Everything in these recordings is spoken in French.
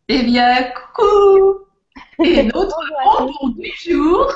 Eh bien, coucou! Et notre Bonjour à tous. bonbon du jour,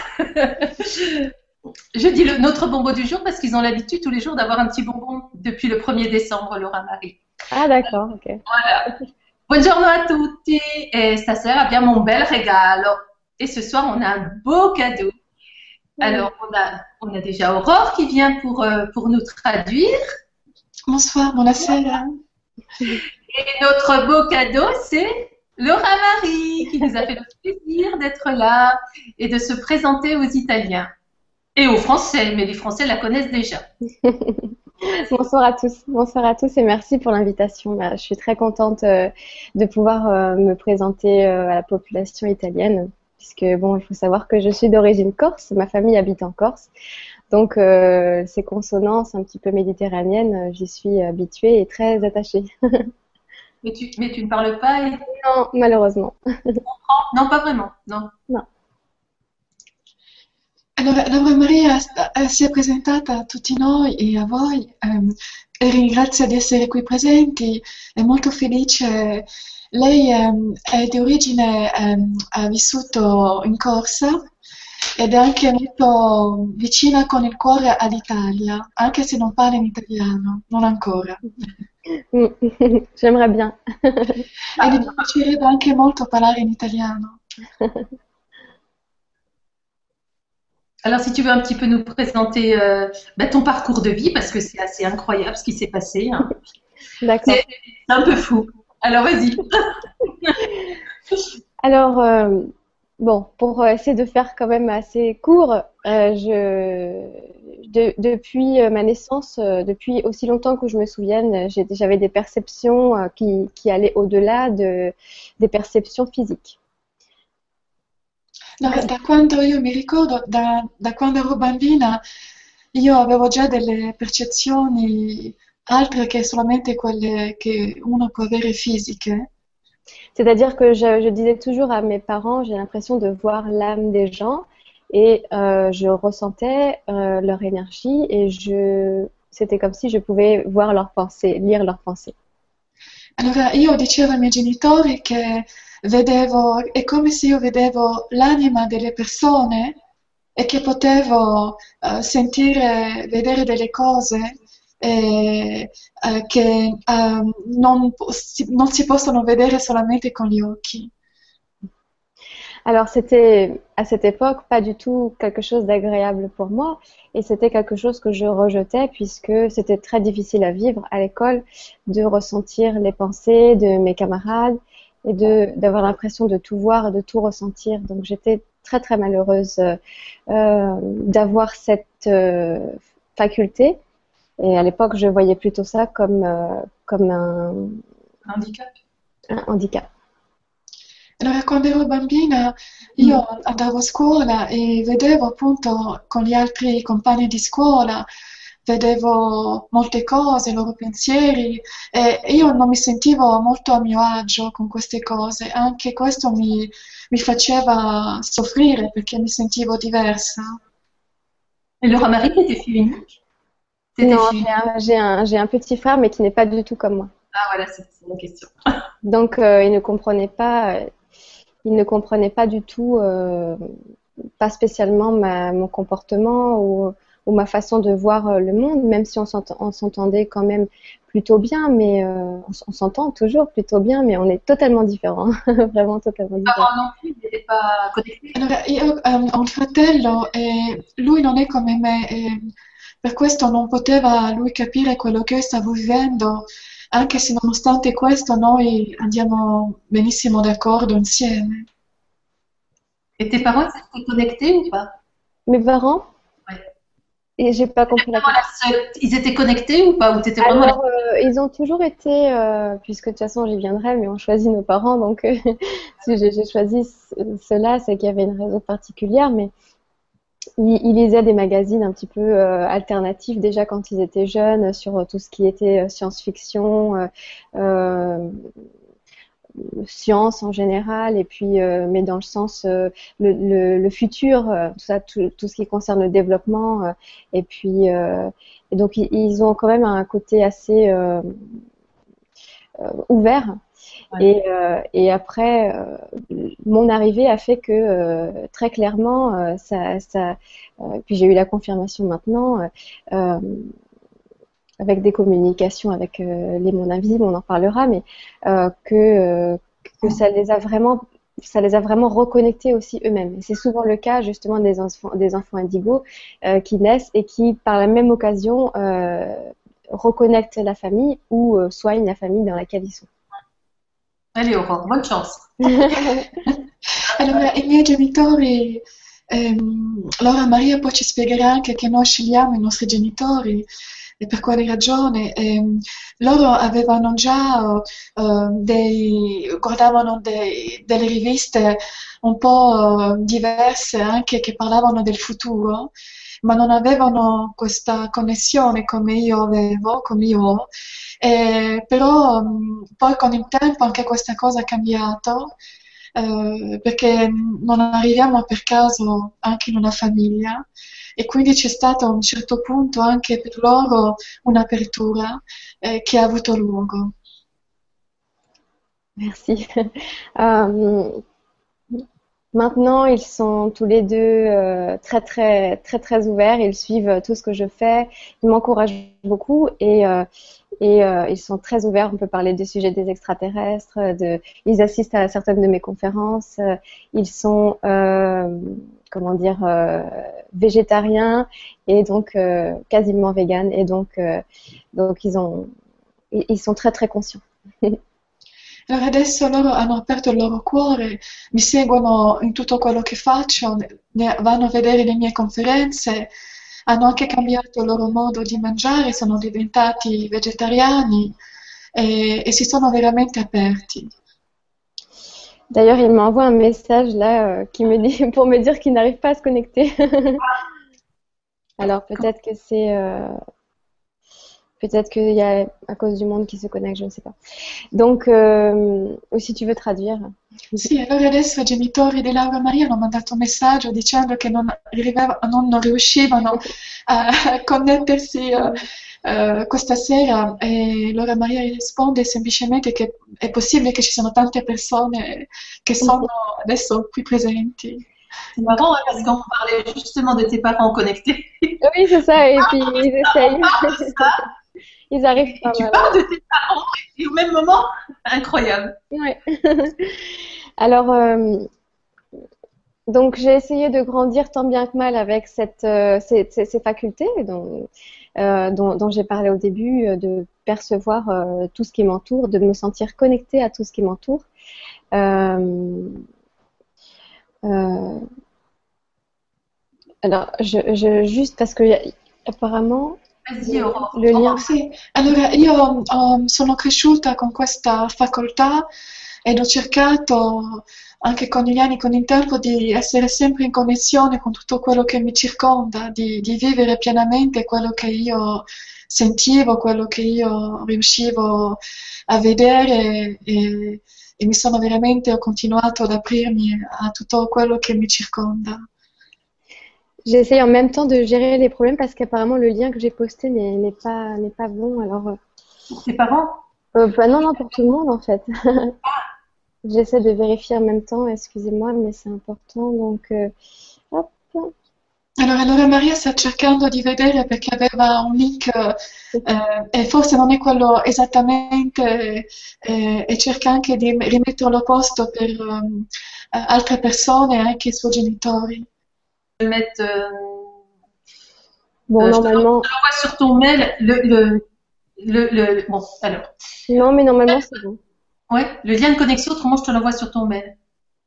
je dis notre bonbon du jour parce qu'ils ont l'habitude tous les jours d'avoir un petit bonbon depuis le 1er décembre, Laura Marie. Ah d'accord, ok. Voilà. Buongiorno a tutti et stasera abbiamo un bel regalo. Et ce soir, on a un beau cadeau. Oui. Alors, on a déjà Aurore qui vient pour nous traduire. Bonsoir, buonasera. Et notre beau cadeau, c'est Laura Marie qui nous a fait le plaisir d'être là et de se présenter aux Italiens. Et aux Français, mais les Français la connaissent déjà. Bonsoir à tous et merci pour l'invitation. Je suis très contente de pouvoir me présenter à la population italienne, puisque bon, il faut savoir que je suis d'origine corse, ma famille habite en Corse, donc ces consonances un petit peu méditerranéennes, j'y suis habituée et très attachée. Mais tu ne parles pas et... Non, malheureusement. Non, pas vraiment. Non. Non. Allora, Laura Maria si è presentata a tutti noi e a voi e ringrazia di essere qui presenti, è molto felice. Lei è di origine, ha vissuto in Corsa ed è anche molto vicina con il cuore all'Italia, anche se non parla in italiano, non ancora. J'aimerais bien. E mi piacerebbe anche molto parlare in italiano. Alors, si tu veux un petit peu nous présenter ton parcours de vie, parce que c'est assez incroyable ce qui s'est passé. Hein. D'accord. C'est un peu fou. Alors, vas-y. Alors, bon, pour essayer de faire quand même assez court, depuis ma naissance, depuis aussi longtemps que je me souvienne, j'avais des perceptions qui allaient au-delà des perceptions physiques. No, da quando io mi ricordo, da quando ero bambina, io avevo già delle percezioni altre che solamente quelle che uno può avere fisiche. C'est-à-dire que je disais toujours à mes parents, j'ai l'impression de voir l'âme des gens et je ressentais leur énergie et c'était comme si je pouvais voir leurs pensées, lire leurs pensées. Allora io dicevo ai miei genitori che vedevo, è come se io vedevo l'anima delle persone e che potevo sentire, vedere delle cose che non si possono vedere solamente con gli occhi. Alors c'était à cette époque pas du tout quelque chose d'agréable pour moi et c'était quelque chose que je rejetais puisque c'était très difficile à vivre à l'école de ressentir les pensées de mes camarades et d'avoir l'impression de tout voir et de tout ressentir. Donc j'étais très très malheureuse d'avoir cette faculté et à l'époque je voyais plutôt ça comme Handicap. un handicap. Allora, quando ero bambina io andavo a scuola e vedevo appunto con gli altri compagni di scuola, vedevo molte cose, i loro pensieri e io non mi sentivo molto a mio agio con queste cose, anche questo mi faceva soffrire perché mi sentivo diversa. Et Laura Marie, t'étais fille unique? T'étais Non, fille unique. j'ai un petit frère mais qui n'est pas du tout comme moi. Ah, voilà, c'est la question. Donc il ne comprenait pas du tout, pas spécialement mon comportement ou ma façon de voir le monde, même si on s'entendait quand même plutôt bien, mais on s'entend toujours plutôt bien, mais on est totalement différents, vraiment totalement différents. Parents non plus, ils n'étaient pas connectés. Allora, io ho un fratello e lui non è come me, e per questo non poteva lui capire quello che io stavo vivendo, anche se nonostante questo noi andiamo benissimo d'accordo insieme. Mm. Et tes parents, ils étaient connectés ou pas? Mes parents, Ouais. et j'ai pas T'étais compris la vraiment question. la seule. Ils étaient connectés ou pas? Ou t'étais vraiment la... Alors, ils ont toujours été, puisque de toute façon j'y viendrai, mais on choisit nos parents, donc si j'ai choisi cela, c'est qu'il y avait une raison particulière, mais ils lisaient des magazines un petit peu alternatifs déjà quand ils étaient jeunes sur tout ce qui était science-fiction, euh, science en général, et puis mais dans le sens le futur, tout ça, tout ce qui concerne le développement, et puis et donc ils ont quand même un côté assez ouvert. Ouais. Et après, mon arrivée a fait que très clairement, puis j'ai eu la confirmation maintenant, euh, avec des communications avec les mondes invisibles, on en parlera, mais euh, que, euh, que ça les a vraiment reconnectés aussi eux-mêmes. Et c'est souvent le cas justement des enfants indigos qui naissent et qui, par la même occasion, reconnectent la famille ou soignent la famille dans laquelle ils sont. Allez, Aurore, bonne chance. Allora, i miei genitori, Laura Maria poi ci spiegherà anche che noi scegliamo i nostri genitori e per quale ragione. Loro avevano già guardavano delle riviste un po' diverse anche che parlavano del futuro, ma non avevano questa connessione come io avevo, come io ho. Però poi con il tempo anche questa cosa è cambiato, perché non arriviamo per caso anche in una famiglia e quindi c'è stato a un certo punto anche per loro un'apertura che ha avuto luogo. Merci. Euh, Maintenant, ils sont tous les deux très ouverts. Ils suivent tout ce que je fais. Ils m'encouragent beaucoup et ils sont très ouverts. On peut parler du sujet des extraterrestres. Ils assistent à certaines de mes conférences. Ils sont, comment dire, végétariens et donc quasiment véganes. Et donc ils sont très conscients. Allora adesso loro hanno aperto il loro cuore, mi seguono in tutto quello che faccio, vanno a vedere le mie conferenze, hanno anche cambiato il loro modo di mangiare, sono diventati vegetariani e si sono veramente aperti. D'ailleurs, il m'envoie un message là qui me dit pour me dire qu'il n'arrive pas à se connecter. Alors peut-être qu'il y a à cause du monde qui se connecte, je ne sais pas. Donc, ou si tu veux traduire. Sì, allora adesso i genitori di Laura Maria hanno mandato un messaggio dicendo che non riuscivano a connettersi questa sera e Laura Maria risponde semplicemente che è possibile che ci siano tante persone che sono adesso qui presenti. C'est marrant hein, parce qu'on parlait justement de tes parents connectés. Oui, c'est ça, et puis ils essayent. Ils arrivent pas, Tu voilà. parles de tes parents et au même moment, incroyable. Ouais. Alors, donc j'ai essayé de grandir tant bien que mal avec ces facultés dont j'ai parlé au début, de percevoir tout ce qui m'entoure, de me sentir connectée à tout ce qui m'entoure. Euh, alors, juste parce que apparemment, Vas-y, Aurore. le lien. Sì, allora io sono cresciuta con questa facoltà ed ho cercato anche con gli anni, con il tempo, di essere sempre in connessione con tutto quello che mi circonda, di vivere pienamente quello che io sentivo, quello che io riuscivo a vedere e mi sono veramente, ho continuato ad aprirmi a tutto quello che mi circonda. J'ai essayé en même temps de gérer les problèmes parce qu'apparemment le lien que j'ai posté n'est pas bon. Alors, Pour tes parents? bah non, pour tout le monde en fait. J'essaie de vérifier en même temps, excusez-moi, mais c'est important. Donc, hop. Allora, Laura Maria sta cercando di vedere perché aveva un link e forse non è quello esattamente e cerca anche di rimetterlo a posto per altre persone e anche i suoi genitori. Je vais mettre, Bon, je te normalement. l'envoie sur ton mail. Bon, alors. Non, mais normalement c'est bon. Ouais, le lien de connexion, autrement, je te l'envoie sur ton mail.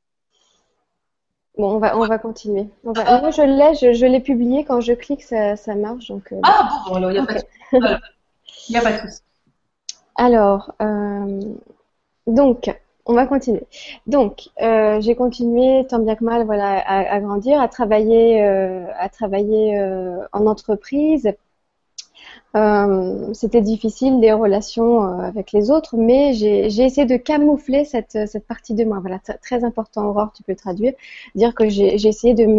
Bon, on va continuer. Moi, je l'ai publié. Quand je clique, ça marche. Donc, Ah bon, alors, il n'y a pas de ok. souci. Voilà. Il n'y a pas de souci. Alors, donc, on va continuer. Donc, j'ai continué tant bien que mal, voilà, à grandir, à travailler en entreprise. C'était difficile des relations avec les autres, mais j'ai essayé de camoufler cette partie de moi. Voilà, très important, Aurore, tu peux traduire, dire que j'ai essayé de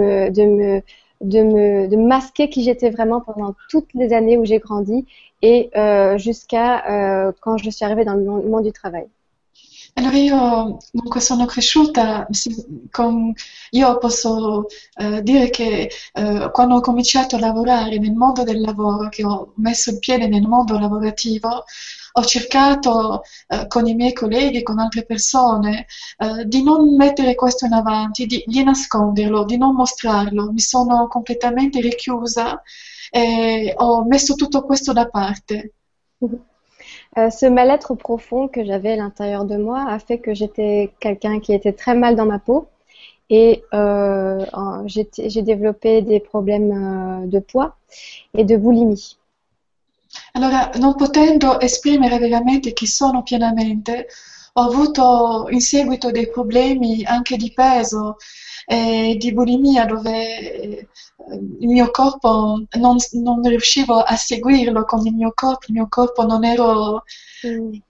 me masquer qui j'étais vraiment pendant toutes les années où j'ai grandi et jusqu'à quand je suis arrivée dans le monde du travail. Allora io dunque sono cresciuta, io posso dire che quando ho cominciato a lavorare nel mondo del lavoro, che ho messo il piede nel mondo lavorativo, ho cercato con i miei colleghi, con altre persone, di non mettere questo in avanti, di nasconderlo, di non mostrarlo. Mi sono completamente richiusa et ho messo tutto questo da parte. Ce mal-être profond que j'avais à l'intérieur de moi a fait que j'étais quelqu'un qui était très mal dans ma peau et j'ai développé des problèmes de poids et de boulimie. Allora, non potendo esprimere veramente chi sono pienamente, ho avuto in seguito dei problemi anche di peso e di bulimia dove il mio corpo non riuscivo a seguirlo con il mio corpo non ero Mm.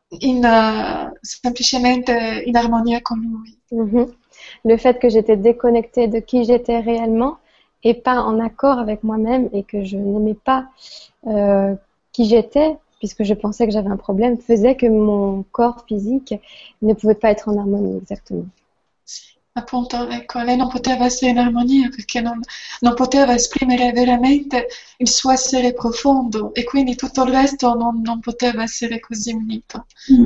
semplicemente in armonia con lui. Mhm. Le fait que j'étais déconnectée de qui j'étais réellement et pas en accord avec moi-même et que je n'aimais pas euh, qui j'étais, puisque je pensais que j'avais un problème, faisait que mon corps physique ne pouvait pas être en harmonie exactement. Sì, appunto, ecco, lei non poteva essere in armonia perché non poteva esprimere veramente il suo essere profondo e quindi tutto il resto non poteva essere così unito.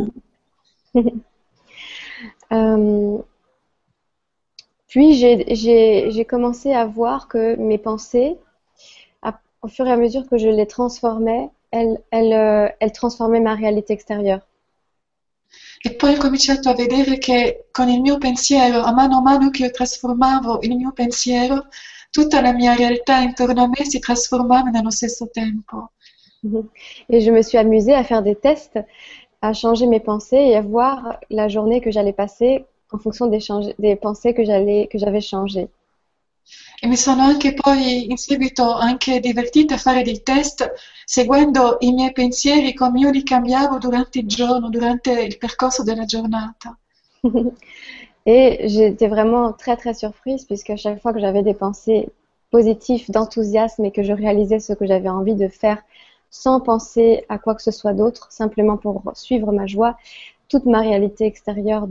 Euh, Puis j'ai commencé à voir que mes pensées, au fur et à mesure que je les transformais, elles transformaient ma réalité extérieure. E poi ho cominciato a vedere che con il mio pensiero, a mano che io trasformavo il mio pensiero, tutta la mia realtà intorno a me si trasformava nello stesso tempo. Et je me suis amusée à faire des tests, à changer mes pensées et à voir la journée que j'allais passer en fonction des pensées que j'avais changées. E mi sono anche poi in seguito anche divertita a fare dei test seguendo i miei pensieri come io li cambiavo durante il giorno, durante il percorso della giornata. Et j'étais vraiment très très surprise puisque à chaque fois que j'avais des pensées positives, d'enthousiasme et que je réalisais ce que j'avais envie de faire sans penser à quoi que ce soit d'autre, simplement pour suivre ma joie, toute ma réalité extérieure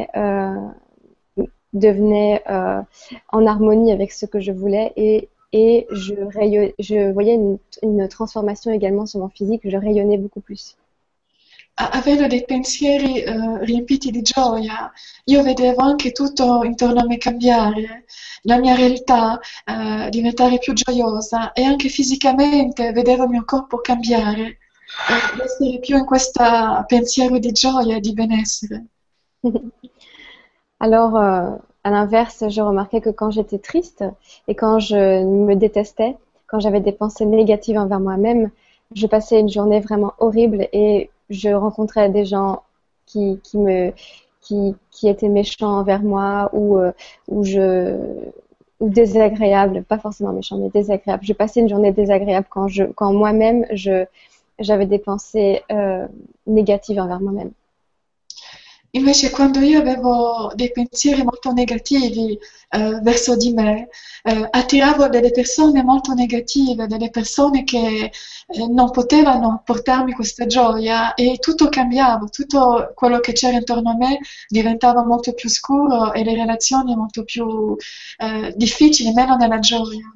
devenait en harmonie avec ce que je voulais et je voyais une transformation également sur mon physique, je rayonnais beaucoup plus. Avendo dei pensieri riempiti di gioia, io vedevo anche tutto intorno a me cambiare, la mia realtà diventare più gioiosa e anche fisicamente vedevo il mio corpo cambiare, essere più in questo pensiero di gioia e di benessere. Alors, à l'inverse, je remarquais que quand j'étais triste et quand je me détestais, quand j'avais des pensées négatives envers moi-même, je passais une journée vraiment horrible et je rencontrais des gens qui me, qui étaient méchants envers moi ou ou désagréables, pas forcément méchants, mais désagréables. Je passais une journée désagréable quand moi-même, j'avais des pensées négatives envers moi-même. Invece quando io avevo dei pensieri molto negativi verso di me, attiravo delle persone molto negative, delle persone che non potevano portarmi questa gioia e tutto cambiava, tutto quello che c'era intorno a me diventava molto più scuro e le relazioni molto più difficili, meno nella gioia.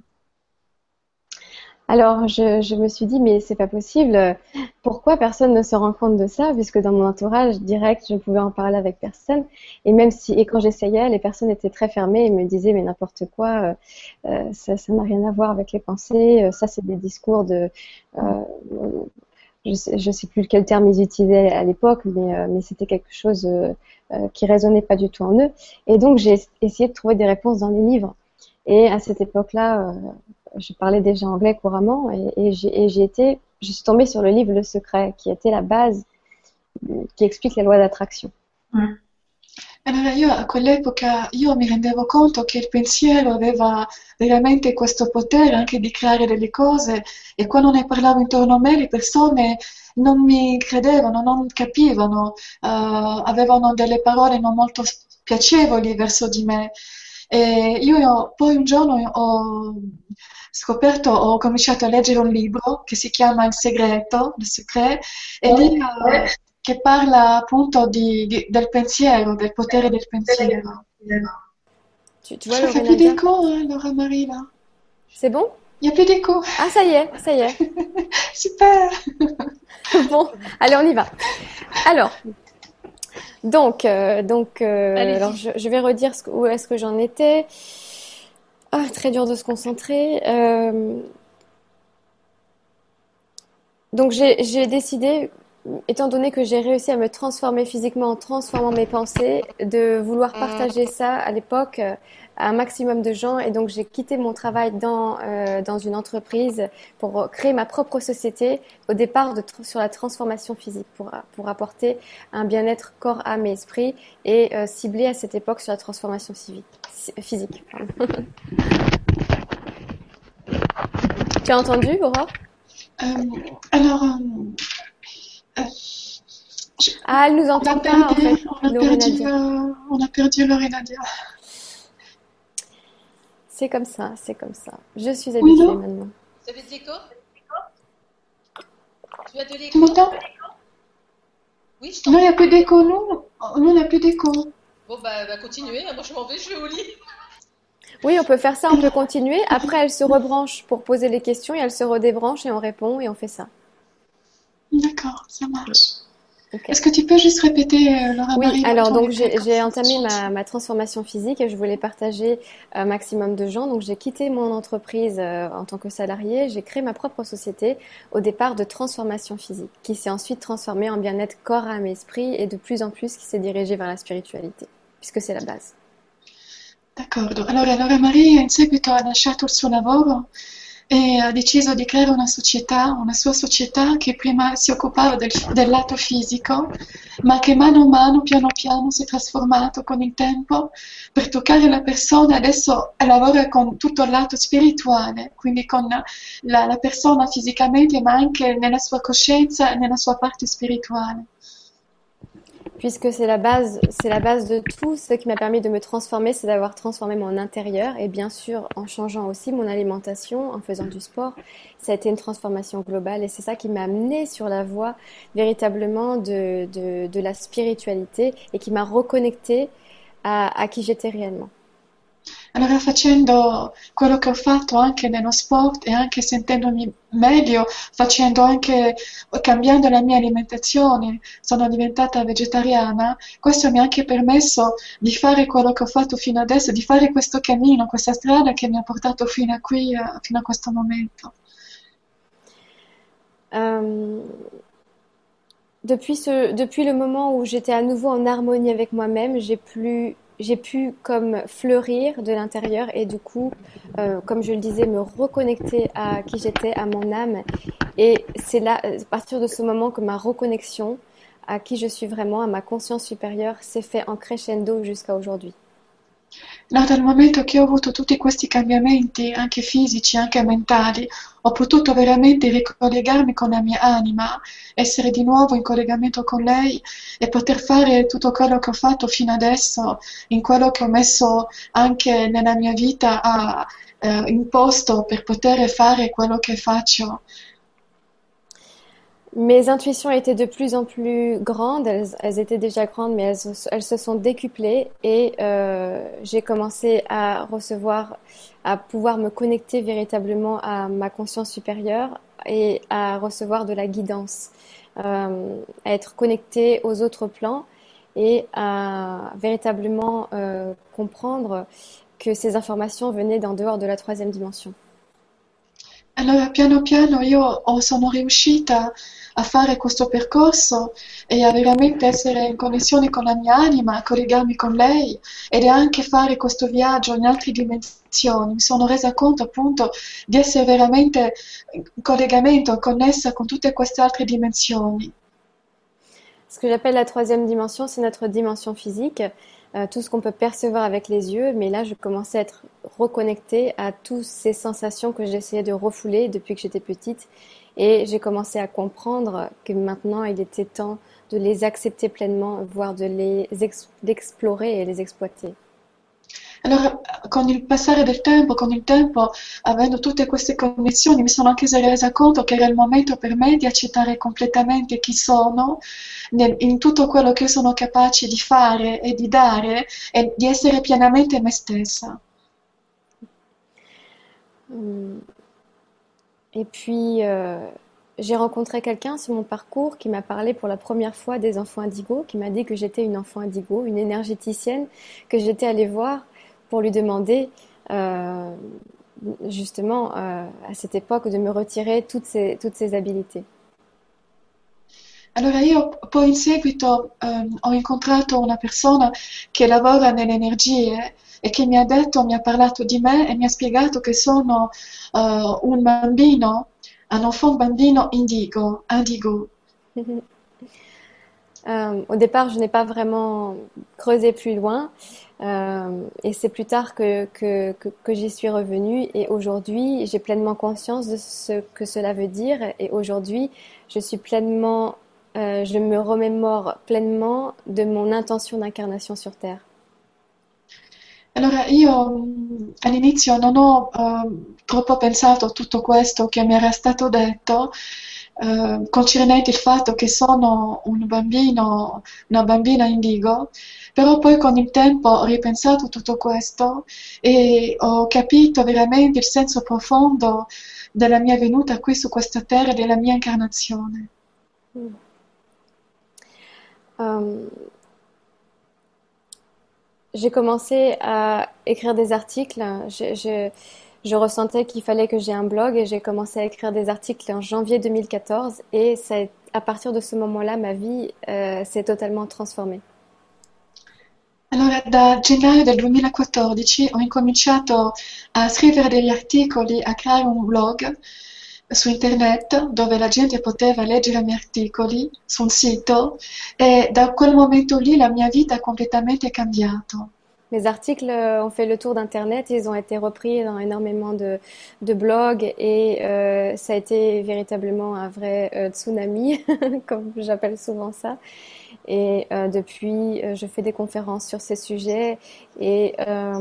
Alors, je me suis dit, mais c'est pas possible. Pourquoi personne ne se rend compte de ça? Puisque dans mon entourage direct, je pouvais en parler avec personne. Et même si, et quand j'essayais, les personnes étaient très fermées et me disaient, mais n'importe quoi, ça n'a rien à voir avec les pensées. Ça, c'est des discours euh, je sais plus quel terme ils utilisaient à l'époque, mais c'était quelque chose qui résonnait pas du tout en eux. Et donc, j'ai essayé de trouver des réponses dans les livres. Et à cette époque-là, je parlais déjà anglais couramment je suis tombée sur le livre Le Secret, qui était la base qui explique la loi d'attraction. Mm. Allora io a quell'epoca io mi rendevo conto che il pensiero aveva veramente questo potere anche di creare delle cose e quando ne parlavo intorno a me le persone non mi credevano, non capivano, avevano delle parole non molto piacevoli verso di me. E io poi un giorno ho cominciato a leggere un libro che si chiama Il segreto, Le Secret, e lì che parla appunto del pensiero, del potere del pensiero. Tu vois, Ça fait Lorena plus dire? d'écho, hein, Laura Marie, là. C'est bon? Il n'y a plus d'écho. Ah, ça y est, ça y est. Super. Bon, allez, on y va. Alors, alors Allez-y. je vais redire où est-ce que j'en étais. Ah, très dur de se concentrer. Donc j'ai décidé, étant donné que j'ai réussi à me transformer physiquement en transformant mes pensées, de vouloir partager ça à l'époque à un maximum de gens. Et donc j'ai quitté mon travail dans une entreprise pour créer ma propre société, au départ sur la transformation physique, pour apporter un bien-être corps, âme et esprit, et ciblé à cette époque sur la transformation physique. Pardon. Tu as entendu, Aurore? Euh, alors, Ah, elle nous on a entend pas, en perdu, fait, Lorena Dia. on a perdu Lorena Dia. C'est comme ça, c'est comme ça. Je suis Oui, habituée non? maintenant. Ça fait de l'écho? Tu as de Tu l'écho? m'entends? Oui, je Non, il n'y t'entends. a plus d'écho, non? Nous, on n'a plus d'écho. Bon, bah, continuez. Moi, je m'en vais, je vais au lit. Oui, on peut faire ça, on peut continuer. Après, elle se rebranche pour poser les questions et elle se redébranche et on répond et on fait ça. D'accord, ça marche. Ok. Est-ce que tu peux juste répéter, Laura Oui, Marie, là, alors ton donc idée, comme j'ai ça, entamé ma transformation physique et je voulais partager un maximum de gens. Donc j'ai quitté mon entreprise en tant que salariée. J'ai créé ma propre société au départ de transformation physique, qui s'est ensuite transformée en bien-être corps, âme et esprit et de plus en plus qui s'est dirigée vers la spiritualité, puisque c'est la base. D'accordo. Allora, Laura Maria in seguito ha lasciato il suo lavoro e ha deciso di creare una società, una sua società che prima si occupava del lato fisico, ma che mano a mano, piano piano, si è trasformato con il tempo per toccare la persona. Adesso lavora con tutto il lato spirituale, quindi con la persona fisicamente, ma anche nella sua coscienza e nella sua parte spirituale. Puisque c'est la base de tout. Ce qui m'a permis de me transformer, c'est d'avoir transformé mon intérieur et bien sûr en changeant aussi mon alimentation, en faisant du sport. Ça a été une transformation globale et c'est ça qui m'a amené sur la voie véritablement de la spiritualité et qui m'a reconnecté à qui j'étais réellement. Allora facendo quello che ho fatto anche nello sport e anche sentendomi meglio, facendo anche, cambiando la mia alimentazione, sono diventata vegetariana, questo mi ha anche permesso di fare quello che ho fatto fino adesso, di fare questo cammino, questa strada che mi ha portato fino a qui, fino a questo momento. Euh, depuis le moment où j'étais à nouveau en harmonie avec moi-même, j'ai pu comme fleurir de l'intérieur et du coup, comme je le disais, me reconnecter à qui j'étais, à mon âme. Et c'est là, à partir de ce moment que ma reconnexion à qui je suis vraiment, à ma conscience supérieure, s'est fait en crescendo jusqu'à aujourd'hui. No, dal momento che ho avuto tutti questi cambiamenti, anche fisici, anche mentali, ho potuto veramente ricollegarmi con la mia anima, essere di nuovo in collegamento con lei e poter fare tutto quello che ho fatto fino adesso, in quello che ho messo anche nella mia vita in posto per poter fare quello che faccio. Mes intuitions étaient de plus en plus grandes, elles étaient déjà grandes, mais elles se sont décuplées et j'ai commencé à recevoir, à pouvoir me connecter véritablement à ma conscience supérieure et à recevoir de la guidance, à être connectée aux autres plans et à véritablement comprendre que ces informations venaient d'en dehors de la troisième dimension. Allora, piano piano sono riuscita a fare questo percorso e a veramente essere in connessione con la mia anima, a collegarmi con lei ed anche fare questo viaggio in altre dimensioni. Mi sono resa conto appunto di essere veramente in collegamento, connessa con tutte queste altre dimensioni. Ce que j'appelle la troisième dimension, c'est notre dimension physique, tout ce qu'on peut percevoir avec les yeux. Mais là, je commençais à être reconnectée à toutes ces sensations que j'essayais de refouler depuis que j'étais petite. Et j'ai commencé à comprendre que maintenant, il était temps de les accepter pleinement, voire d'explorer et les exploiter. Allora, con il passare del tempo, con il tempo, avendo tutte queste connessioni, mi sono anche resa conto che era il momento per me di accettare completamente chi sono, in tutto quello che io sono capace di fare e di dare, e di essere pienamente me stessa. Hum, Et puis, j'ai rencontré quelqu'un sur mon parcours qui m'a parlé pour la première fois des enfants indigos, qui m'a dit que j'étais une enfant indigo, une énergéticienne, que j'étais allée voir pour lui demander euh, justement à cette époque de me retirer toutes ces habiletés. Allora io poi in seguito ho incontrato una persona che lavora nelle energie e che mi ha detto, mi ha parlato di me e mi ha spiegato che sono un bambino, un enfant bambino indigo. Au départ, je n'ai pas vraiment creusé plus loin, et c'est plus tard que j'y suis revenue. Et aujourd'hui, j'ai pleinement conscience de ce que cela veut dire. Et aujourd'hui, je suis pleinement, je me remémore pleinement de mon intention d'incarnation sur Terre. Allora io all'inizio non ho troppo pensato a tutto questo che mi era stato detto, concernente il fatto che sono un bambino, una bambina indigo, però poi con il tempo ho ripensato a tutto questo e ho capito veramente il senso profondo della mia venuta qui su questa terra e della mia incarnazione. Euh, j'ai commencé à écrire des articles. Je ressentais qu'il fallait que j'ai un blog et j'ai commencé à écrire des articles en janvier 2014 et à partir de ce moment-là, ma vie s'est totalement transformée. Allora, da gennaio del 2014 ho incominciato a scrivere degli articoli, a creare un blog su internet dove la gente poteva leggere i miei articoli su un sito e da quel momento lì la mia vita è completamente cambiata. Mes articles ont fait le tour d'Internet, ils ont été repris dans énormément de blogs et ça a été véritablement un vrai tsunami, comme j'appelle souvent ça. Et depuis, je fais des conférences sur ces sujets et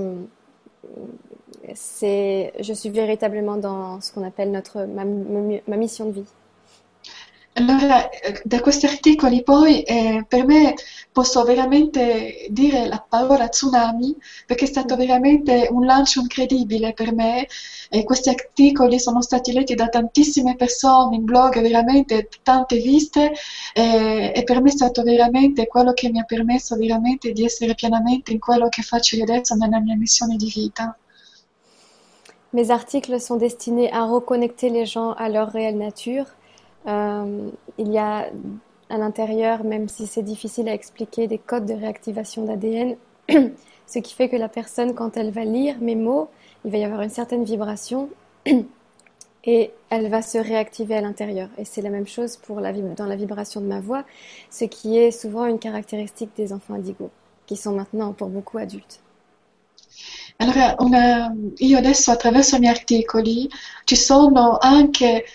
je suis véritablement dans ce qu'on appelle ma mission de vie. Allora, da questi articoli poi per me posso veramente dire la parola tsunami perché è stato veramente un lancio incredibile per me e questi articoli sono stati letti da tantissime persone in blog, veramente tante viste e per me è stato veramente quello che mi ha permesso veramente di essere pienamente in quello che faccio io adesso nella mia missione di vita. Mes articles sont destinés à reconnecter les gens à leur réelle nature. Il y a à l'intérieur, même si c'est difficile à expliquer, des codes de réactivation d'ADN, ce qui fait que la personne, quand elle va lire mes mots, il va y avoir une certaine vibration et elle va se réactiver à l'intérieur. Et c'est la même chose pour dans la vibration de ma voix, ce qui est souvent une caractéristique des enfants indigos, qui sont maintenant pour beaucoup adultes. Allora, io adesso attraverso i miei articoli ci sono anche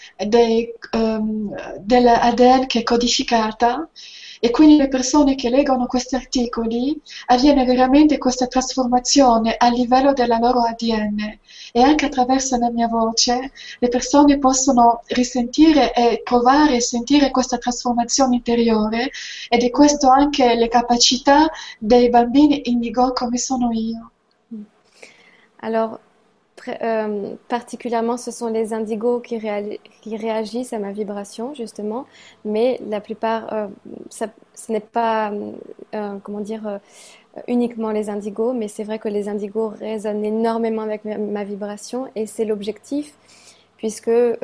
dell'ADN che è codificata e quindi le persone che leggono questi articoli avviene veramente questa trasformazione a livello della loro ADN e anche attraverso la mia voce le persone possono risentire e provare e sentire questa trasformazione interiore ed è questo anche le capacità dei bambini indigo come sono io. Alors, particulièrement, ce sont les indigos qui réagissent à ma vibration, justement, mais la plupart, ce n'est pas, comment dire, uniquement les indigos, mais c'est vrai que les indigos résonnent énormément avec ma vibration et c'est l'objectif, puisque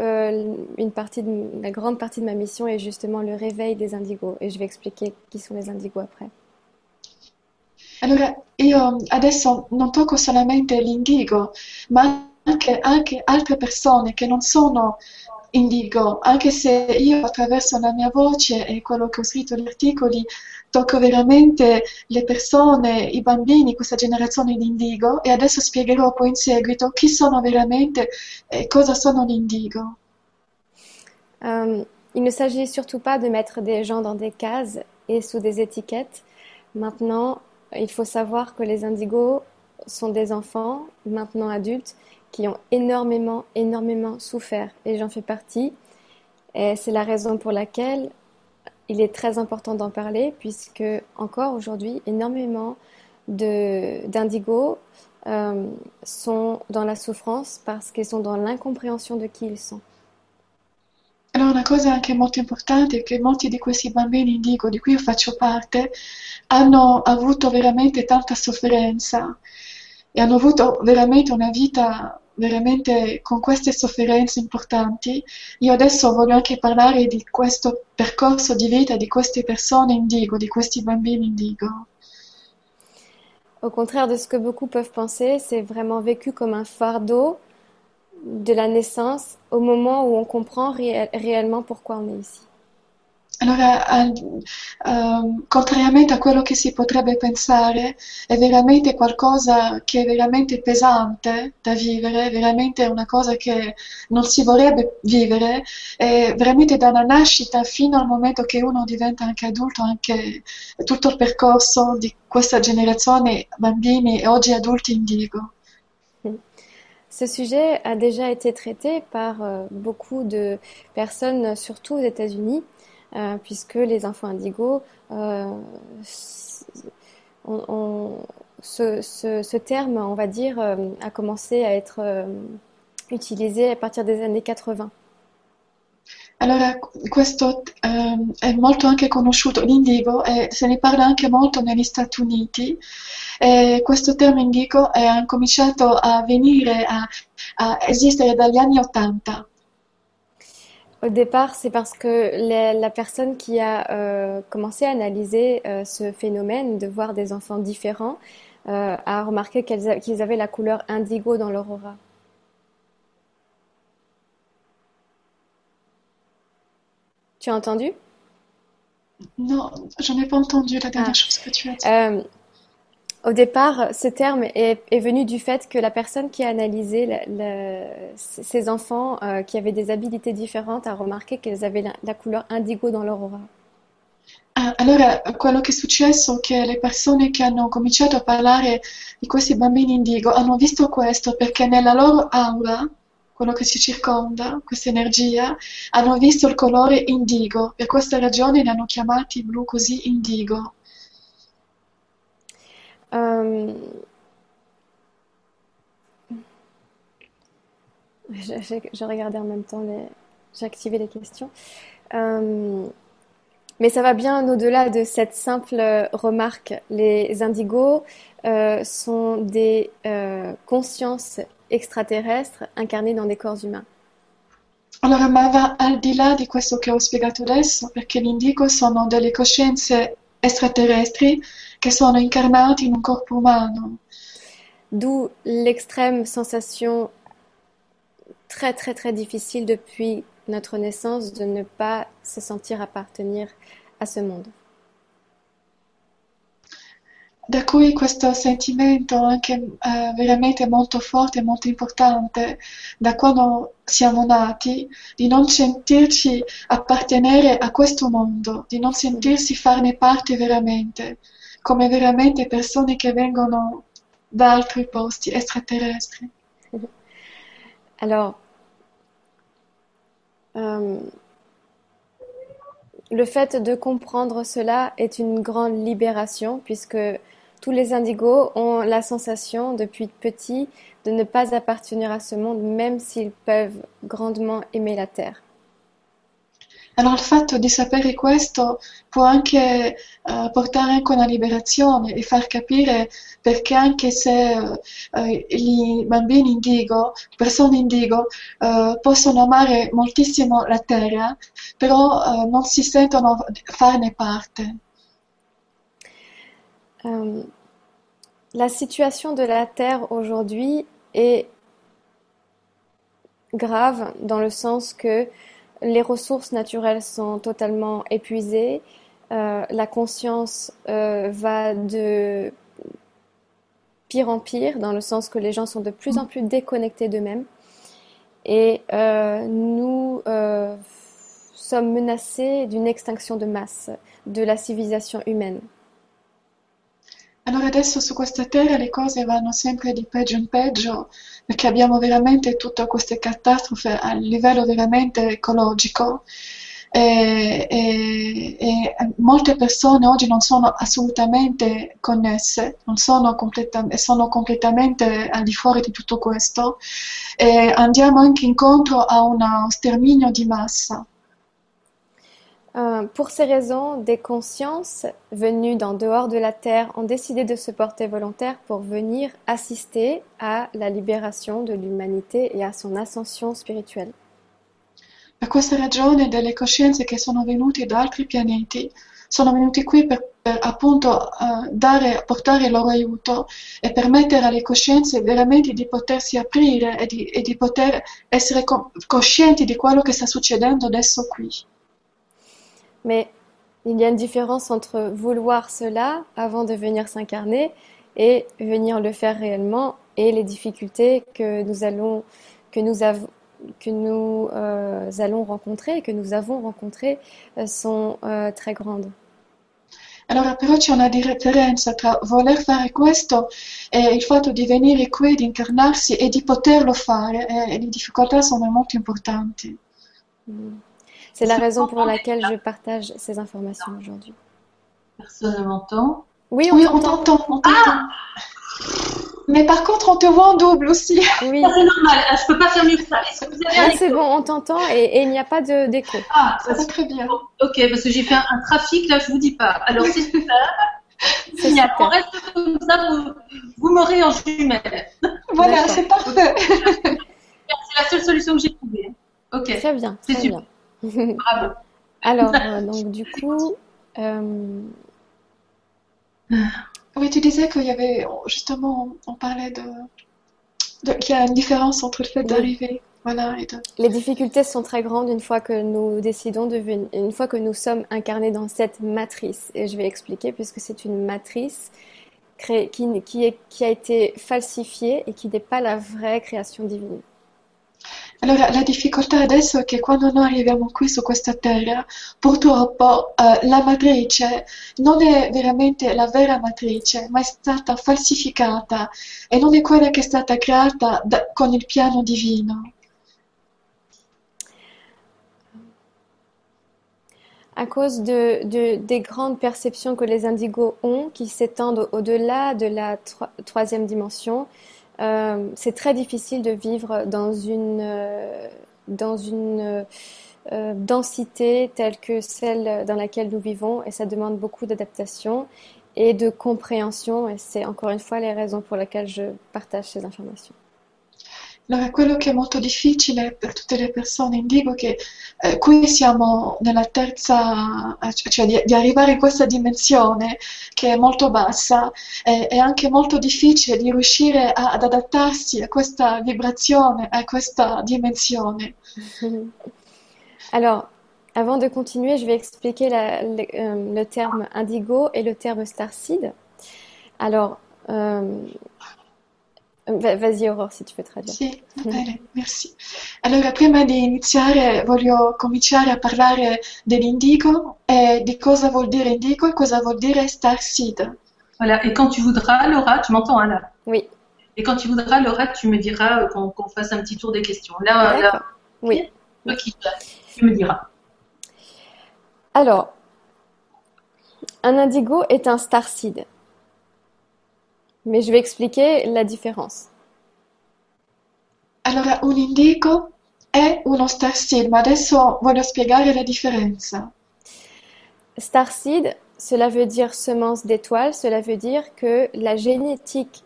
la grande partie de ma mission est justement le réveil des indigos et je vais expliquer qui sont les indigos après. Allora, io adesso non tocco solamente l'indigo, ma anche altre persone che non sono indigo, anche se io attraverso la mia voce e quello che ho scritto negli articoli tocco veramente le persone, i bambini, questa generazione di indigo e adesso spiegherò poi in seguito chi sono veramente e cosa sono gli indigo. Il ne s'agit surtout pas de mettre des gens dans des cases et sous des étiquettes. Maintenant, il faut savoir que les indigos sont des enfants, maintenant adultes, qui ont énormément, énormément souffert. Et j'en fais partie. Et c'est la raison pour laquelle il est très important d'en parler, puisque encore aujourd'hui, énormément d'indigos euh, sont dans la souffrance parce qu'ils sont dans l'incompréhension de qui ils sont. Allora, una cosa anche molto importante è che molti di questi bambini indigo, di cui io faccio parte, hanno avuto veramente tanta sofferenza e hanno avuto veramente una vita veramente con queste sofferenze importanti. Io adesso voglio anche parlare di questo percorso di vita di queste persone indigo, di questi bambini indigo. Au contraire de ce que beaucoup peuvent penser, c'est vraiment vécu comme un fardeau de la naissance au moment où on comprend réellement pourquoi on est ici. Allora, contrariamente a quello che si potrebbe pensare, è veramente qualcosa che è veramente pesante da vivere, veramente una cosa che non si vorrebbe vivere, è veramente dalla nascita fino al momento che uno diventa anche adulto, anche tutto il percorso di questa generazione bambini e oggi adulti indigo. Ce sujet a déjà été traité par beaucoup de personnes, surtout aux États-Unis, puisque les enfants indigos, euh, on- on- ce terme, on va dire, a commencé à être utilisé à partir des années 80. Allora, questo è molto anche conosciuto, l'indigo, e se ne parla anche molto negli Stati Uniti. E questo termine indigo è cominciato a venire a esistere dagli anni Ottanta. Au départ, c'est parce que la personne qui a commencé à analyser ce phénomène de voir des enfants différents a remarqué qu'ils avaient la couleur indigo dans leur aura. Tu as entendu? No, je n'ai pas entendu la dernière Ah. chose que tu as dit. Euh, Au départ, ce terme est venu du fait que la personne qui a analysé ces enfants qui avaient des habilités différentes a remarqué qu'ils avaient la couleur indigo dans leur aura. Ah, allora, quello che è successo è che le persone che hanno cominciato a parlare di questi bambini indigo hanno visto questo perché nella loro aura, quello che ci circonda, questa energia, hanno visto il colore indigo. Per questa ragione li hanno chiamati blu così indigo. Euh, je regardais en même temps j'ai activé les questions. Euh, mais ça va bien au-delà de cette simple remarque. Les indigos sont des consciences extraterrestres incarnées dans des corps humains. Allora, ma va al di là di questo che ho spiegato adesso, perché gli indigo sono delle coscienze extraterrestri che sono incarnati in un corpo umano. D'où l'extrême sensation très très très difficile depuis notre naissance de ne pas se sentir appartenir à ce monde. Da cui questo sentimento anche veramente molto forte e molto importante da quando siamo nati, di non sentirci appartenere a questo mondo, di non sentirsi farne parte veramente, come veramente persone che vengono da altri posti extraterrestri. Alors, euh, le fait de comprendre cela est une grande libération puisque tous les indigos ont la sensation depuis petit de ne pas appartenir à ce monde même s'ils peuvent grandement aimer la terre. Allora il fatto di sapere questo può anche portare anche una liberazione e far capire perché anche se i bambini indigo, le persone indigo, possono amare moltissimo la terra, però non si sentono farne parte. Euh, la situation de la Terre aujourd'hui est grave dans le sens que les ressources naturelles sont totalement épuisées, la conscience va de pire en pire dans le sens que les gens sont de plus en plus déconnectés d'eux-mêmes et nous sommes menacés d'une extinction de masse de la civilisation humaine. Allora adesso su questa terra le cose vanno sempre di peggio in peggio perché abbiamo veramente tutte queste catastrofi a livello veramente ecologico e molte persone oggi non sono assolutamente connesse, non sono, sono completamente al di fuori di tutto questo e andiamo anche incontro a uno sterminio di massa. Pour ces raisons, des consciences venues d'en dehors de la Terre ont décidé de se porter volontaires pour venir assister à la libération de l'humanité et à son ascension spirituelle. Per questa ragione delle coscienze che sono venute da altri pianeti sono venuti qui per appunto portare il loro aiuto e permettere alle coscienze veramente di potersi aprire e di poter essere coscienti di quello che sta succedendo adesso qui. Mais il y a une différence entre vouloir cela avant de venir s'incarner et venir le faire réellement et les difficultés que nous allons rencontrer, que nous avons rencontrées sont très grandes. Allora però c'è una differenza tra voler fare questo e il fatto di venire qui, di incarnarsi e di poterlo fare e le difficoltà sono molto importanti. C'est la raison pour laquelle je partage ces informations aujourd'hui. Personne ne m'entend. Oui, Oui, on t'entend, on t'entend. Mais par contre, on te voit en double aussi. Oui, Ça, c'est normal, hein, je peux pas faire mieux que ça. Est-ce que vous avez un là c'est écho? bon, on t'entend et il n'y a pas d'écho. Ah, Ça va très bien. ok, parce que j'ai fait un trafic, là, je vous dis pas. Alors, c'est super. C'est Génial. super. On reste comme ça, vous m'aurez en jumelle. Voilà, D'accord. c'est parfait. C'est la seule solution que j'ai trouvée. Ok, Très bien, c'est très super. bien. Bravo. Alors, donc du coup, euh, Oui, tu disais qu'il y avait, justement, on parlait qu'il y a une différence entre le fait Oui. d'arriver, voilà, et de... les difficultés sont très grandes une fois que nous décidons de venir, une fois que nous sommes incarnés dans cette matrice. Et je vais expliquer puisque c'est une matrice qui a été falsifiée et qui n'est pas la vraie création divine. Allora, la difficoltà adesso è che quando noi arriviamo qui su questa terra, purtroppo la matrice non è veramente la vera matrice, ma è stata falsificata e non è quella che è stata creata con il piano divino. À cause des grandes perceptions que les indigos ont, qui s'étendent au-delà de la troisième dimension, c'est très difficile de vivre dans une densité telle que celle dans laquelle nous vivons, et ça demande beaucoup d'adaptation et de compréhension, et c'est encore une fois les raisons pour lesquelles je partage ces informations. Allora, quello che è molto difficile per tutte le persone indico che qui siamo nella terza, cioè di arrivare in questa dimensione che è molto bassa, è anche molto difficile di riuscire ad adattarsi a questa vibrazione, a questa dimensione. Alors, avant de continuer, je vais expliquer le terme indigo et le terme starseed. Alors, vas-y Aurore, si tu veux traduire. Sì, va bene, merci. Allora, prima di iniziare voglio cominciare a parlare dell'indigo e di cosa vuol dire indigo e cosa vuol dire starseed. Voilà, et quand tu voudras, Laura, tu m'entends hein, là? Oui, Et quand tu voudras, Laura, tu me diras qu'on fasse un petit tour des questions. Là, d'accord. Oui. toi tu me diras. Alors, un indigo est un starseed. Mais je vais expliquer la différence. Allora, un indigo è uno starseed, ma adesso voglio spiegare la differenza. Starseed, cela veut dire semence d'étoiles, cela veut dire que la génétique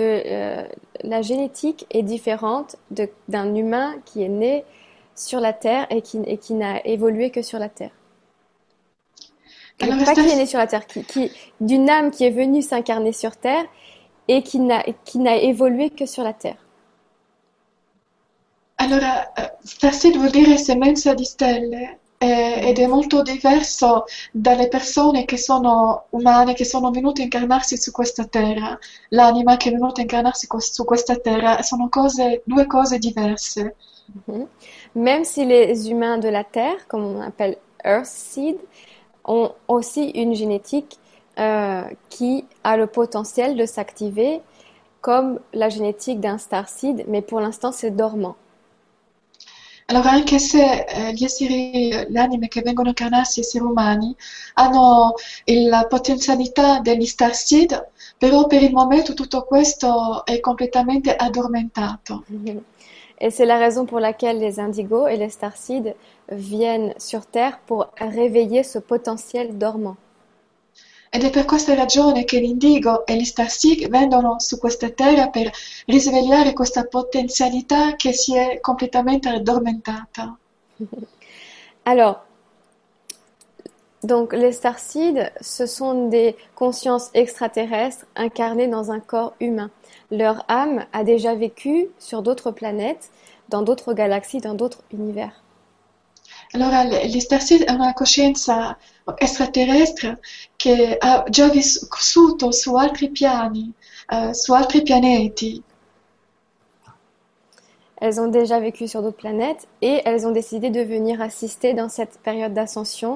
est différente d'un humain qui est né sur la Terre et qui n'a évolué que sur la Terre. Alors, Pas qui est né sur la Terre, d'une âme qui est venue s'incarner sur Terre et qui n'a évolué que sur la Terre. Allora, starseed vuol dire semenza di stelle ed è molto diverso dalle persone che sono umane, che sono venute a incarnarsi su questa terra. L'anima che è venuta a incarnarsi su questa terra sono due cose diverse. Même si les humains de la Terre, comme on appelle Earthseed, ont aussi une génétique qui a le potentiel de s'activer comme la génétique d'un starseed, mais pour l'instant c'est dormant. Allora, anche se gli esseri, le anime che vengono a incarnarsi, esseri umani, hanno la potenzialità degli starseed, però per il momento tutto questo è completamente addormentato. Et c'est la raison pour laquelle les indigos et les starseeds viennent sur Terre pour réveiller ce potentiel dormant. Ed è per questa ragione che l'indigo e gli starseed vengono su questa terra per risvegliare questa potenzialità che si è completamente addormentata. Alors, donc les starseeds, ce sont des consciences extraterrestres incarnées dans un corps humain. Leur âme a déjà vécu sur d'autres planètes, dans d'autres galaxies, dans d'autres univers. Allora, gli starseed è una coscienza extraterrestre che ha già vissuto su altri piani, su altri pianeti. Elles ont déjà vécu sur d'autres planètes et elles ont décidé de venir assister dans cette période d'ascension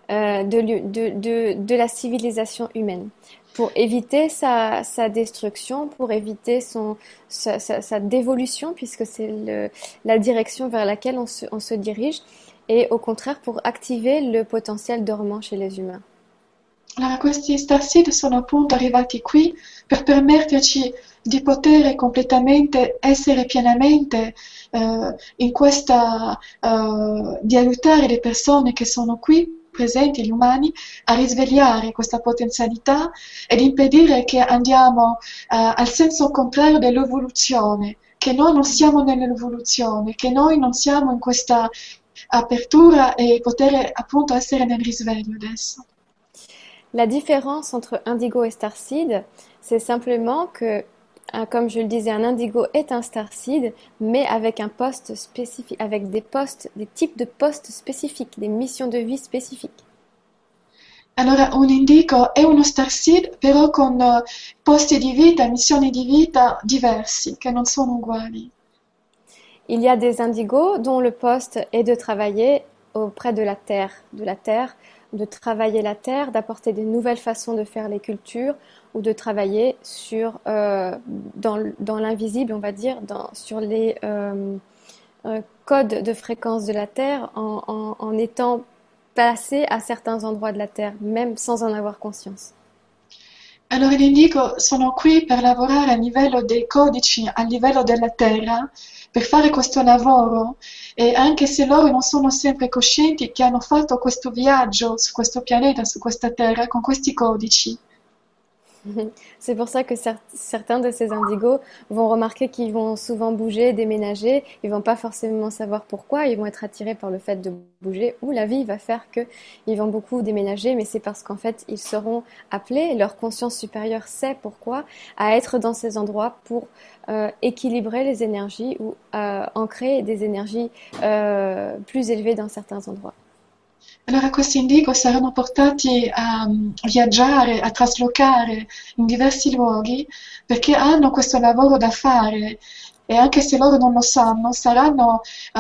de la civilisation humaine pour éviter sa destruction, pour éviter sa dévolution, puisque c'est la direction vers laquelle on se dirige, et au contraire pour activer le potentiel dormant chez les humains. Allora, questi starseed sono appunto arrivati qui per permetterci di poter completamente essere pienamente in questa, di aiutare le persone che sono qui presenti, gli umani, a risvegliare questa potenzialità ed impedire che andiamo al senso contrario dell'evoluzione, che noi non siamo nell'evoluzione, che noi non siamo in questa apertura e poter appunto essere nel risveglio adesso. La différence entre indigo et starseed, c'est simplement que, comme je le disais, un indigo est un starseed, mais avec un poste spécifique, avec des types de postes spécifiques, des missions de vie spécifiques. Allora, un indigo è uno starseed, però con posti di vita, missioni di vita diversi, che non sono uguali. Il y a des indigos dont le poste est de travailler auprès de la terre, de travailler la terre, d'apporter des nouvelles façons de faire les cultures ou de travailler dans l'invisible, on va dire, sur les codes de fréquence de la terre en étant placé à certains endroits de la terre, même sans en avoir conscience. Allora, gli indigo sono qui per lavorare a livello dei codici, a livello della Terra, per fare questo lavoro e anche se loro non sono sempre coscienti che hanno fatto questo viaggio su questo pianeta, su questa Terra, con questi codici. C'est pour ça que certains de ces indigos vont remarquer qu'ils vont souvent bouger, déménager. Ils vont pas forcément savoir pourquoi. Ils vont être attirés par le fait de bouger ou la vie va faire qu'ils vont beaucoup déménager. Mais c'est parce qu'en fait, ils seront appelés, leur conscience supérieure sait pourquoi, à être dans ces endroits pour équilibrer les énergies ou ancrer des énergies plus élevées dans certains endroits. Allora questi indigo saranno portati a viaggiare, a traslocare in diversi luoghi perché hanno questo lavoro da fare e anche se loro non lo sanno, saranno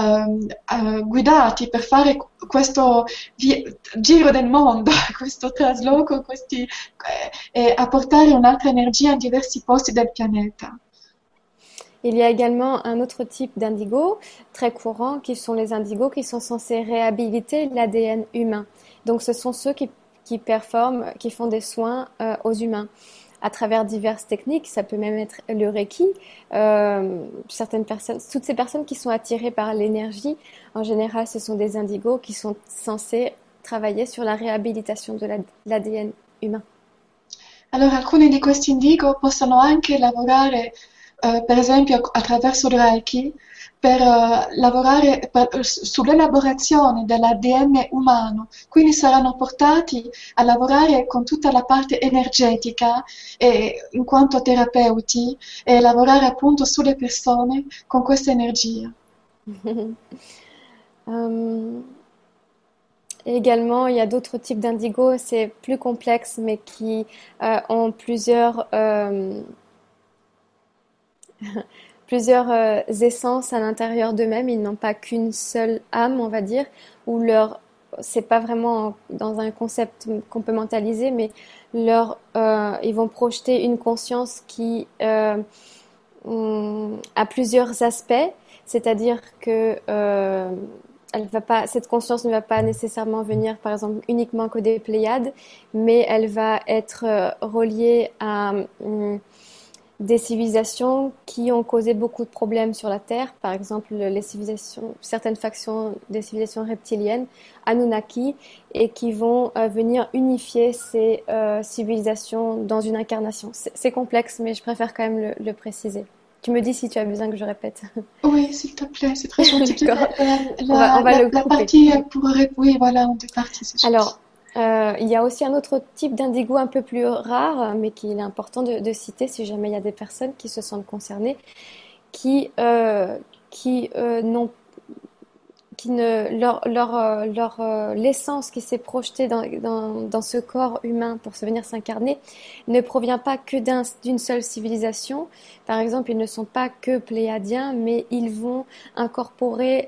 guidati per fare questo giro del mondo, questo trasloco, e a portare un'altra energia in diversi posti del pianeta. Il y a également un autre type d'indigo très courant qui sont les indigos qui sont censés réhabiliter l'ADN humain. Donc ce sont ceux qui performent, qui font des soins aux humains à travers diverses techniques. Ça peut même être le Reiki. Certaines personnes, toutes ces personnes qui sont attirées par l'énergie, en général ce sont des indigos qui sont censés travailler sur la réhabilitation de l'ADN humain. Allora alcuni di questi indigo possono anche lavorare per esempio attraverso il Reiki, per lavorare sull'elaborazione dell'ADN umano, quindi saranno portati a lavorare con tutta la parte energetica in quanto terapeuti e lavorare appunto sulle persone con questa energia. Également, il y a d'autres types d'indigo, c'est plus complexe, mais qui ont plusieurs essences à l'intérieur d'eux-mêmes. Ils n'ont pas qu'une seule âme, on va dire, ou leur c'est pas vraiment dans un concept qu'on peut mentaliser, mais ils vont projeter une conscience qui a plusieurs aspects, c'est-à-dire que cette conscience ne va pas nécessairement venir, par exemple, uniquement que des Pléiades, mais elle va être reliée à des civilisations qui ont causé beaucoup de problèmes sur la Terre, par exemple certaines factions des civilisations reptiliennes, Anunnaki, et qui vont venir unifier ces civilisations dans une incarnation. C'est complexe, mais je préfère quand même le préciser. Tu me dis si tu as besoin que je répète. Oui, s'il te plaît, c'est très gentil. D'accord. On va le La couper. partie oui, voilà, en deux parties, c'est gentil. Alors, il y a aussi un autre type d'indigo un peu plus rare, mais qu'il est important de citer si jamais il y a des personnes qui se sentent concernées, qui, euh, n'ont, qui ne, l'essence qui s'est projetée dans ce corps humain pour se venir s'incarner ne provient pas que d'une seule civilisation. Par exemple, ils ne sont pas que pléiadiens, mais ils vont incorporer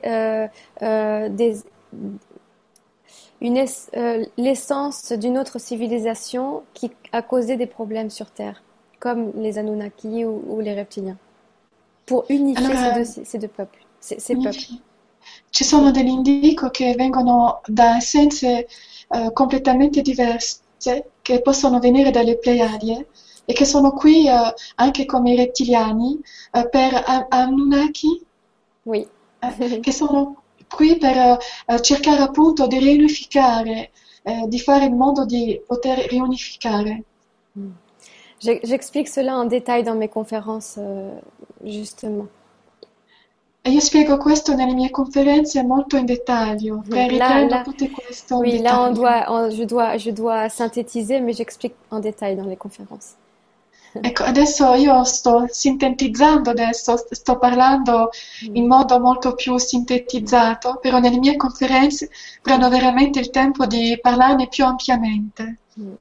l'essence d'une autre civilisation qui a causé des problèmes sur Terre, comme les Anunnaki ou les reptiliens, pour unifier Allora, ces deux peuples, ces peuples. unifi- ci sono degli indico che vengono da essenze completamente diverse, che possono venire dalle Pleiadi e che sono qui anche come i rettiliani per Anunnaki, Oui. che sono qui per cercare appunto di riunificare, di fare in modo di poter riunificare. J'explique cela en détail dans mes conférences, justement. E io spiego questo nelle mie conferenze molto in dettaglio, riprendo Là, tutto questo in oui, là, dettaglio. je dois synthétiser, mais j'explique en détail dans les conférences. Ecco, adesso io sto sintetizzando adesso, sto parlando in modo molto più sintetizzato, però nelle mie conferenze prendo veramente il tempo di parlarne più ampiamente.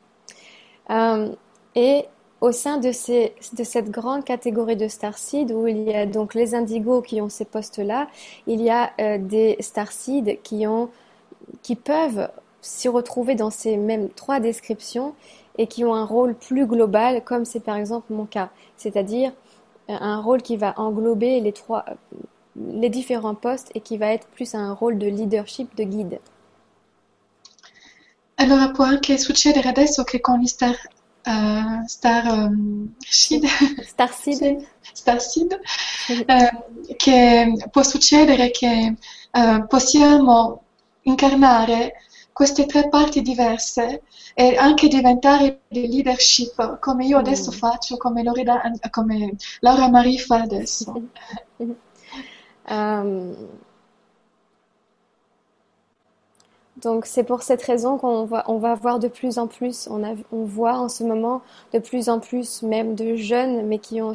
Et au sein de cette grande catégorie de starseeds, où il y a donc les indigos qui ont ces postes-là, il y a des starseeds qui peuvent s'y retrouver dans ces mêmes trois descriptions et qui ont un rôle plus global, comme c'est par exemple mon cas, c'est-à-dire un rôle qui va englober les différents postes et qui va être plus un rôle de leadership, de guide. Allora può anche succedere adesso che con gli Seed, Starseed. sì, Starseed, che può succedere che possiamo incarnare queste tre parti diverse e anche diventare di leadership, come io adesso faccio, come Laura Marie fa adesso. Donc c'est pour cette raison on va voir de plus en plus, on voit en ce moment de plus en plus même de jeunes, mais qui ont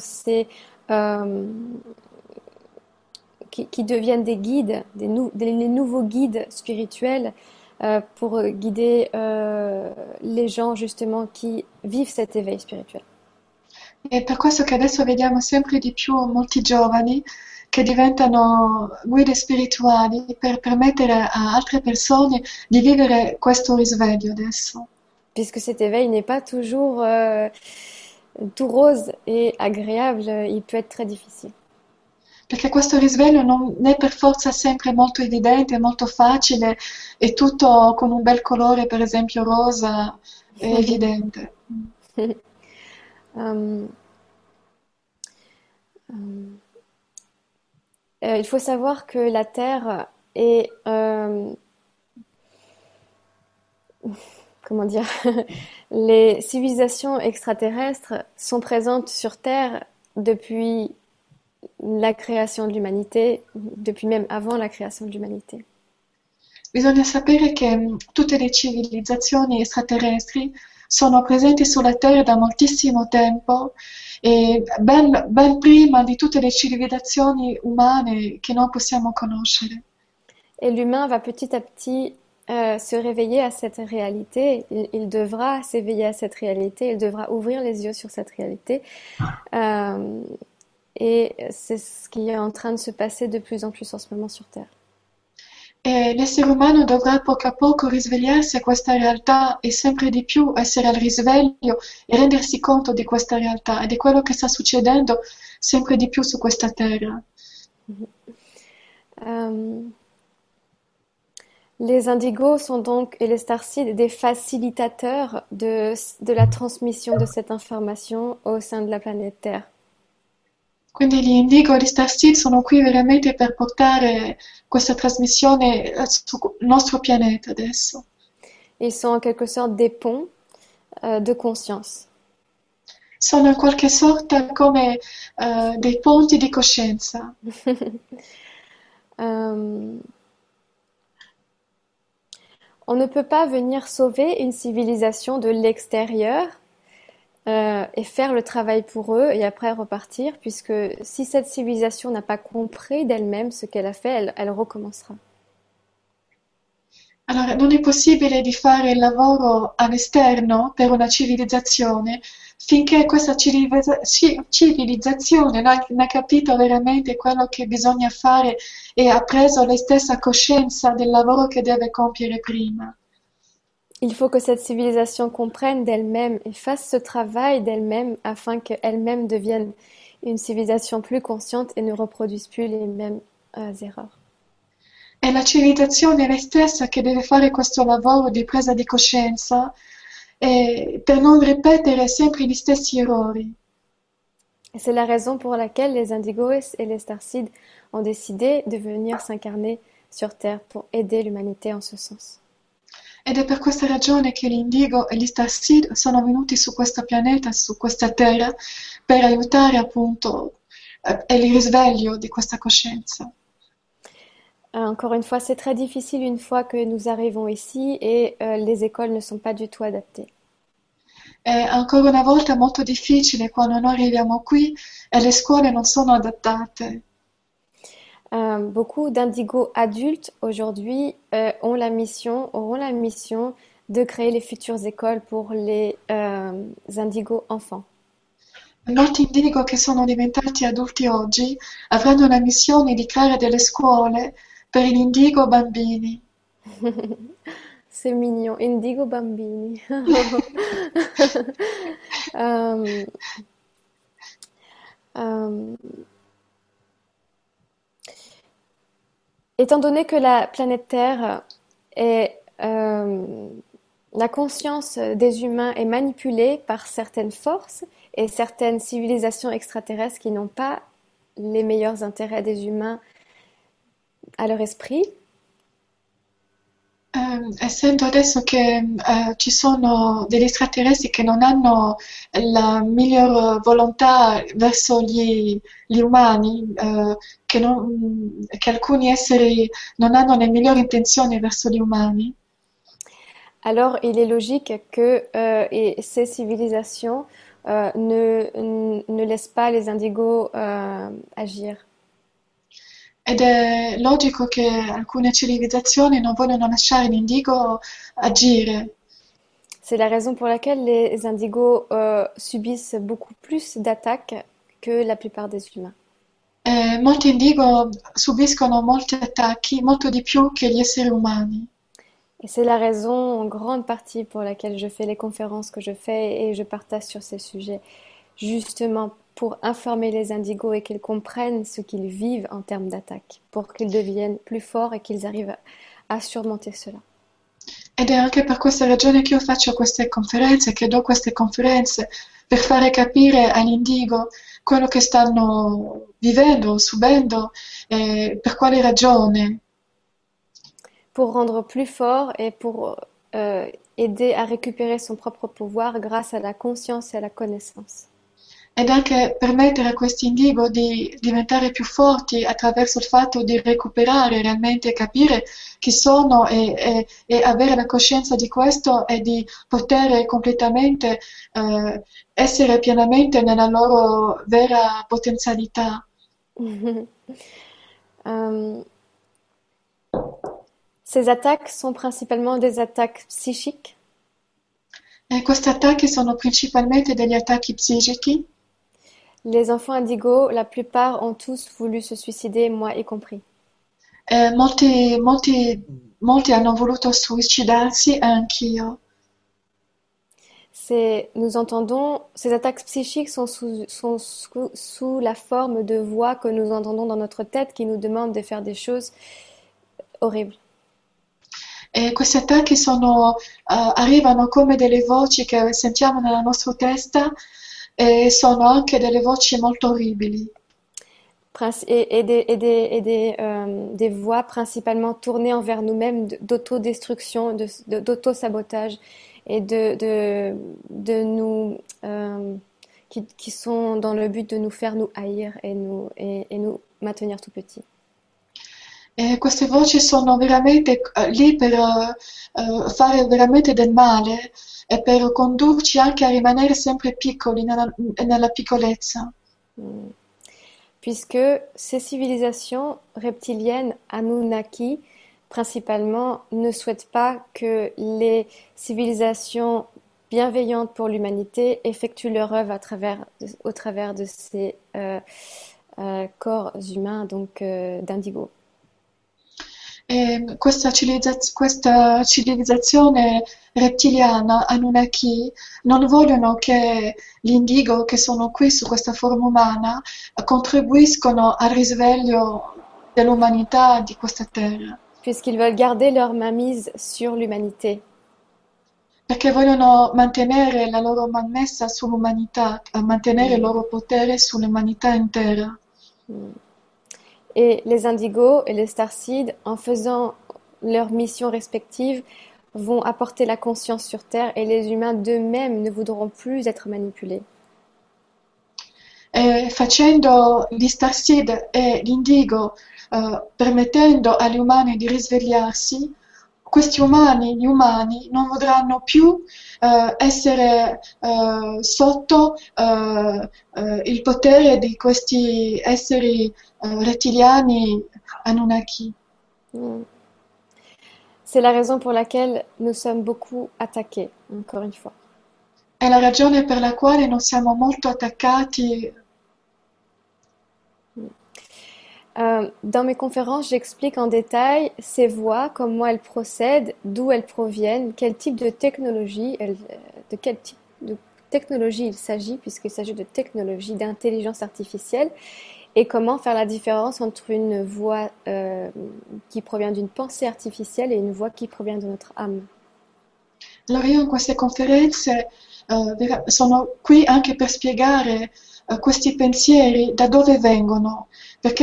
qui deviennent des guides, les nouveaux guides spirituels pour guider les gens justement qui vivent cet éveil spirituel. È per questo che adesso vediamo sempre di più molti giovani che diventano guide spirituali per permettere a altre persone di vivere questo risveglio adesso. Puisque cet éveil n'est pas toujours tout rose et agréable, il peut être très difficile. Perché questo risveglio non è per forza sempre molto evidente, molto facile e tutto con un bel colore, per esempio rosa, è evidente. Il faut savoir que la Terre est, comment dire, les civilisations extraterrestres sont présentes sur Terre depuis la création de l'humanité, depuis même avant la création de l'humanité. Bisogna sapere che tutte le civilizzazioni extraterrestri sono presenti sulla Terra da moltissimo tempo e ben prima di tutte le civilizzazioni umane che noi possiamo conoscere. Et l'humain va petit à petit se réveiller à cette réalité. Il devra s'éveiller à cette réalité. Il devra ouvrir les yeux sur cette réalité. Et c'est ce qui est en train de se passer de plus en plus en ce moment sur Terre. E l'essere umano dovrà poco a poco risvegliarsi a questa realtà e sempre di più essere al risveglio e rendersi conto di questa realtà ed è quello che sta succedendo sempre di più su questa terra. Euh, les indigos sont donc, et les starseeds, des facilitateurs de la transmission de cette information au sein de la planète Terre. Quindi gli Indigo e gli Starseed sono qui veramente per portare questa trasmissione sul nostro pianeta adesso. Ils sont en quelque sorte des ponts de conscience. Sono in qualche sorta come dei ponti di coscienza. On ne peut pas venir sauver une civilisation de l'extérieur et faire le travail pour eux et après repartir, puisque si cette civilisation n'a pas compris d'elle-même ce qu'elle a fait, elle recommencera. Allora, non è possibile di fare il lavoro all'esterno per una civilizzazione finché questa civilizzazione non ha capito veramente quello che bisogna fare e ha preso lei stessa coscienza del lavoro che deve compiere prima. Il faut que cette civilisation comprenne d'elle-même et fasse ce travail d'elle-même afin qu'elle-même devienne une civilisation plus consciente et ne reproduise plus les mêmes erreurs. È la civilizzazione lei stessa che deve fare questo lavoro di presa di coscienza per non ripetere sempre gli stessi errori. Et c'est la raison pour laquelle les indigos et les starseeds ont décidé de venir s'incarner sur Terre pour aider l'humanité en ce sens. Ed è per questa ragione che gli Indigo e gli Starseed sono venuti su questo pianeta, su questa terra, per aiutare appunto il risveglio di questa coscienza. Encore une fois, c'est très difficile une fois que nous arrivons ici et les écoles ne sont pas du tout adaptées. È ancora una volta molto difficile quando noi arriviamo qui e le scuole non sono adattate. Beaucoup d'indigos adultes aujourd'hui auront la mission de créer les futures écoles pour les indigos enfants. Molti indigo che sono diventati adulti oggi avranno la missione di creare delle scuole per gli indigo bambini. C'est mignon, indigo bambini. Étant donné que la planète Terre est la conscience des humains est manipulée par certaines forces et certaines civilisations extraterrestres qui n'ont pas les meilleurs intérêts des humains à leur esprit. Essendo adesso che ci sono degli extraterrestri che non hanno la miglior volontà verso gli umani, che alcuni esseri non hanno le migliori intenzioni verso gli umani, alors il est logique que ces civilisations ne laissent pas les indigos agir. ed è logico che alcune civilizzazioni non vogliono lasciare l'indigo agire. C'est la raison pour laquelle les indigos subissent beaucoup plus d'attaques que la plupart des humains. Molti indigo subiscono molti attacchi, molto di più che gli esseri umani. Et c'est la raison en grande partie pour laquelle je fais les conférences que je fais et je partage sur ces sujets, justement pour informer les indigos et qu'ils comprennent ce qu'ils vivent en termes d'attaque, pour qu'ils deviennent plus forts et qu'ils arrivent à surmonter cela. Ed è anche per questa ragione che io faccio queste conferenze, che do queste conferenze, per fare capire agli indigo quello che stanno vivendo, subendo, per quale ragione. Pour rendre plus fort et pour aider à récupérer son propre pouvoir grâce à la conscience et à la connaissance. Ed anche permettere a questi indigo di diventare più forti attraverso il fatto di recuperare realmente, capire chi sono e avere la coscienza di questo e di poter completamente essere pienamente nella loro vera potenzialità. Ces attaques sont principalement des attaques psychiques. E questi attacchi sono principalmente degli attacchi psichici. Les enfants indigos, la plupart ont tous voulu se suicider, moi y compris. Molti hanno voluto suicidarsi e anch'io. Nous entendons, ces attaques psychiques sont sous la forme de voix que nous entendons dans notre tête qui nous demandent de faire des choses horribles. E questi attacchi arrivano come delle voci che sentiamo nella nostra testa e sono anche delle voci molto orribili. Des voix principalement tournées envers nous-mêmes d'autodestruction, d'auto-sabotage et de nous qui sont dans le but de nous faire nous haïr et nous maintenir tout petits. E queste voci sono veramente lì per fare veramente del male e per condurci anche a rimanere sempre piccoli nella piccolezza. Puisque ces civilisations reptiliennes Anunnaki, principalement, ne souhaitent pas que les civilisations bienveillantes pour l'humanité effectuent leur œuvre au travers de ces corps humains, donc d'indigo. E questa civilizzazione rettiliana, Anunnaki, non vogliono che gli indigo che sono qui su questa forma umana contribuiscono al risveglio dell'umanità di questa terra. Puisqu'ils veulent garder leur mainmise sur l'humanité. Perché vogliono mantenere la loro mainmessa sull'umanità, mantenere il loro potere sull'umanità intera. Et les indigos et les starseeds, en faisant leurs missions respectives, vont apporter la conscience sur Terre et les humains d'eux-mêmes ne voudront plus être manipulés. E facendo gli starseed e l'indigo, permettendo agli umani di risvegliarsi, questi umani, gli umani, non vorranno più essere sotto il potere di questi esseri rettiliani Anunnaki. C'est la raison pour laquelle nous sommes beaucoup attaqués, encore une fois. È la ragione per la quale non siamo molto attaccati. Dans mes conférences, j'explique en détail ces voix, comment elles procèdent, d'où elles proviennent, quel type de technologie, de quel type de technologie il s'agit, puisqu'il s'agit de technologie d'intelligence artificielle, et comment faire la différence entre une voix qui provient d'une pensée artificielle et une voix qui provient de notre âme. Allora io in queste conferenze sono qui anche per spiegare questi pensieri da dove vengono, perché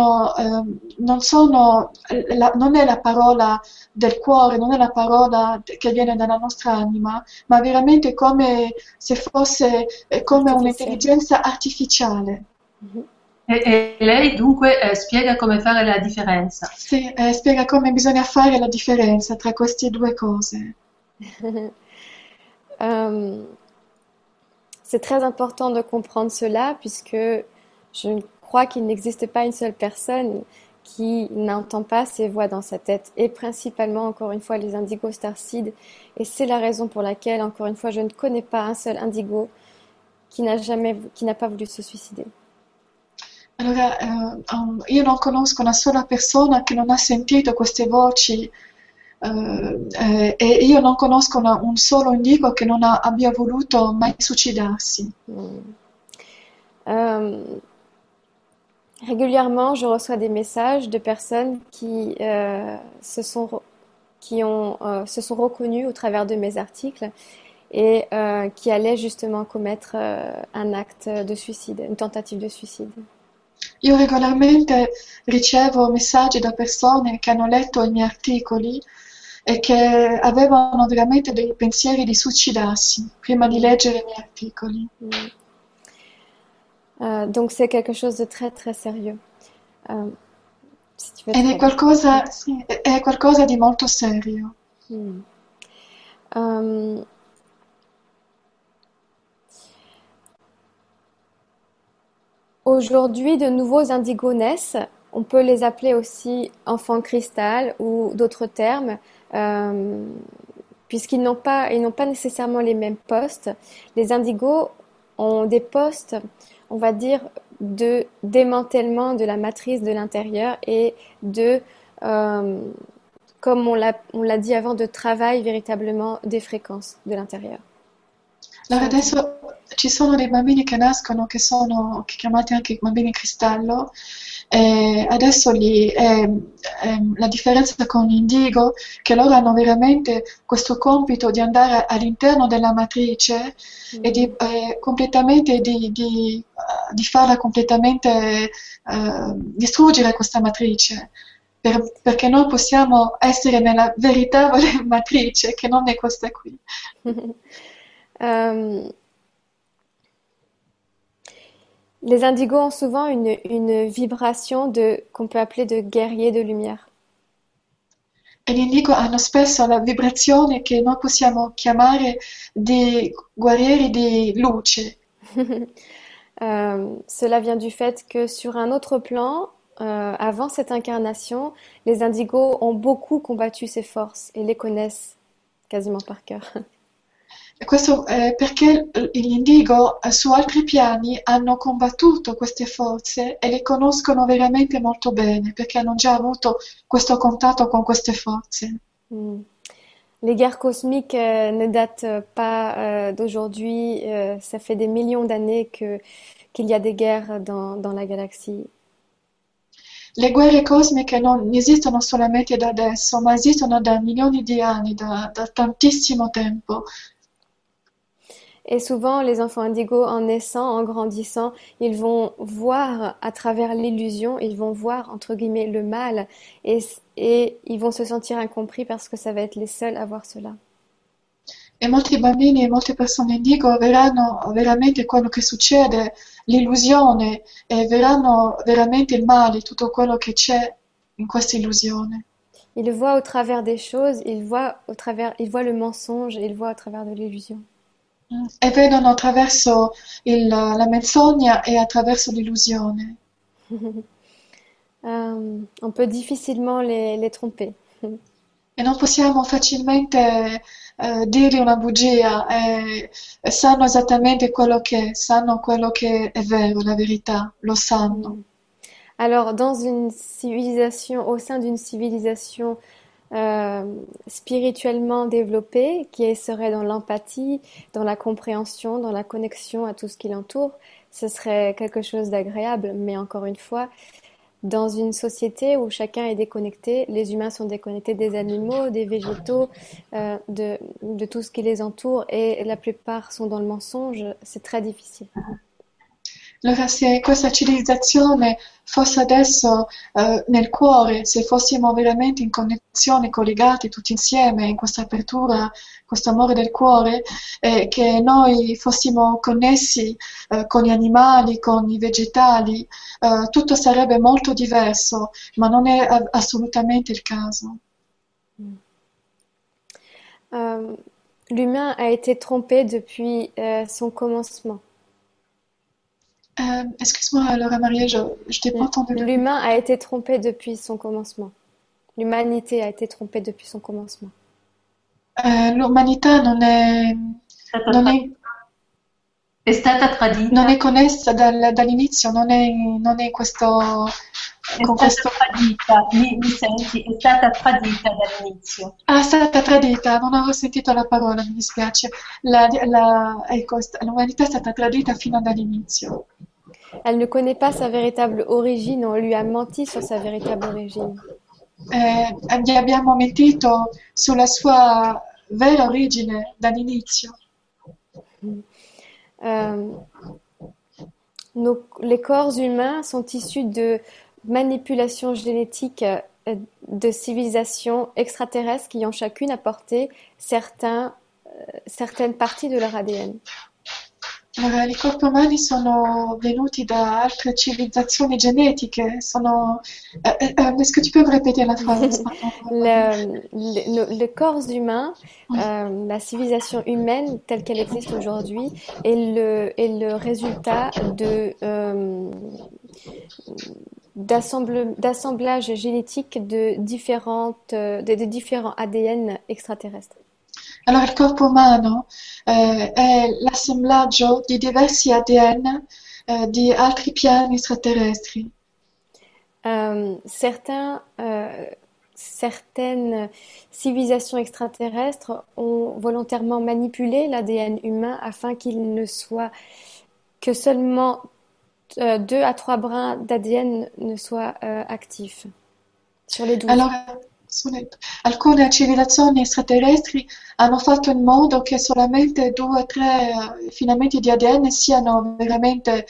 non è la parola del cuore, non è la parola che viene dalla nostra anima, ma veramente come se fosse come un'intelligenza artificiale. E lei dunque spiega come fare la differenza. Sì, spiega come bisogna fare la differenza tra queste due cose. C'est très important de comprendre cela puisque je crois qu'il n'existe pas une seule personne qui n'entend pas ces voix dans sa tête et principalement encore une fois les indigos starseed et c'est la raison pour laquelle encore une fois je ne connais pas un seul indigo qui n'a pas voulu se suicider. Allora, io non conosco una sola persona che non ha sentito queste voci e io non conosco un solo indigo che non abbia voluto mai suicidarsi. Régulièrement, je reçois des messages de personnes qui se sont reconnues au travers de mes articles et qui allaient justement commettre un acte de suicide, une tentative de suicide. Io regolarmente ricevo messaggi da persone che hanno letto i miei articoli e che avevano veramente dei pensieri di suicidarsi prima di leggere i miei articoli. Donc c'est quelque chose de très très sérieux. Si tu veux Ed è qualcosa di molto serio. Aujourd'hui, de nouveaux indigos naissent. On peut les appeler aussi enfants cristal ou d'autres termes, puisqu'ils n'ont pas nécessairement les mêmes postes. Les indigos ont des postes, on va dire, de démantèlement de la matrice de l'intérieur et de euh, comme on l'a dit avant, de travail véritablement des fréquences de l'intérieur sur Allora la Terre. adesso ci sono dei bambini che nascono che sono chiamati anche bambini cristallo e adesso la differenza con l'indigo che loro hanno veramente questo compito di andare all'interno della matrice e di Mm. completamente di farla completamente distruggere questa matrice perché noi possiamo essere nella veritabile matrice che non è questa qui. Euh, les indigos ont souvent une vibration qu'on peut appeler de guerrier de lumière. E gli indigo hanno spesso la vibrazione che noi possiamo chiamare di guerrieri di luce. Cela vient du fait que sur un autre plan, avant cette incarnation, les indigos ont beaucoup combattu ces forces et les connaissent quasiment par cœur. E questo è perché gli indigo su altri piani hanno combattuto queste forze e le conoscono veramente molto bene, perché hanno già avuto questo contatto con queste forze. Hmm. Les guerres cosmiques ne datent pas d'aujourd'hui. Ça fait des millions d'années qu'il y a des guerres dans la galaxie. Le guerre cosmiche non esistono solamente da adesso, ma esistono da milioni di anni, da tantissimo tempo. Et souvent, les enfants indigos, en naissant, en grandissant, ils vont voir à travers l'illusion, ils vont voir, entre guillemets, le mal, et ils vont se sentir incompris parce que ça va être les seuls à voir cela. E molti bambini e molte persone indigo verranno veramente quello che succede, l'illusione, e verranno veramente il male, tutto quello che c'è in questa illusione. Ils voient au travers des choses, ils voient le mensonge, et ils voient au travers de l'illusion. E vedono attraverso la menzogna e attraverso l'illusione. On peut difficilement les tromper. E non possiamo facilmente dirgli una bugia, sanno esattamente quello che è, sanno quello che è vero, la verità, lo sanno. Alors, dans une civilisation, au sein d'une civilisation spirituellement développée, qui serait dans l'empathie, dans la compréhension, dans la connexion à tout ce qui l'entoure, ce serait quelque chose d'agréable. Mais encore une fois, dans une société où chacun est déconnecté, les humains sont déconnectés des animaux, des végétaux, de tout ce qui les entoure, et la plupart sont dans le mensonge, c'est très difficile. Allora, se questa civilizzazione fosse adesso nel cuore, se fossimo veramente in connessione, collegati tutti insieme in questa apertura, questo amore del cuore, che noi fossimo connessi con gli animali, con i vegetali, tutto sarebbe molto diverso, ma non è assolutamente il caso. L'humain a été trompé depuis son commencement. Excuse-moi, Laura Maria, je t'ai pas entendu. L'humain a été trompé depuis son commencement. L'humanité a été trompée depuis son commencement. L'umanità È stata tradita. non è connessa dall'inizio, non è questo... È stata tradita, mi senti? È stata tradita dall'inizio. Ah, è stata tradita, non avevo sentito la parola, mi dispiace. Ecco, l'umanità è stata tradita fino dall'inizio. Elle ne connaît pas sa véritable origine, on lui a menti sur sa véritable origine. Gli abbiamo mentito sulla sua vera origine dall'inizio. Les corps humains sont issus de manipulations génétiques de civilisations extraterrestres qui ont chacune apporté certaines parties de leur ADN. Allora, i corpi umani sono venuti da altre civilizzazioni genetiche, est-ce que tu peux me répéter la phrase? Le corps humain, la civilisation humaine telle qu'elle existe aujourd'hui, est le résultat d'assemblage génétique de différents ADN extraterrestres. Allora, il corpo umano è l'assemblaggio di diversi ADN di altri piani extraterrestri. Certains certaines civilisations extraterrestres ont volontairement manipulé l'ADN humain afin qu'il ne soit que seulement 2 à 3 brins d'ADN ne soient actifs sur les 12. Allora, alcune civilizzazioni extraterrestri hanno fatto in modo che solamente 2 o 3 filamenti di ADN siano veramente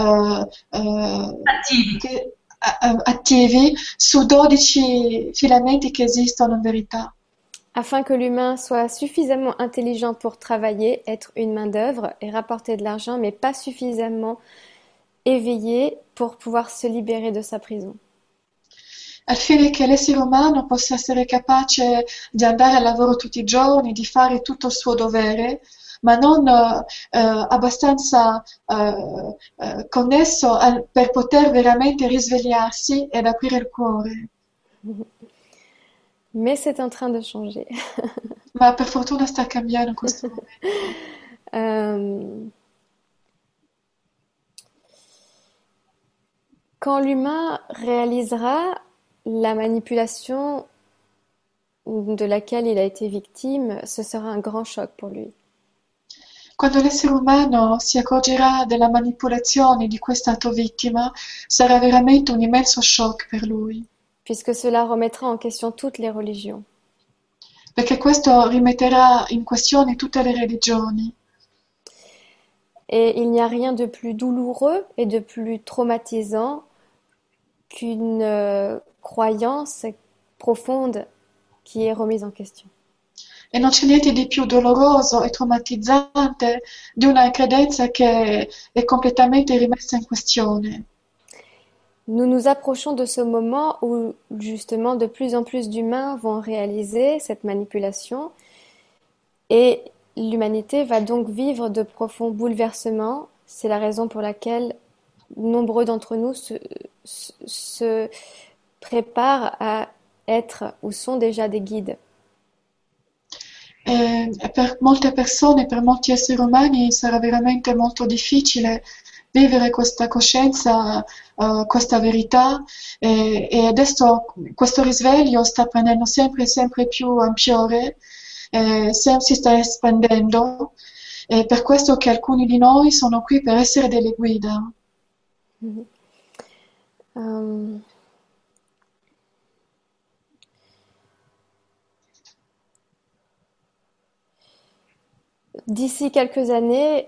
Attivi. attivi su 12 filamenti che esistono in verità. Afin que l'humain soit suffisamment intelligent pour travailler, être une main-d'œuvre et rapporter de l'argent, mais pas suffisamment éveillé pour pouvoir se libérer de sa prison. Al fine che l'essere umano possa essere capace di andare al lavoro tutti i giorni, di fare tutto il suo dovere, ma non abbastanza connesso per poter veramente risvegliarsi ed aprire il cuore. Mais c'est en train de changer. Ma per fortuna sta cambiando in questo momento. Quand l'humain réalisera la manipulation de laquelle il a été victime, ce sera un grand choc pour lui. Quando l'essere umano si accorgerà della manipolazione di cui è stato vittima, sarà veramente un immenso shock per lui, Puisque cela remettra en question toutes les religions. perché questo rimetterà in questione tutte le religioni. Et il n'y a rien de plus douloureux et de plus traumatisant qu'une croyance profonde qui est remise en question. E non c'è niente di più doloroso e traumatizzante di una credenza che è completamente rimessa in questione. Nous nous approchons de ce moment où justement de plus en plus d'humains vont réaliser cette manipulation et l'humanité va donc vivre de profonds bouleversements. C'est la raison pour laquelle nombreux d'entre nous se préparent à être ou sont déjà des guides. E per molte persone, per molti esseri umani sarà veramente molto difficile vivere questa coscienza, questa verità e adesso questo risveglio sta prendendo sempre più ampiore, si sta espandendo. È per questo che alcuni di noi sono qui per essere delle guida. Euh, D'ici quelques années,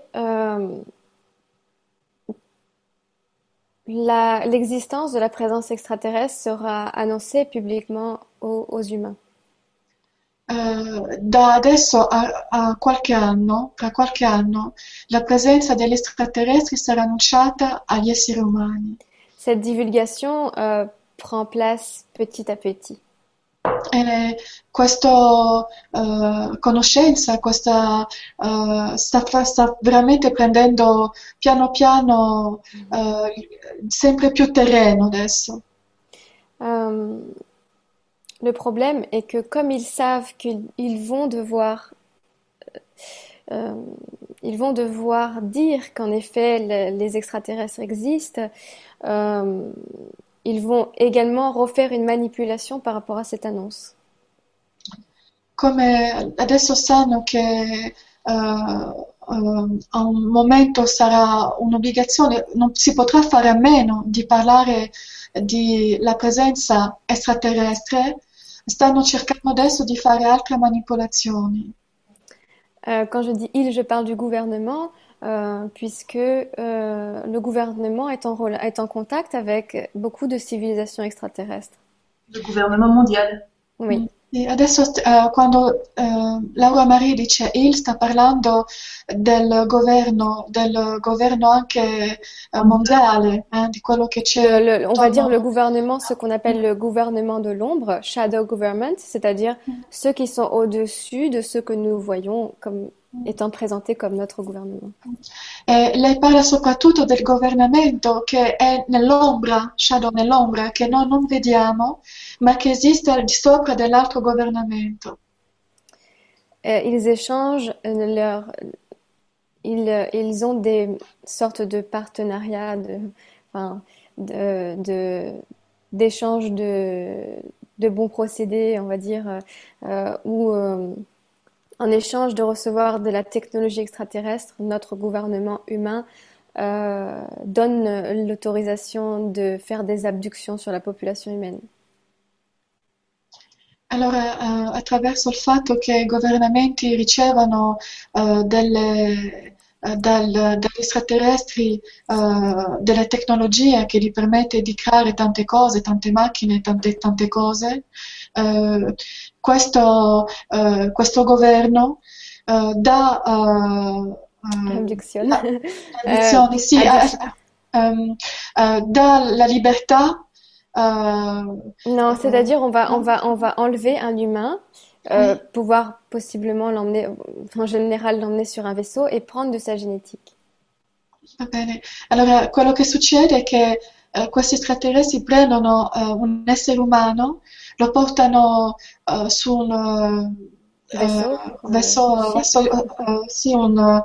l'existence de la présence extraterrestre sera annoncée publiquement aux humains. Da adesso a qualche anno, tra qualche anno, la presenza degli extraterrestri sarà annunciata agli esseri umani. Cette divulgation prend place petit à petit. Questa conoscenza, sta veramente prendendo piano piano sempre più terreno adesso. Le problème est que comme ils savent qu'ils vont devoir dire qu'en effet les extraterrestres existent, ils vont également refaire une manipulation par rapport à cette annonce. Come adesso sanno che a un momento sarà un'obbligazione, non si potrà fare a meno di parlare della presenza extraterrestre, stanno cercando adesso di fare altre manipolazioni. Quand je dis ils, je parle du gouvernement, puisque le gouvernement est en contact avec beaucoup de civilisations extraterrestres. Le gouvernement mondial. Oui. E adesso quando Laura Marie dice il, sta parlando del governo anche mondiale, di quello che c'è. On va dire le gouvernement, ce qu'on appelle le gouvernement de l'ombre, shadow government, c'est-à-dire ceux qui sont au-dessus de ceux que nous voyons comme étant présentés comme notre gouvernement. Lei parla soprattutto del governamento che è nell'ombra, shadow nell'ombra, che noi non vediamo, ma che esiste al di sopra dell'altro governamento. Ils échangent ils ont des sortes de partenariats, d'échange de bons procédés, on va dire, où en échange de recevoir de la technologie extraterrestre, notre gouvernement humain donne l'autorisation de faire des abductions sur la population humaine. Allora, attraverso il fatto che i governamenti ricevono dagli extraterrestri delle tecnologie che gli permette di creare tante cose, tante macchine, tante cose, eh, questo governo dà Abduction. addizioni, sì, dà la libertà. Non, c'est-à-dire on va enlever un humain, Oui, pouvoir possiblement l'emmener, en général l'emmener sur un vaisseau et prendre de sa génétique. va bene. Allora, quello che succede è che questi extraterrestri prendono un essere umano, lo portano su un Vaisseau, ship. sì, un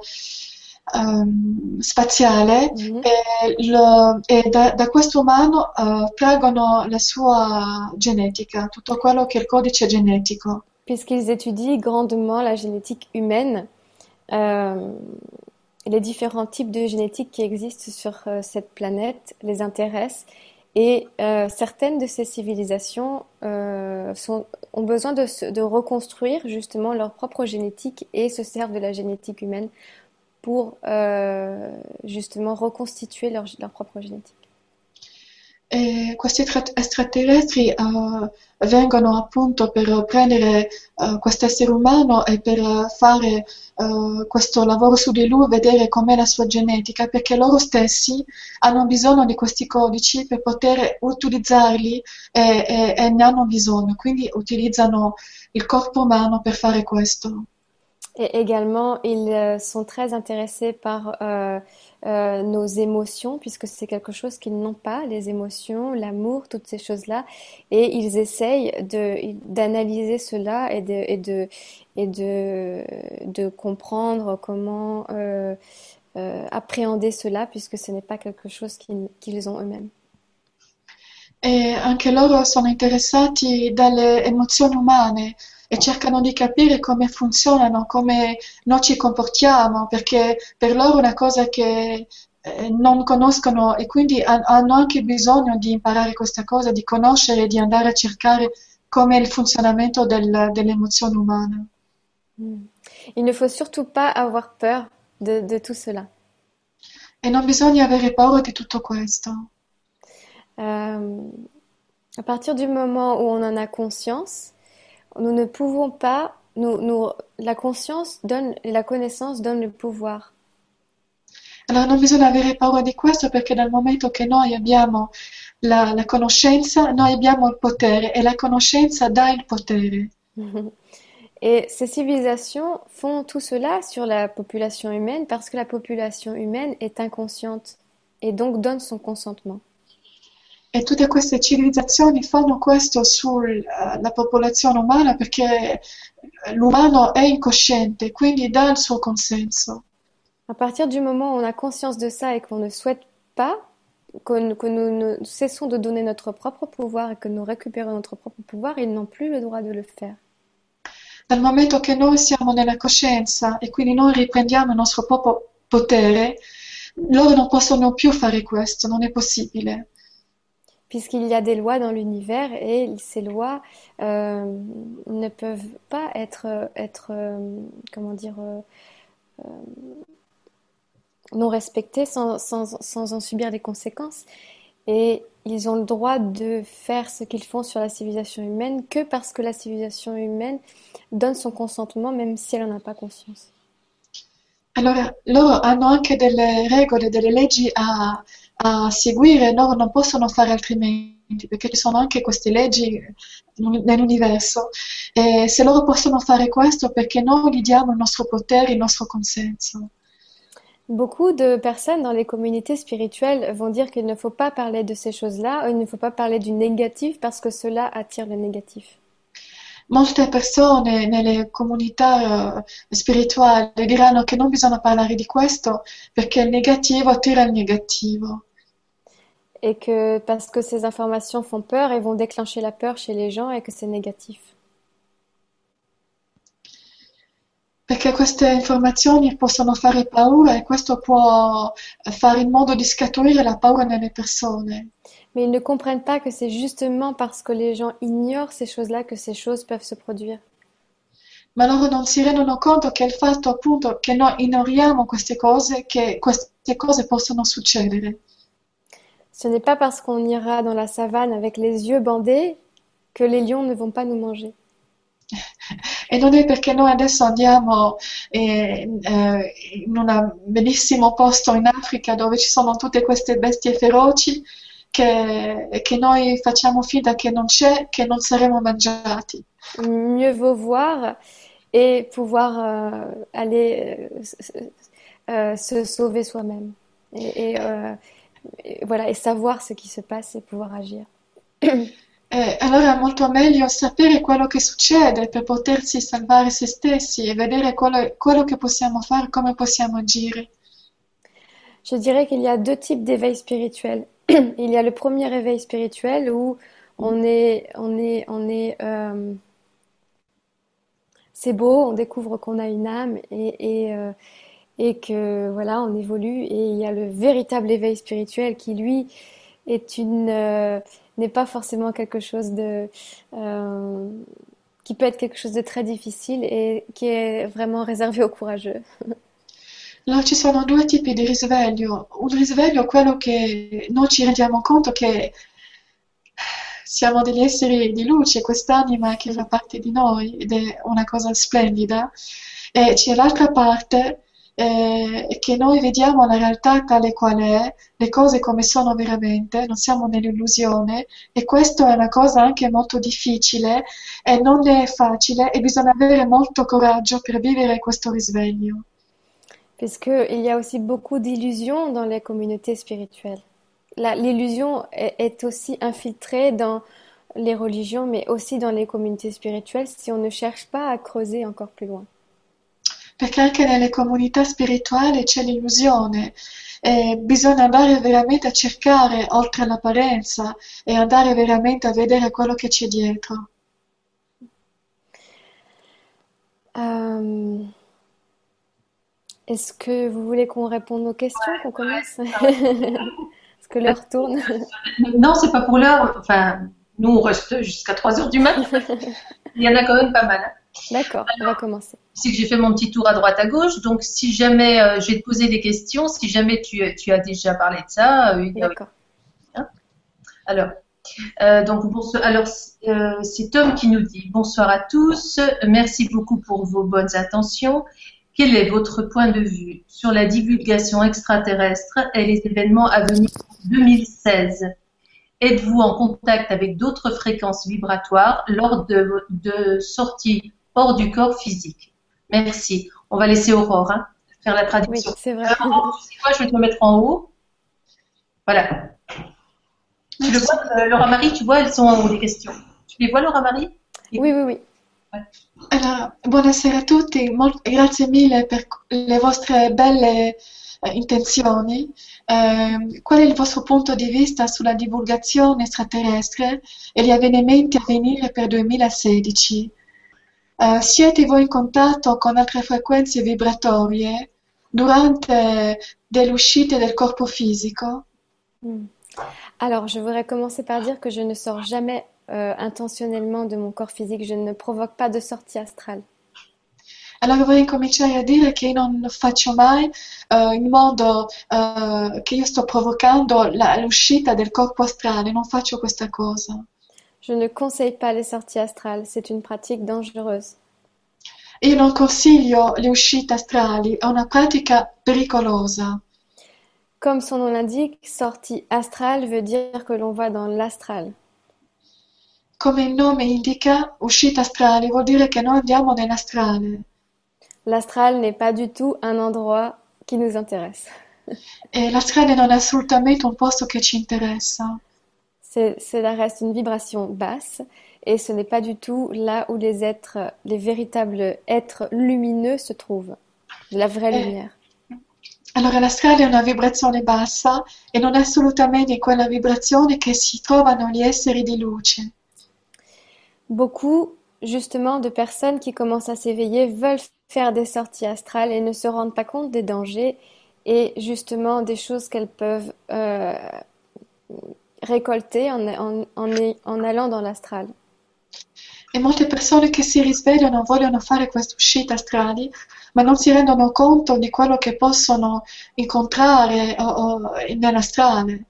spaziale Mhm. e da questo umano traggono la sua genetica, tutto quello che è il codice genetico. Puisqu'ils étudient grandement la génétique humaine, euh, les différents types de génétique qui existent sur cette planète les intéressent et certaines de ces civilisations ont besoin de reconstruire justement leur propre génétique et se servent de la génétique humaine pour justement reconstituer leur propre génétique. E questi extraterrestri vengono appunto per prendere questo essere umano e per fare questo lavoro su di lui, vedere com'è la sua genetica, perché loro stessi hanno bisogno di questi codici per poter utilizzarli e ne hanno bisogno, quindi utilizzano il corpo umano per fare questo. Et également, ils sont très intéressés par nos émotions, puisque c'est quelque chose qu'ils n'ont pas, les émotions, l'amour, toutes ces choses-là. Et ils essayent d'analyser cela et de comprendre comment appréhender cela, puisque ce n'est pas quelque chose qu'ils ont eux-mêmes. E anche loro sono interessati dalle emozioni umane e cercano di capire come funzionano, come noi ci comportiamo, perché per loro è una cosa che non conoscono e quindi hanno anche bisogno di imparare questa cosa, di conoscere, di andare a cercare come è il funzionamento dell'emozione umana. Mm. Il ne faut surtout pas avoir peur de tout cela. E non bisogna avere paura di tutto questo. Euh, à partir du moment où on en a conscience, nous ne pouvons pas, la conscience donne, et la connaissance donne le pouvoir. Allora non bisogna avere paura di questo perché dal momento che noi abbiamo la conoscenza, noi abbiamo il potere e la conoscenza dà il potere. Et ces civilisations font tout cela sur la population humaine parce que la population humaine est inconsciente et donc donne son consentement. E tutte queste civilizzazioni fanno questo sulla popolazione umana perché l'umano è incosciente, quindi dà il suo consenso. À partir du moment où on a conscience de ça et qu'on ne souhaite pas, que nous ne cessons de donner notre propre pouvoir et que nous récupérons notre propre pouvoir, ils n'ont plus le droit de le faire. Dal momento che noi siamo nella coscienza e quindi noi riprendiamo il nostro proprio potere, loro non possono più fare questo, non è possibile. Puisqu'il y a des lois dans l'univers et ces lois ne peuvent pas être comment dire, non respectées sans en subir les conséquences. Et ils ont le droit de faire ce qu'ils font sur la civilisation humaine que parce que la civilisation humaine donne son consentement même si elle n'en a pas conscience. Allora, loro hanno anche delle regole, delle leggi a seguire, loro non possono fare altrimenti, perché ci sono anche queste leggi nell'universo. E se loro possono fare questo, perché noi gli diamo il nostro potere, il nostro consenso. Beaucoup de personnes dans les communautés spirituelles vont dire qu'il ne faut pas parler de ces choses-là, il ne faut pas parler du négatif parce que cela attire le négatif. Molte persone nelle comunità spirituali diranno che non bisogna parlare di questo perché il negativo attira il negativo. et que parce que ces informations font peur et vont déclencher la peur chez les gens et que c'est négatif. Perché queste informazioni possono fare paura e questo può fare in modo di scaturire la paura nelle persone. Mais ils ne comprennent pas que c'est justement parce que les gens ignorent ces choses-là que ces choses peuvent se produire. Ma loro non si rendono conto che il fatto appunto che noi ignoriamo queste cose, che queste cose possono succedere. Ce n'est pas parce qu'on ira dans la savane avec les yeux bandés que les lions ne vont pas nous manger. E non è perché noi adesso andiamo in un bellissimo posto in Africa dove ci sono tutte queste bestie feroci che noi facciamo finta che non c'è, che non saremo mangiati. Mieux vaut voir et pouvoir aller se sauver soi-même. Et voilà, et savoir ce qui se passe et pouvoir agir. Allora è molto meglio sapere quello che succede per potersi salvare se stessi e vedere quello che possiamo fare, come possiamo agire. Je dirais qu'il y a deux types d'éveil spirituel. Il y a le premier éveil spirituel où c'est beau, on découvre qu'on a une âme et que voilà, on évolue. Et il y a le véritable éveil spirituel qui lui n'est pas forcément quelque chose qui peut être quelque chose de très difficile et qui est vraiment réservé aux courageux. Allora ci sono due tipi di risveglio. Un risveglio è quello che noi ci rendiamo conto che siamo degli esseri di luce, quest'anima che fa parte di noi ed è una cosa splendida. E c'è l'altra parte che noi vediamo la realtà tale qual è, le cose come sono veramente, non siamo nell'illusione e questo è una cosa anche molto difficile e non è facile e bisogna avere molto coraggio per vivere questo risveglio. Puisqu'il y a aussi beaucoup d'illusions dans les communautés spirituelles. L'illusion est aussi infiltrée dans les religions, mais aussi dans les communautés spirituelles si on ne cherche pas à creuser encore plus loin. Perché anche nelle comunità spirituali c'è l'illusione e bisogna andare veramente a cercare oltre l'apparenza e andare veramente a vedere quello che c'è dietro. Est-ce que vous voulez qu'on réponde aux questions, qu'on commence? Parce que l'heure tourne. Non, c'est pas pour l'heure. Enfin, nous, on reste jusqu'à 3 heures du matin. Il y en a quand même pas mal. D'accord, on va commencer. C'est que j'ai fait mon petit tour à droite à gauche. Donc, si jamais je vais te poser des questions, si jamais tu as déjà parlé de ça. D'accord. Alors, c'est Tom qui nous dit bonsoir à tous. Merci beaucoup pour vos bonnes intentions. Quel est votre point de vue sur la divulgation extraterrestre et les événements à venir en 2016? Êtes-vous en contact avec d'autres fréquences vibratoires lors de sorties hors du corps physique? Merci. On va laisser Aurore faire la traduction. Oui, c'est vrai. Alors, tu sais quoi, je vais te mettre en haut. Voilà. Tu le vois, Laura Marie, tu vois, elles sont en haut les questions. Tu les vois, Laura Marie? Oui. Allora, buonasera a tutti, grazie mille per le vostre belle intenzioni. Qual è il vostro punto di vista sulla divulgazione extraterrestre e gli avvenimenti a venire per 2016? Siete voi in contatto con altre frequenze vibratorie durante delle uscite del corpo fisico? Alors, je voudrais commencer par dire que je ne sors jamais intentionnellement de mon corps physique, je ne provoque pas de sortie astrale. Allora vorrei cominciare a dire che io non faccio mai in modo che io sto provocando l'uscita del corpo astrale, non faccio questa cosa. Je ne conseille pas les sorties astrales, c'est une pratique dangereuse. Io non consiglio le uscite astrali, è una pratica pericolosa. Comme son nom l'indique, sortie astrale veut dire que l'on va dans l'astral. Come il nome indica, uscite astrali vuol dire che noi andiamo nell'astrale. L'astral n'est pas du tout un endroit qui nous intéresse. E l'astrale non è assolutamente un posto che ci interessa. Cela reste une vibration basse et ce n'est pas du tout là où les véritables êtres lumineux se trouvent, la vraie lumière. Allora l'astrale è una vibrazione bassa e non è assolutamente quella vibrazione che si trovano gli esseri di luce. Beaucoup, justement, de personnes qui commencent à s'éveiller veulent faire des sorties astrales et ne se rendent pas compte des dangers et justement des choses qu'elles peuvent récolter en allant dans l'astral. E molte persone che si risvegliano vogliono fare queste uscite astrali, ma non si rendono conto di quello che possono incontrare nell'astrale.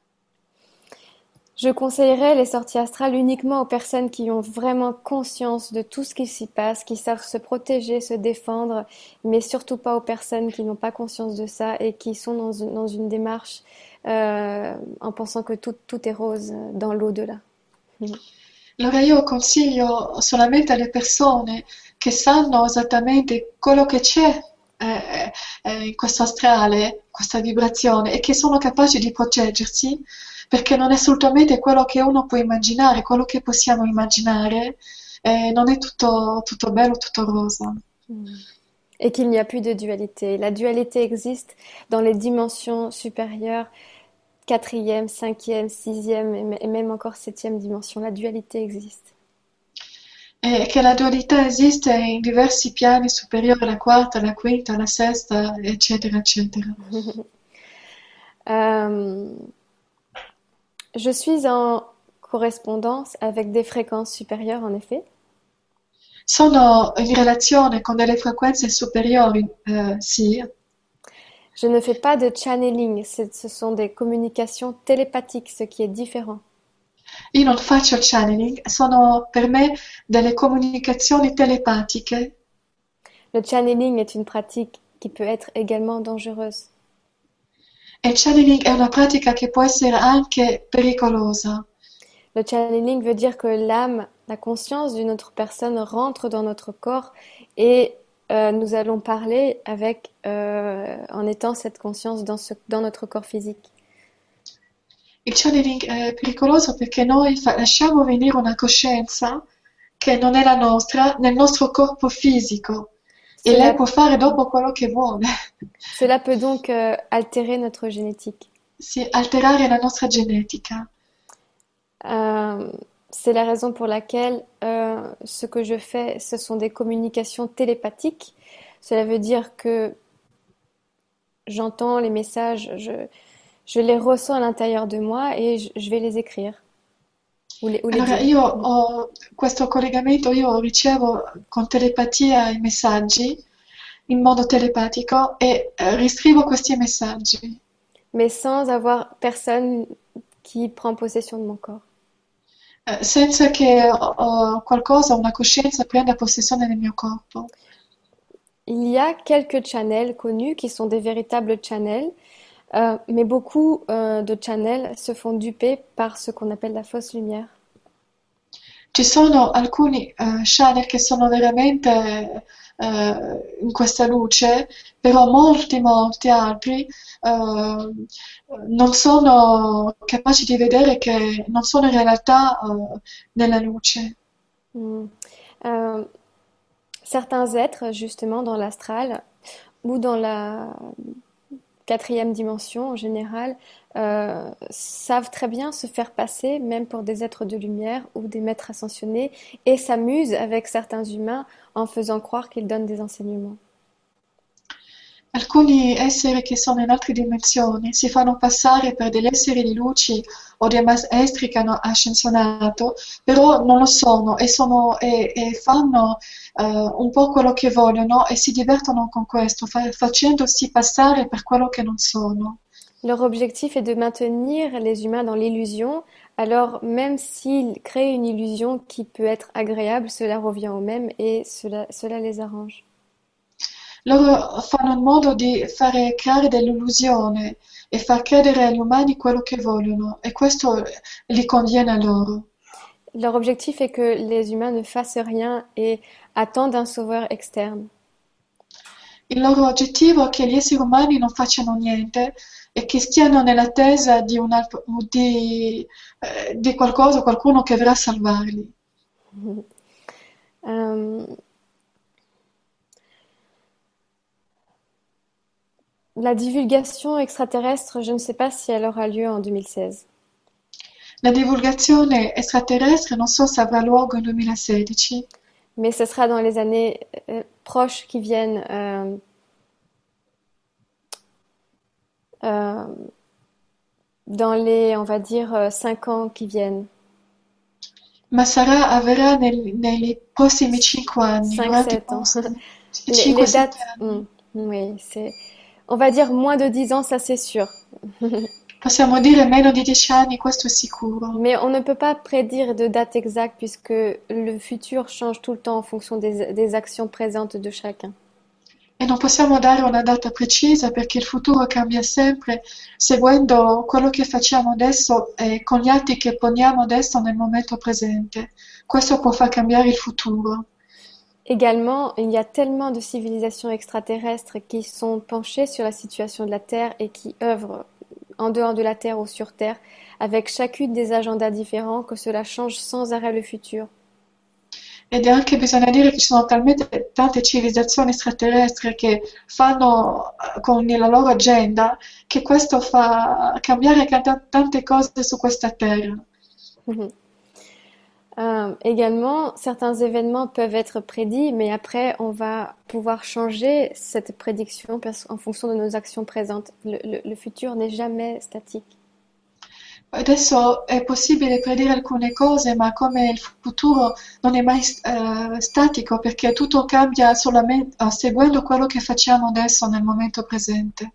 Je conseillerais les sorties astrales uniquement aux personnes qui ont vraiment conscience de tout ce qui s'y passe, qui savent se protéger, se défendre, mais surtout pas aux personnes qui n'ont pas conscience de ça et qui sont dans une démarche en pensant que tout est rose dans l'au-delà. Allora io consiglio solamente alle persone che sanno esattamente quello che c'è in questo astrale, questa vibrazione, e che sono capaci di proteggersi, perché non è assolutamente quello che uno può immaginare, quello che possiamo immaginare, non è tutto bello, tutto rosa. Et qu'il n'y a plus de dualité. La dualité existe dans les dimensions supérieures, quatrième, cinquième, sixième et même encore septième dimension. La dualité existe. E che la dualità esiste in diversi piani superiori, la quarta, la quinta, la sesta, eccetera, eccetera. Euh, je suis en correspondance avec des fréquences supérieures, en effet. Sono in relazione con delle frequenze superiori, sì. Je ne fais pas de channeling, ce sont des communications télépathiques, ce qui est différent. Io non faccio channeling, sono per me delle comunicazioni telepatiche. Le channeling est une pratique qui peut être également dangereuse. E il channeling è una pratica che può essere anche pericolosa. Le channeling veut dire que l'âme, la conscience d'une autre personne rentre dans notre corps et nous allons parler avec, en étant cette conscience dans notre corps physique. Il channeling è pericoloso perché noi lasciamo venire una coscienza che non è la nostra nel nostro corpo fisico e lei Cela, può fare dopo quello che vuole, cela peut donc altérer notre génétique. sì, alterare la nostra genetica. Euh, c'est la raison pour laquelle ce que je fais, ce sont des communications télépathiques. Cela veut dire que j'entends les messages, je les ressens à l'intérieur de moi et je vais les écrire ou les Allora dire. io ho questo collegamento, io ricevo con telepatia i messaggi in modo telepatico e riscrivo questi messaggi, Mais sans avoir personne qui prend possession de mon corps. senza che qualcosa, una coscienza prenda possessione del mio corpo. Il y a quelques channels connus qui sont des véritables channels, mais beaucoup de channels se font duper par ce qu'on appelle la fausse lumière. Ci sono alcuni channel che sono veramente in questa luce, però molti altri non sono capaci di vedere che non sono in realtà nella luce. Mm. Euh, Certains êtres, justement, dans l'astral ou dans la quatrième dimension en général, savent très bien se faire passer, même pour des êtres de lumière ou des maîtres ascensionnés, et s'amusent avec certains humains en faisant croire qu'ils donnent des enseignements. Alcuni esseri che sono in altre dimensioni si fanno passare per degli esseri di luci o dei maestri che hanno ascensionato, però non lo sono e fanno un po' quello che vogliono e si divertono con questo, facendosi passare per quello che non sono. Leur objectif est de maintenir les humains dans l'illusion, alors même s'ils créent une illusion qui peut être agréable, cela revient au même et cela les arrange. Loro fanno in modo di fare creare dell'illusione e far credere agli umani quello che vogliono e questo li conviene a loro. Leur objectif est que les humains ne fassent rien et attendent un sauveur externe. Il loro obiettivo è che gli esseri umani non facciano niente e che stiano nell'attesa di qualcosa, qualcuno che verrà a salvarli. Euh, La divulgation extraterrestre, je ne sais pas si elle aura lieu en 2016, La divulgazione extraterrestre non so se avrà luogo nel 2016, mais ce sera dans les années proches qui viennent, euh, dans les, on va dire, 5 ans qui viennent. ma avverrà nei prossimi 5 anni, durante i 5-7 ans. prossimi Les 5-7 dates, anni. oui, on va dire moins de 10 ans, ça c'est sûr. Possiamo dire meno di 10 anni, questo è sicuro. Mais on ne peut pas prédire de date exacte puisque le futur change tout le temps en fonction des actions présentes de chacun. E non possiamo dare una data precisa perché il futuro cambia sempre seguendo quello che facciamo adesso e con gli atti che poniamo adesso nel momento presente. Questo può far cambiare il futuro. Également, il y a tellement de civilisations extraterrestres qui sont penchées sur la situation de la Terre et qui œuvrent en dehors de la Terre ou sur Terre, avec chacune des agendas différents, que cela change sans arrêt le futur. Ed è anche bisogna dire che ci sono talmente tante civilizzazioni extraterrestri che fanno con la loro agenda che questo fa cambiare tante cose su questa terra. Également, certains événements peuvent être prédits, mais après, on va pouvoir changer cette prédiction en fonction de nos actions présentes. Le futur n'est jamais statique. Adesso è possibile predire alcune cose, ma come il futuro non è mai statico perché tutto cambia solamente seguendo quello che facciamo adesso nel momento presente.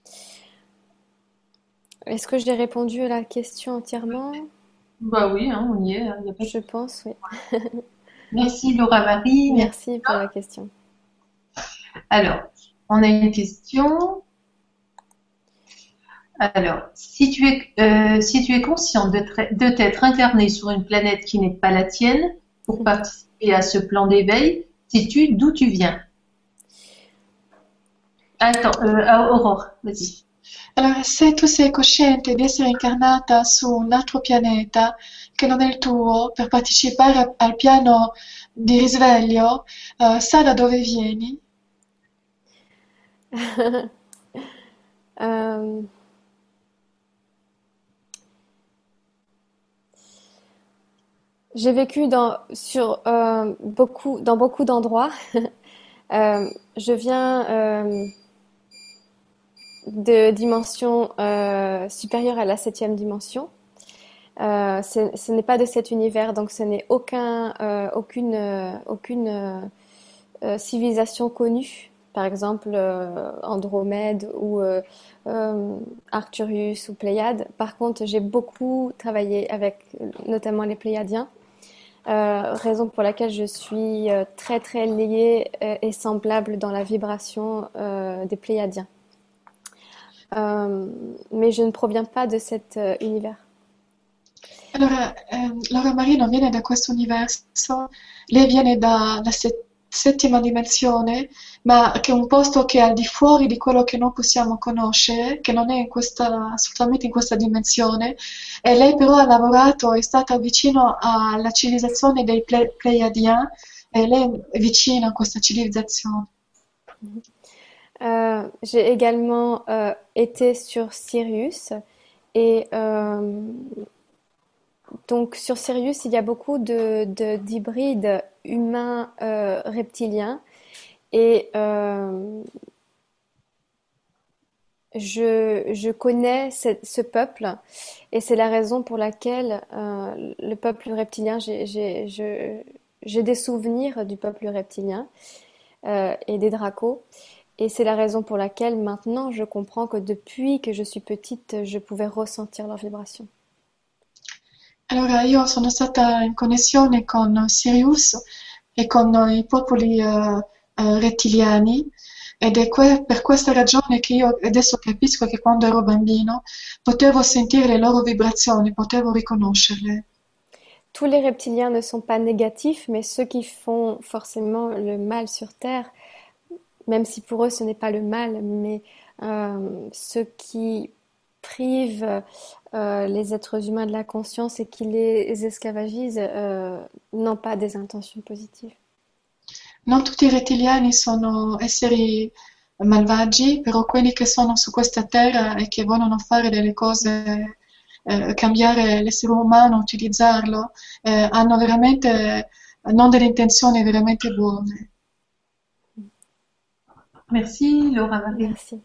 Est-ce que j'ai répondu à la question entièrement? Bah oui, hein, on y est, hein, y a pas de- Je pense, oui. Merci Laura Marie. Merci pour la question. Alors, on a une question. Alors, si tu es conscient de t'être incarné sur une planète qui n'est pas la tienne pour participer à ce plan d'éveil, sais-tu d'où tu viens? Attends, Aurore, vas-y. Allora, se tu sei cosciente di essere incarnata su un altro pianeta che non è il tuo per partecipare al piano di risveglio, sa da dove vieni? Euh, j'ai vécu dans beaucoup d'endroits. Je viens de dimension supérieure à la 7e dimension. Ce n'est pas de cet univers, donc ce n'est aucune civilisation connue. Par exemple, Andromède ou Arcturus ou Pléiades. Par contre, j'ai beaucoup travaillé avec notamment les Pléiadiens. Raison pour laquelle je suis très très liée et semblable dans la vibration des Pléiadiens. Mais je ne proviens pas de cet univers. Allora, Laura Maria non viene da questo universo, lei viene dalla settima dimensione, ma che è un posto che è al di fuori di quello che noi possiamo conoscere, che non è assolutamente in questa dimensione, e lei però ha lavorato, è stata vicino alla civilizzazione dei Pleiadiens, e lei è vicina a questa civilizzazione. J'ai également été sur Sirius et donc sur Sirius il y a beaucoup d'hybrides humains reptiliens et je connais ce peuple et c'est la raison pour laquelle le peuple reptilien, j'ai des souvenirs du peuple reptilien et des dracos. Et c'est la raison pour laquelle maintenant je comprends que depuis que je suis petite, je pouvais ressentir leurs vibrations. Allora, io sono stata in connessione con Sirius e con i popoli rettiliani ed è per questa ragione che io adesso capisco che quando ero bambino potevo sentire le loro vibrazioni, potevo riconoscerle. Tous les reptiliens ne sont pas négatifs, mais ceux qui font forcément le mal sur Terre, même si pour eux ce n'est pas le mal, mais ceux qui privent les êtres humains de la conscience et qui les esclavagisent n'ont pas des intentions positives. Non tutti i rettiliani sono esseri malvagi, però quelli che sono su questa terra e che vogliono fare delle cose, cambiare l'essere umano, utilizzarlo, hanno veramente non delle intenzioni veramente buone. Merci, Laura Marie. Merci.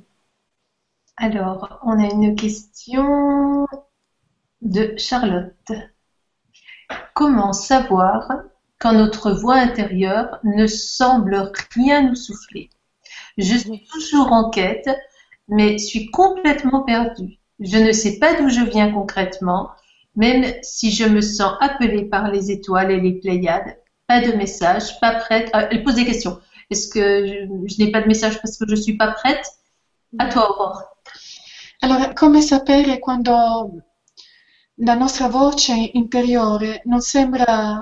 Alors, on a une question de Charlotte. Comment savoir quand notre voix intérieure ne semble rien nous souffler? Je suis toujours en quête, mais suis complètement perdue. Je ne sais pas d'où je viens concrètement, même si je me sens appelée par les étoiles et les Pléiades. Pas de message, pas prête. Ah, elle pose des questions. Est-ce que je n'ai pas de message parce que je suis pas prête? À toi, Aurore. Allora, come sapere quando la nostra voce interiore non sembra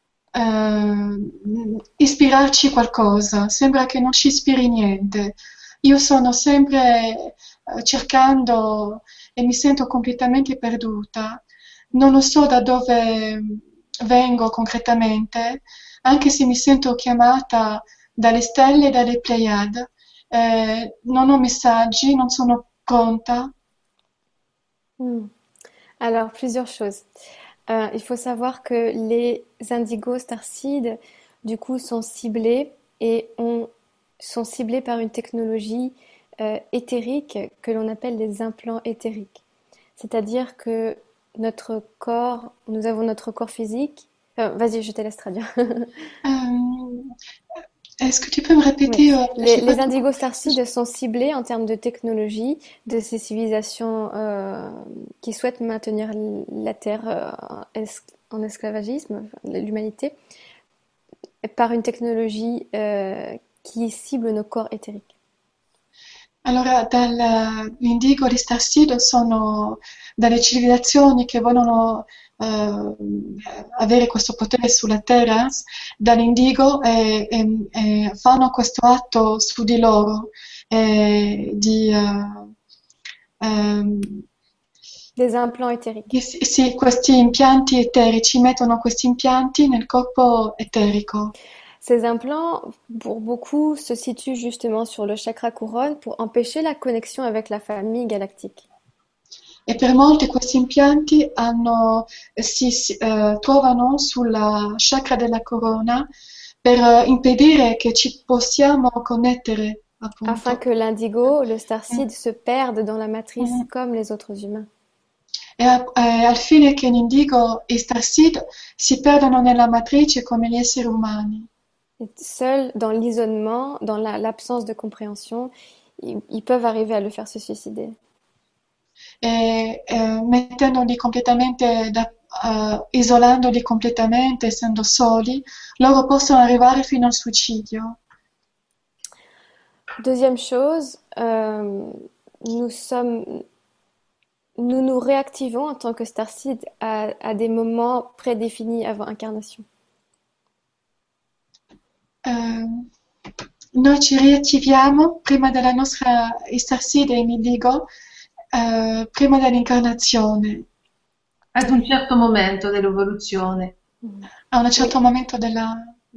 ispirarci qualcosa, sembra che non ci ispiri niente. Io sono sempre cercando e mi sento completamente perduta. Non lo so da dove vengo concretamente, anche se mi sento chiamata dalle stelle e dalle Pleiade. Non ho messaggi, non sono pronta. Alors, plusieurs choses. Il faut savoir que les indigos starseeds, du coup, sont ciblés sont ciblés par une technologie éthérique que l'on appelle les implants éthériques. C'est-à-dire que notre corps, nous avons notre corps physique. Vas-y, je te laisse traduire. Est-ce que tu peux me répéter Oui. j'ai pas Les indigos starseeds sont ciblés en termes de technologie de ces civilisations qui souhaitent maintenir la Terre en esclavagisme, l'humanité, par une technologie qui cible nos corps éthériques. Allora, l'indigo e gli starseed sono dalle civilizzazioni che vogliono avere questo potere sulla Terra, dall'indigo e fanno questo atto su di loro Des implants éthériques. sì, questi impianti eterici, mettono questi impianti nel corpo eterico. Ces implants, pour beaucoup, se situent justement sur le chakra couronne pour empêcher la connexion avec la famille galactique. E per molti questi impianti si trovano sulla chakra della corona per impedire che ci possiamo connettere, appunto. Afin que l'indigo, le starseed, se perde dans la matrice comme les autres humains. E al fine che l'indigo e i starseed si perdano nella matrice come gli esseri umani. Et seuls, dans l'isolement, dans l'absence de compréhension, ils peuvent arriver à le faire se suicider. Mettendoli completamente, isolandoli completamente, essendo soli, loro possono arrivare fino al suicidio. Deuxième chose, nous nous réactivons en tant que starseed à des moments prédéfinis avant incarnation. Noi ci riattiviamo prima della nostra starseed in indigo, prima dell'incarnazione. Ad un certo momento dell'evoluzione. A un certo momento della...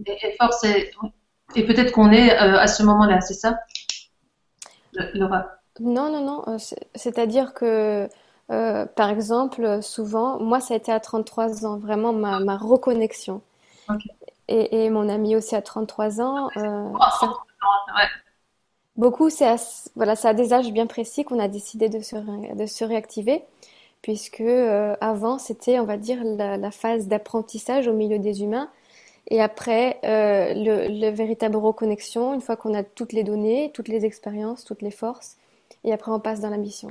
Et peut-être qu'on est à ce moment-là, c'est ça, Laura? Non. C'est-à-dire que, par exemple, souvent, moi, ça a été à 33 ans, vraiment ma reconnexion. Okay. Et mon ami aussi à 33 ans. Ouais. Beaucoup, c'est à des âges bien précis qu'on a décidé de se réactiver, puisque avant, c'était, on va dire, la phase d'apprentissage au milieu des humains. Et après, le véritable reconnexion, une fois qu'on a toutes les données, toutes les expériences, toutes les forces, et après on passe dans la mission.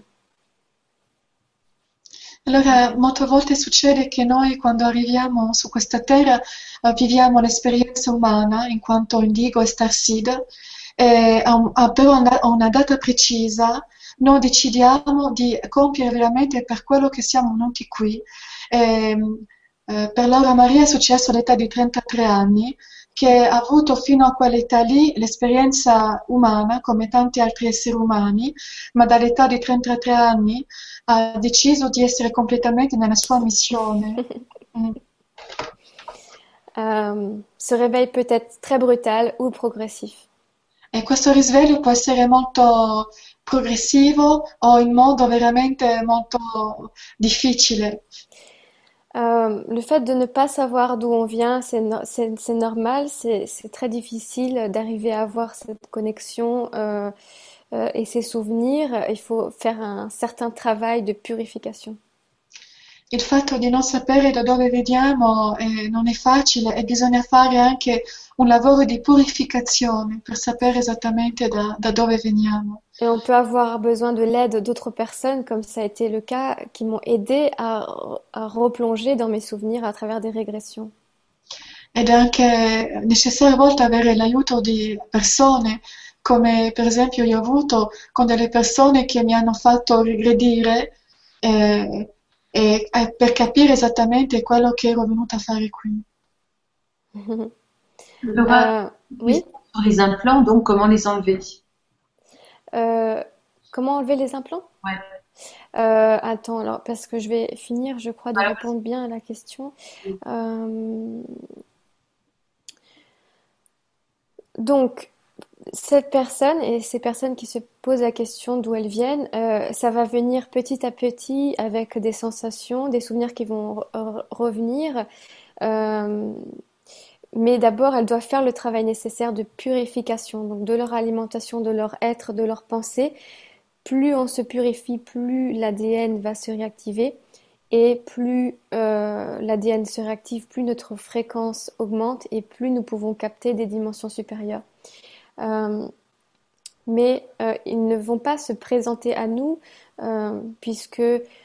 Allora, molte volte succede che noi quando arriviamo su questa terra viviamo l'esperienza umana in quanto indigo e starseed, però a una data precisa noi decidiamo di compiere veramente per quello che siamo venuti qui. Per Laura Maria è successo all'età di 33 anni, che ha avuto fino a quell'età lì l'esperienza umana, come tanti altri esseri umani, ma dall'età di 33 anni ha deciso di essere completamente nella sua missione. Ce réveil peut être très brutal ou progressif. E questo risveglio può essere molto progressivo o in modo veramente molto difficile. Le fait de ne pas savoir d'où on vient, c'est normal, c'est très difficile d'arriver à avoir cette connexion et ces souvenirs. Il faut faire un certain travail de purification. Il fatto di non sapere da dove veniamo non è facile e bisogna fare anche un lavoro di purificazione per sapere esattamente da dove veniamo. Et on peut avoir besoin de l'aide d'autres personnes, comme ça a été le cas, qui m'ont aidé à replonger dans mes souvenirs à travers des régressions. Ed è anche necessario a volte avere l'aiuto di persone, come per esempio io ho avuto con delle persone che mi hanno fatto regredire per capire esattamente quello che ero venuta a fare qui. Laura, Oui. sur les implants, donc comment les enlever? Comment enlever les implants? Ouais. Attends, alors, parce que je vais finir, je crois, de Alors, répondre bien à la question. Donc, cette personne et ces personnes qui se posent la question d'où elles viennent, ça va venir petit à petit avec des sensations, des souvenirs qui vont revenir. Euh, mais d'abord, elles doivent faire le travail nécessaire de purification, donc de leur alimentation, de leur être, de leur pensée. Plus on se purifie, plus l'ADN va se réactiver. Et plus l'ADN se réactive, plus notre fréquence augmente et plus nous pouvons capter des dimensions supérieures. Mais ils ne vont pas se présenter à nous puisque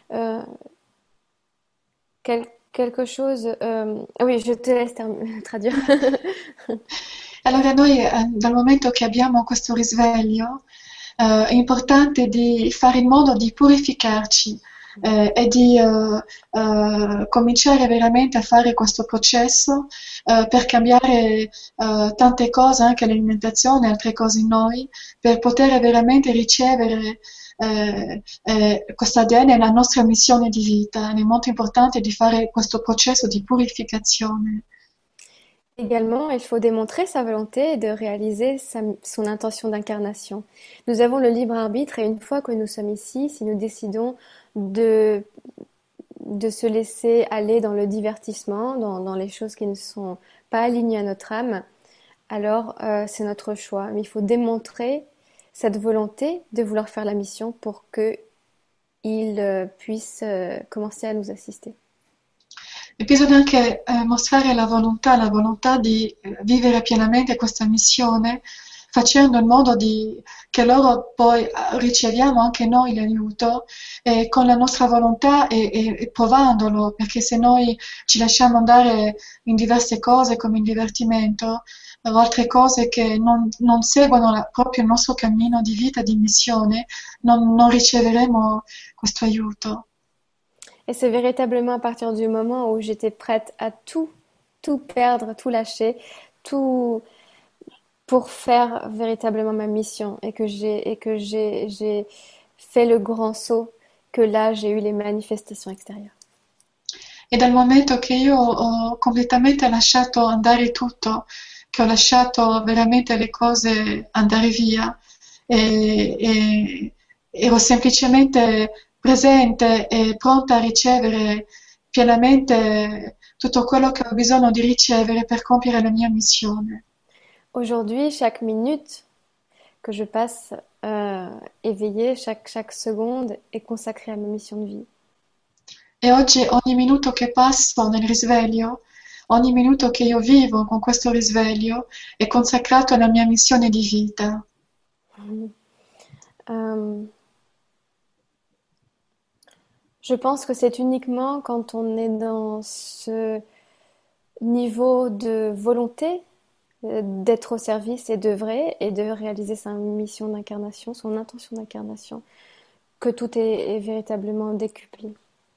quelque chose... oui, je te laisse traduire. Allora noi dal momento che abbiamo questo risveglio è importante di fare in modo di purificarci e di cominciare veramente a fare questo processo per cambiare tante cose, anche l'alimentazione, altre cose in noi, per poter veramente ricevere questo ADN è la nostra missione di vita. È molto importante di fare questo processo di purificazione. Également, il faut démontrer sa volonté et de réaliser son intention d'incarnation. Nous avons le libre arbitre et une fois que nous sommes ici, si nous décidons de se laisser aller dans le divertissement, dans les choses qui ne sont pas alignées à notre âme, alors c'est notre choix. Mais il faut démontrer cette volonté de vouloir faire la mission pour qu'il puisse commencer à nous assister. E bisogna anche mostrare la volontà di vivere pienamente questa missione, facendo in modo che loro poi riceviamo anche noi l'aiuto con la nostra volontà e provandolo, perché se noi ci lasciamo andare in diverse cose come il divertimento, o altre cose che non seguono proprio il nostro cammino di vita, di missione, non riceveremo questo aiuto. Et c'est véritablement à partir du moment où j'étais prête à tout perdre, tout lâcher, tout pour faire véritablement ma mission et que j'ai fait le grand saut que là j'ai eu les manifestations extérieures. E dal momento che io ho completamente lasciato andare tutto, che ho lasciato veramente le cose andare via e ero semplicemente presente e pronta a ricevere pienamente tutto quello che ho bisogno di ricevere per compiere la mia missione. Aujourd'hui, chaque minute que je passe éveillée, chaque seconde est consacrée à ma mission de vie. E oggi ogni minuto che passo nel risveglio, ogni minuto che io vivo con questo risveglio è consacrato alla mia missione di vita. Je pense que c'est uniquement quand on est dans ce niveau de volonté d'être au service et d'œuvrer et de réaliser sa mission d'incarnation, son intention d'incarnation, que tout est véritablement décuplé.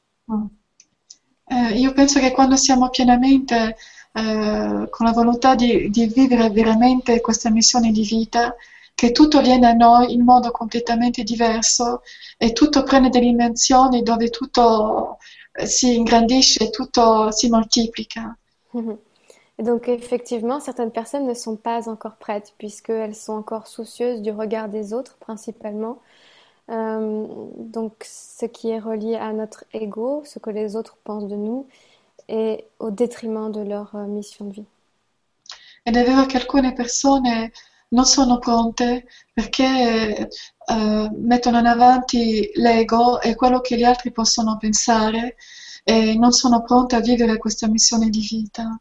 Io penso che quando siamo pienamente con la volontà di vivere veramente questa missione di vita, che tutto viene a noi in modo completamente diverso e tutto prende delle dimensioni dove tutto si ingrandisce, tutto si moltiplica. Et donc effectivement, certaines personnes ne sont pas encore prêtes puisqu'elles sont encore soucieuses du regard des autres principalement. Donc ce qui est relié à notre ego, ce que les autres pensent de nous, et au détriment de leur mission de vie. Ed è vero che alcune persone non sono pronte perché mettono in avanti l'ego e quello che gli altri possono pensare e non sono pronte a vivere questa missione di vita.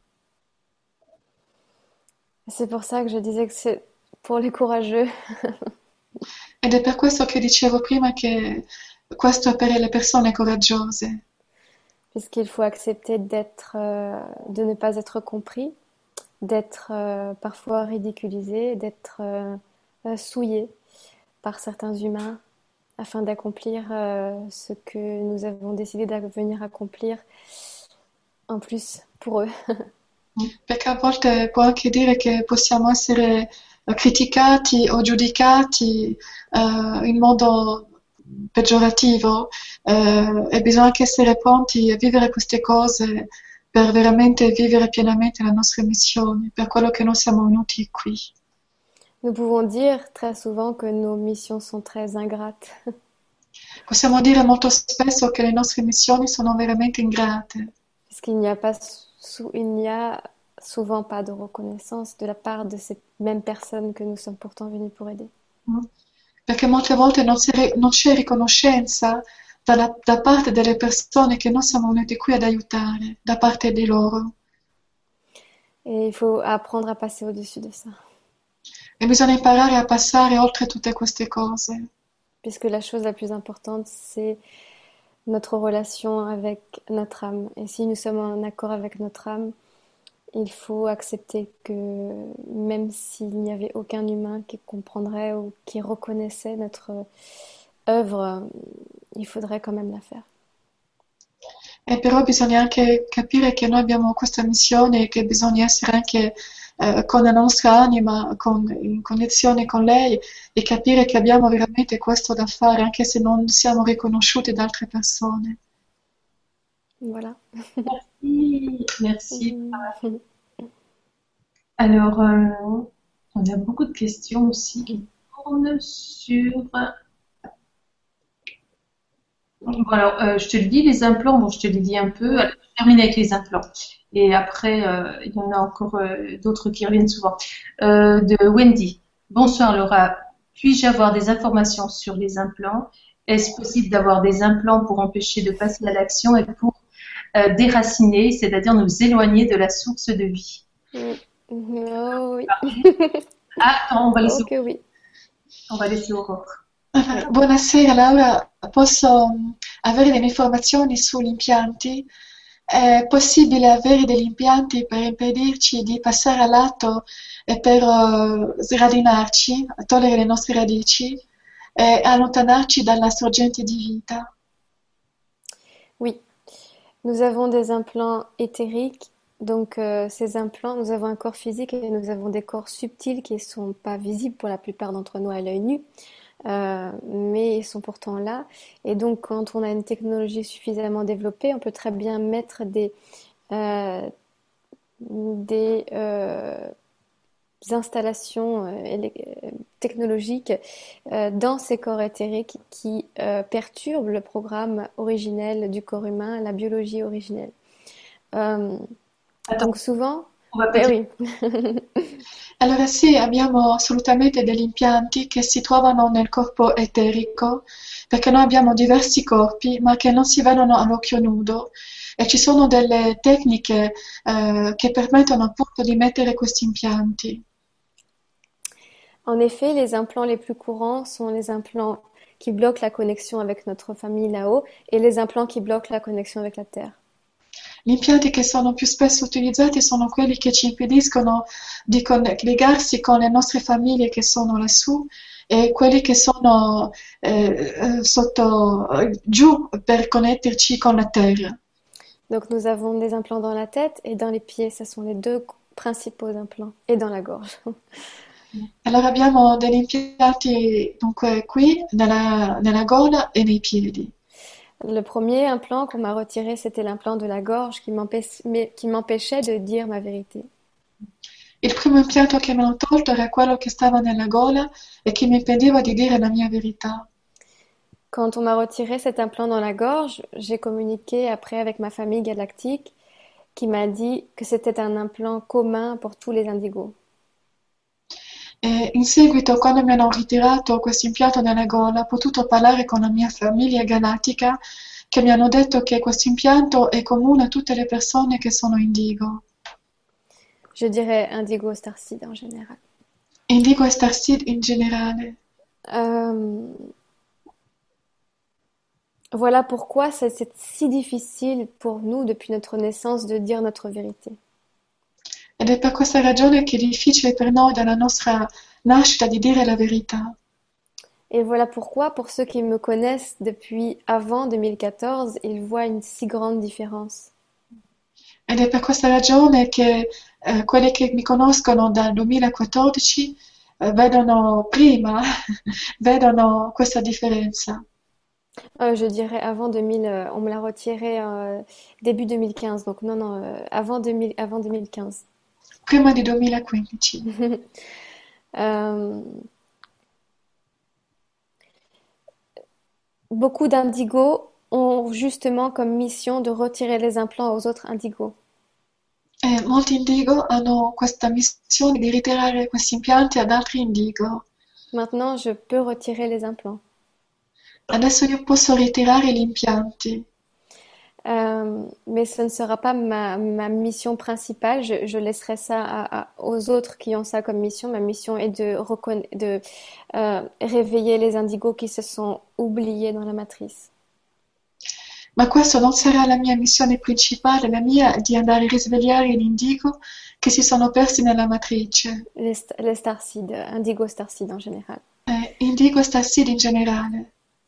C'est pour ça que je disais que c'est pour les courageux. Ed è per questo che dicevo prima che questo è per le persone coraggiose, Puisqu'il faut accepter de ne pas être compris, d'être parfois ridiculisé, d'être souillé par certains humains afin d'accomplir ce que nous avons décidé de venir accomplir en plus pour eux. perché a volte può anche dire che possiamo essere criticati o giudicati in modo peggiorativo e bisogna anche essere pronti a vivere queste cose per veramente vivere pienamente la nostra missione, per quello che noi siamo venuti qui. Nous pouvons dire très souvent que nos missions sont très ingrates. Possiamo dire molto spesso che le nostre missioni sono veramente ingrate, Puisqu'il n'y a pas il n'y a souvent pas de reconnaissance de la part de ces mêmes personnes que nous sommes pourtant venus pour aider. perché molte volte non c'è riconoscenza da parte delle persone che noi siamo venuti qui ad aiutare, da parte di loro. Et il faut apprendre à passer au-dessus de ça. E bisogna imparare a passare oltre tutte queste cose, Puisque la chose la plus importante, c'est notre relation avec notre âme. Et si nous sommes en accord avec notre âme, il faut accepter que même s'il n'y avait aucun humain qui comprendrait ou qui reconnaissait notre œuvre, il faudrait quand même la faire. e però bisogna anche capire che noi abbiamo questa missione e che bisogna essere anche con la nostra anima in connessione con lei e capire che abbiamo veramente questo da fare anche se non siamo riconosciuti da altre persone. Voilà. Merci, merci. Alors, on a beaucoup de questions aussi qui tournent sur. Bon, alors, je te le dis, les implants, bon, je te l'ai dit un peu. Alors, je termine avec les implants. Et après, il y en a encore d'autres qui reviennent souvent. De Wendy. Bonsoir Laura. Puis-je avoir des informations sur les implants? Est-ce possible d'avoir des implants pour empêcher de passer à l'action et pour déraciner, c'est-à-dire nous éloigner de la source de vie? Oh oui. Ah, attends, on va laisser, Oh que oui. on va laisser Aurore. Buonasera Laura, posso avere delle informazioni sugli impianti? È possibile avere degli impianti per impedirci di passare al lato e per sradinarci, togliere le nostre radici e allontanarci dalla sorgente di vita? Oui. Nous avons des implants éthériques. Donc ces implants, nous avons un corps physique et nous avons des corps subtils qui ne sont pas visibles pour la plupart d'entre nous à l'œil nu. Mais ils sont pourtant là. Et donc, quand on a une technologie suffisamment développée, on peut très bien mettre des installations technologiques dans ces corps éthériques qui perturbent le programme originel du corps humain, la biologie originelle. Donc souvent, On va oui. Allora sì, abbiamo assolutamente degli impianti che si trovano nel corpo eterico, perché noi abbiamo diversi corpi, ma che non si vedono all'occhio nudo, e ci sono delle tecniche che permettono appunto di mettere questi impianti. En effet, les implants les plus courants sont les implants qui bloquent la connexion avec notre famille là-haut et les implants qui bloquent la connexion avec la Terre. Gli impianti che sono più spesso utilizzati sono quelli che ci impediscono di legarsi con le nostre famiglie che sono lassù e quelli che sono giù per connetterci con la terra. Donc nous avons des implants dans la tête et dans les pieds, ce sont les deux principaux implants, et dans la gorge. Allora abbiamo degli impianti dunque qui, nella gola e nei piedi. Le premier implant qu'on m'a retiré, c'était l'implant de la gorge qui m'empêchait de dire ma vérité. Il primo impianto che mi hanno tolto era quello che stava nella gola e che mi impediva di dire la mia verità. Quand on m'a retiré cet implant dans la gorge, j'ai communiqué après avec ma famille galactique qui m'a dit que c'était un implant commun pour tous les indigos. E in seguito, quando mi hanno ritirato questo impianto nella gola, ho potuto parlare con la mia famiglia galattica che mi hanno detto che questo impianto è comune a tutte le persone che sono indigo. Je dirais indigo starseed en général. Indigo e Starseed in generale. Euh, Voilà pourquoi c'est si difficile pour nous depuis notre naissance de dire notre vérité. Ed è per questa ragione che è difficile per noi dalla nostra nascita di dire la verità. Et voilà pourquoi, pour ceux qui me connaissent depuis avant 2014, ils voient une si grande différence. Ed è per questa ragione che quelli che mi conoscono dal 2014 vedono prima, vedono questa differenza. Je dirais avant 2000, on me l'a retiré début 2015, donc non, non, avant 2000, avant 2015. Prima di 2015. Euh, Beaucoup d'indigos ont justement comme mission de retirer les implants aux autres indigos. E molti indigo hanno questa missione di ritirare questi impianti ad altri indigo. Maintenant, je peux retirer les implants. Adesso io posso ritirare gli impianti, Mais ce ne sera pas ma mission principale. Je laisserai ça aux autres qui ont ça comme mission. Ma mission est de réveiller les indigos qui se sont oubliés dans la matrice. ma questo non sarà la mia missione principale, la mia è di andare a risvegliare gli indigo che si sono persi nella matrice. Les starseed, indigo starseed en général. Indigo e Starseed in generale.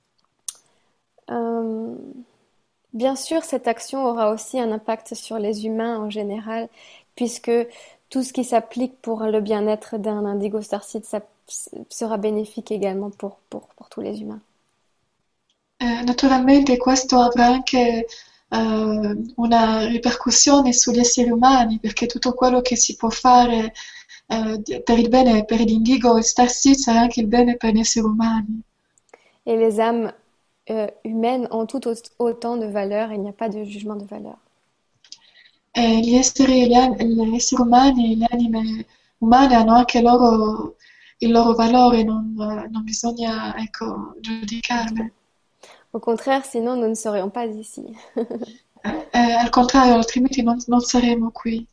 Bien sûr, cette action aura aussi un impact sur les humains en général, puisque tout ce qui s'applique pour le bien-être d'un indigo starseed sera bénéfique également pour tous les humains. Naturalmente questo avrà anche una ripercussione sugli esseri umani, perché tutto quello che si può fare per il bene per l'indigo e Starseed sarà anche il bene per gli esseri umani. Et les âmes humaines ont tout autant de valeur, il n'y a pas de jugement de valeur. E gli esseri umani, le anime umane hanno anche il loro valore, non bisogna, ecco, giudicarle. Au contraire, sinon nous ne serions pas ici. Al contrario, altrimenti non saremo qui.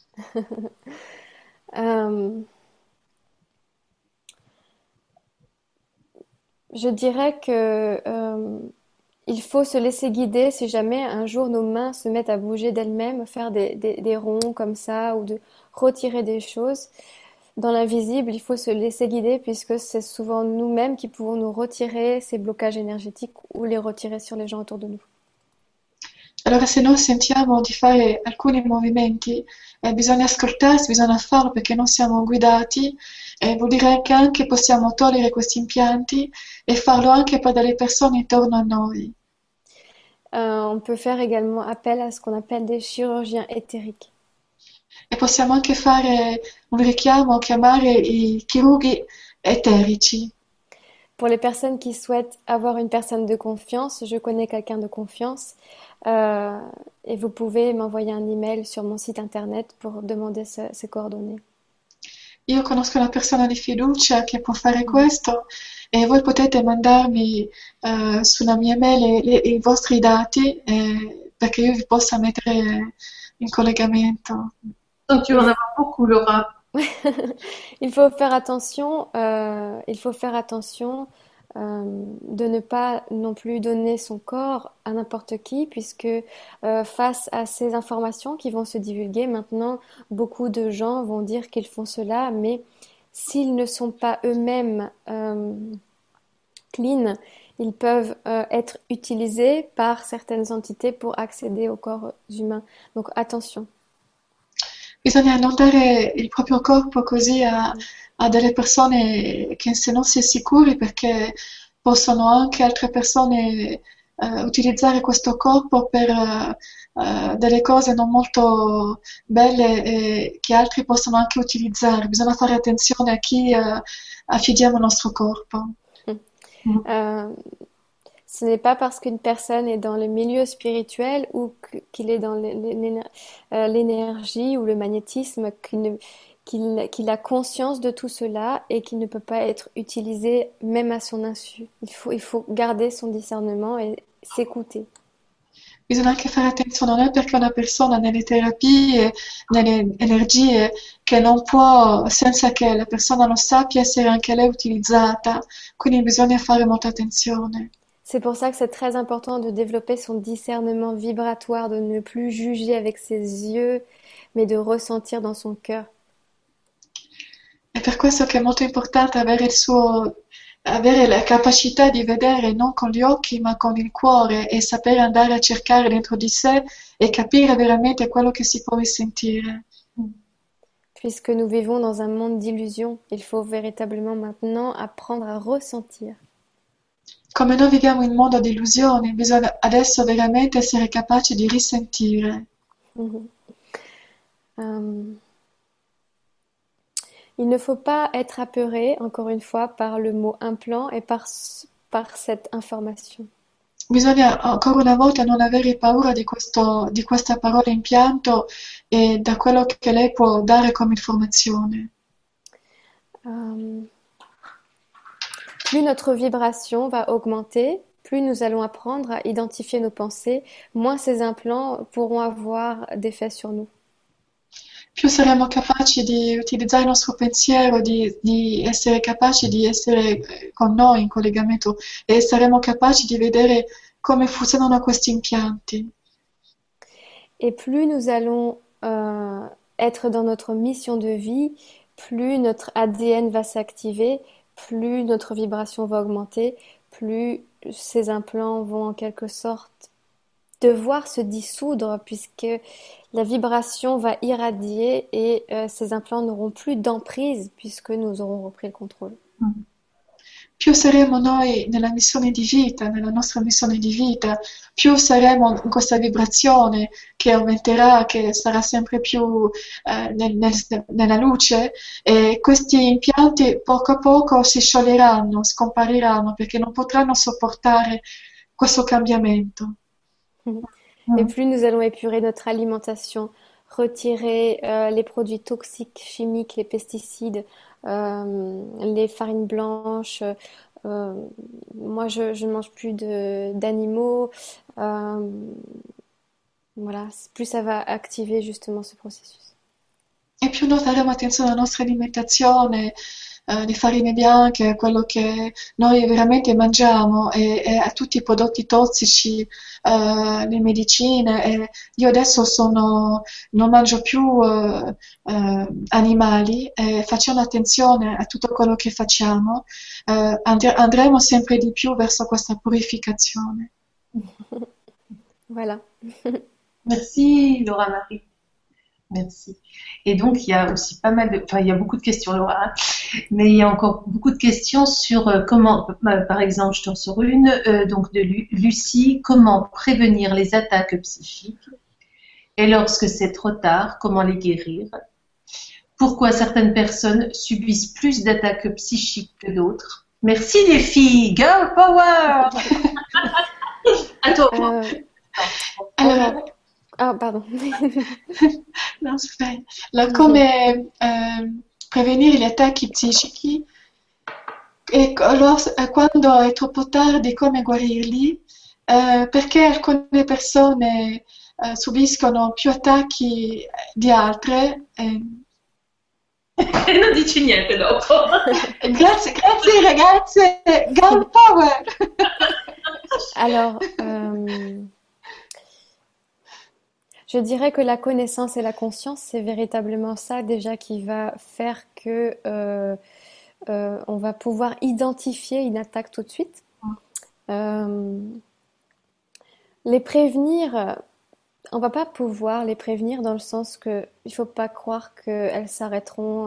Je dirais que il faut se laisser guider si jamais un jour nos mains se mettent à bouger d'elles-mêmes, faire des ronds comme ça ou de retirer des choses. Dans l'invisible, il faut se laisser guider puisque c'est souvent nous-mêmes qui pouvons nous retirer ces blocages énergétiques ou les retirer sur les gens autour de nous. Allora, se noi sentiamo di fare alcuni movimenti, bisogna ascoltarsi, bisogna farlo perché non siamo guidati, vuol dire che anche possiamo togliere questi impianti e farlo anche per delle persone intorno a noi. On peut faire également appel à ce qu'on appelle des chirurgiens éthériques. E possiamo anche fare un richiamo, chiamare i chirurghi eterici. Pour les personnes qui souhaitent avoir une personne de confiance, je connais quelqu'un de confiance et vous pouvez m'envoyer un email sur mon site internet pour demander ces coordonnées. Io conosco una persona di fiducia che può fare questo e voi potete mandarmi sulla mia mail i vostri dati perché io vi possa mettere in collegamento. Donc tu vas en avoir beaucoup, Laura. Il faut faire attention, de ne pas non plus donner son corps à n'importe qui, puisque face à ces informations qui vont se divulguer, maintenant, beaucoup de gens vont dire qu'ils font cela, mais s'ils ne sont pas eux-mêmes clean, ils peuvent être utilisés par certaines entités pour accéder aux corps humains. Donc attention. Bisogna non dare il proprio corpo così a delle persone che se non si è sicuri perché possono anche altre persone utilizzare questo corpo per delle cose non molto belle e che altri possono anche utilizzare. Bisogna fare attenzione a chi affidiamo il nostro corpo. Mm. Euh, Ce n'est pas parce qu'une personne est dans le milieu spirituel ou qu'il est dans l'énergie ou le magnétisme qu'il a conscience de tout cela et qu'il ne peut pas être utilisé même à son insu. Il faut garder son discernement et s'écouter. Bisogna anche fare attenzione, non è perché una persona nelle terapie, nelle energie, che non può, senza che la persona lo sappia, essere anche lei utilizzata. Quindi bisogna fare molta attenzione. C'est pour ça que c'est très important de développer son discernement vibratoire, de ne plus juger avec ses yeux, mais de ressentir dans son cœur. È per questo che è molto importante avere la capacità di vedere non con gli occhi ma con il cuore e sapere andare a cercare dentro di sé e capire veramente quello che si può risentire. Puisque nous vivons dans un monde d'illusions, il faut véritablement maintenant apprendre à ressentir. Come noi viviamo in un mondo di illusioni, bisogna adesso veramente essere capaci di risentire. Il ne faut pas être apeuré, encore une fois, par le mot implant et par cette information. Bisogna ancora una volta non avere paura di questa parola impianto e da quello che lei può dare come informazione. Plus notre vibration va augmenter, plus nous allons apprendre à identifier nos pensées, moins ces implants pourront avoir d'effet sur nous. Più saremo capaci di utilizzare il nostro pensiero, di essere capaci di essere con noi in collegamento e saremo capaci di vedere come funzionano questi impianti. Et plus nous allons être dans notre mission de vie, plus notre ADN va s'activer, plus notre vibration va augmenter, plus ces implants vont en quelque sorte devoir se dissoudre puisque la vibration va irradier et ces implants n'auront plus d'emprise puisque nous aurons repris le contrôle. Più saremo noi nella missione di vita, nella nostra missione di vita, più saremo in questa vibrazione che aumenterà, che sarà sempre più nella luce e questi impianti poco a poco si scioglieranno, scompariranno perché non potranno sopportare questo cambiamento. Et plus nous allons épurer notre alimentation, retirer les produits toxiques, chimiques, les pesticides, les farines blanches. Moi, je ne mange plus d'animaux. Voilà, plus ça va activer justement ce processus. E più noi faremo attenzione alla nostra alimentazione, le farine bianche, quello che noi veramente mangiamo e a tutti i prodotti tossici, le medicine. E io adesso non mangio più animali e facendo attenzione a tutto quello che facciamo, andremo sempre di più verso questa purificazione. Voilà. Merci Laura Marie. Merci. Et donc, il y a aussi pas mal de... Enfin, il y a beaucoup de questions, Laura, hein, mais il y a encore beaucoup de questions sur comment, par exemple, je t'en sors une, donc de Lucie, comment prévenir les attaques psychiques et lorsque c'est trop tard, comment les guérir? Pourquoi certaines personnes subissent plus d'attaques psychiques que d'autres? Merci les filles, girl power! À toi. Allora, Ah, pardon. no, aspetta. Come prevenire gli attacchi psichici e quando è troppo tardi come guarirli, perché alcune persone subiscono più attacchi di altre. Non dici niente dopo. Grazie ragazze, girl power! Alors, je dirais que la connaissance et la conscience, c'est véritablement ça déjà qui va faire que on va pouvoir identifier une attaque tout de suite. Les prévenir, on va pas pouvoir les prévenir dans le sens que il faut pas croire qu'elles s'arrêteront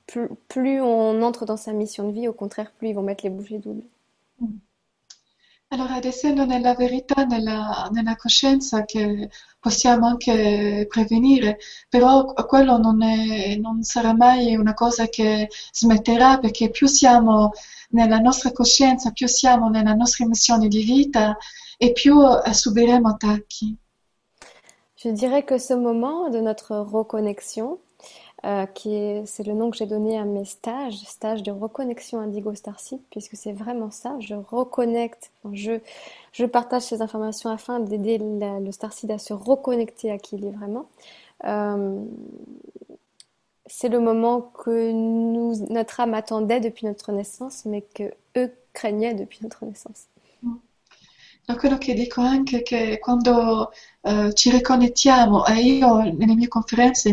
plus on entre dans sa mission de vie, au contraire, plus ils vont mettre les bouchées doubles. Allora, ad essendo nella verità, nella coscienza che possiamo anche prevenire, però quello non sarà mai una cosa che smetterà, perché più siamo nella nostra coscienza, più siamo nella nostra missione di vita e più subiremo attacchi. Je dirais que ce moment de notre reconnexion, c'est le nom que j'ai donné à mes stages, stages de reconnexion Indigo Starseed, puisque c'est vraiment ça, je reconnecte, je partage ces informations afin d'aider le Starseed à se reconnecter à qui il est vraiment. Euh, c'est le moment que notre âme attendait depuis notre naissance, mais que eux craignaient depuis notre naissance. Da quello che dico anche che quando ci riconnettiamo, e io nelle mie conferenze,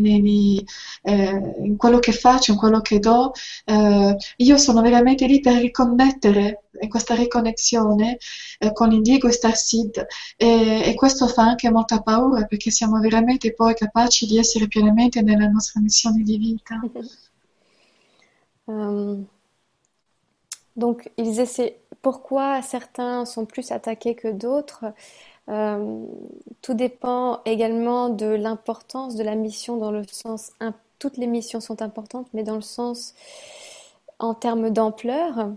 in quello che faccio, in quello che do, io sono veramente lì per riconnettere in questa riconnessione con l'Indigo e Starseed e questo fa anche molta paura perché siamo veramente poi capaci di essere pienamente nella nostra missione di vita. Donc, ils essaient. Pourquoi certains sont plus attaqués que d'autres? Tout dépend également de l'importance de la mission dans le sens. Toutes les missions sont importantes, mais dans le sens en termes d'ampleur.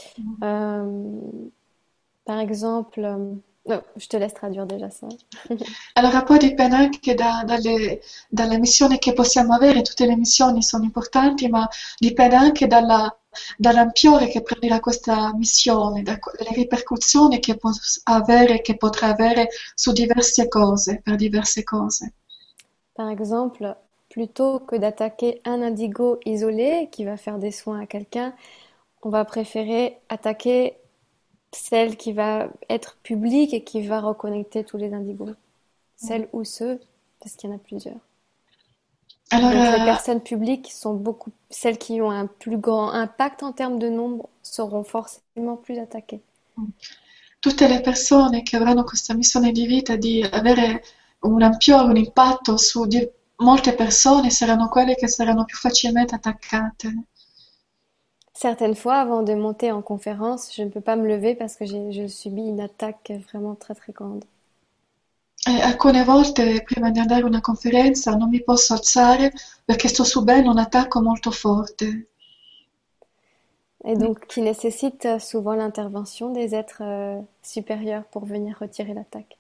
Par exemple, je te laisse traduire déjà ça. Allora poi dipende anche dalle missioni che possiamo avere, tutte le missioni sono importanti, ma dipende anche dall'ampiore che prenderà questa missione, dalle ripercussioni che potrà avere su diverse cose, per diverse cose. Par exemple, plutôt que d'attaquer un indigo isolé qui va faire des soins à quelqu'un, on va préférer attaquer celle qui va être publique et qui va reconnecter tous les indigos. Celle ou ceux, parce qu'il y en a plusieurs. Donc les personnes publiques celles qui ont un plus grand impact en termes de nombre seront forcément plus attaquées. Tutte le persone che avranno questa missione di vita di avere un impatto su molte persone saranno quelle che saranno più facilmente attaccate. Certaines fois, avant de monter en conférence, je ne peux pas me lever parce que je subis une attaque vraiment très très grande. E alcune volte prima di andare a una conferenza non mi posso alzare perché sto subendo un attacco molto forte. Et donc qui nécessite souvent l'intervention des êtres supérieurs pour venir retirer l'attaque.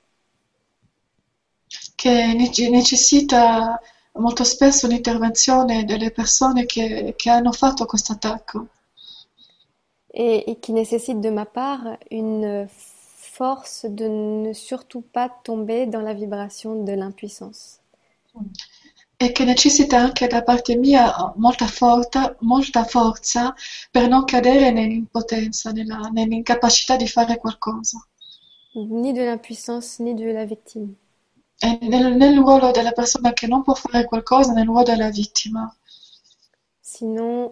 Che necessita molto spesso l'intervenzione delle persone che hanno fatto questo attacco. Et qui nécessite de ma part une force de ne surtout pas tomber dans la vibration de l'impuissance. E che necessita anche da parte mia molta forza per non cadere nell'impotenza, nell'incapacità di fare qualcosa. Ni de l'impuissance, ni de la victime. E nel ruolo della persona che non può fare qualcosa, nel ruolo della vittima. Sinon,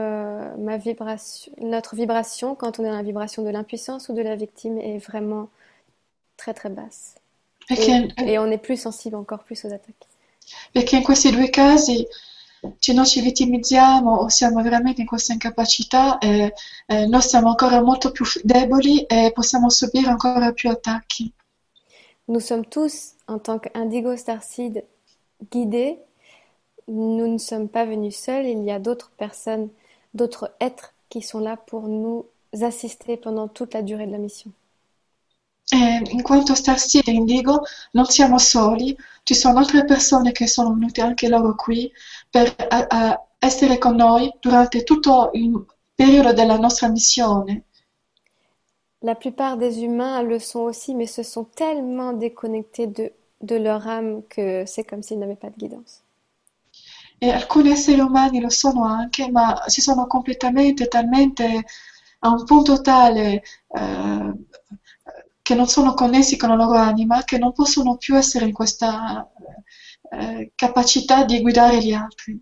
notre vibration, quand on est dans la vibration de l'impuissance ou de la victime, est vraiment très très basse. Et on est plus sensible encore plus aux attaques. Perché in questi due casi noi ci vittimizziamo o siamo veramente in questa incapacità e noi siamo ancora molto più deboli e possiamo subire ancora più attacchi. Nous sommes tous, en tant qu'Indigo Starseed, guidés. Nous ne sommes pas venus seuls, il y a d'autres personnes, d'autres êtres qui sont là pour nous assister pendant toute la durée de la mission. In quanto Starseed e Indigo non siamo soli, ci sono altre persone che sono venute anche loro qui per essere con noi durante tutto il periodo della nostra missione. La plupart des humains le sont aussi, mais se sont tellement déconnectés de leur âme que c'est comme s'ils n'avaient pas de guidance. E alcuni esseri umani lo sono anche, ma si sono talmente a un punto tale che non sono connessi con la loro anima, che non possono più essere in questa capacità di guidare gli altri.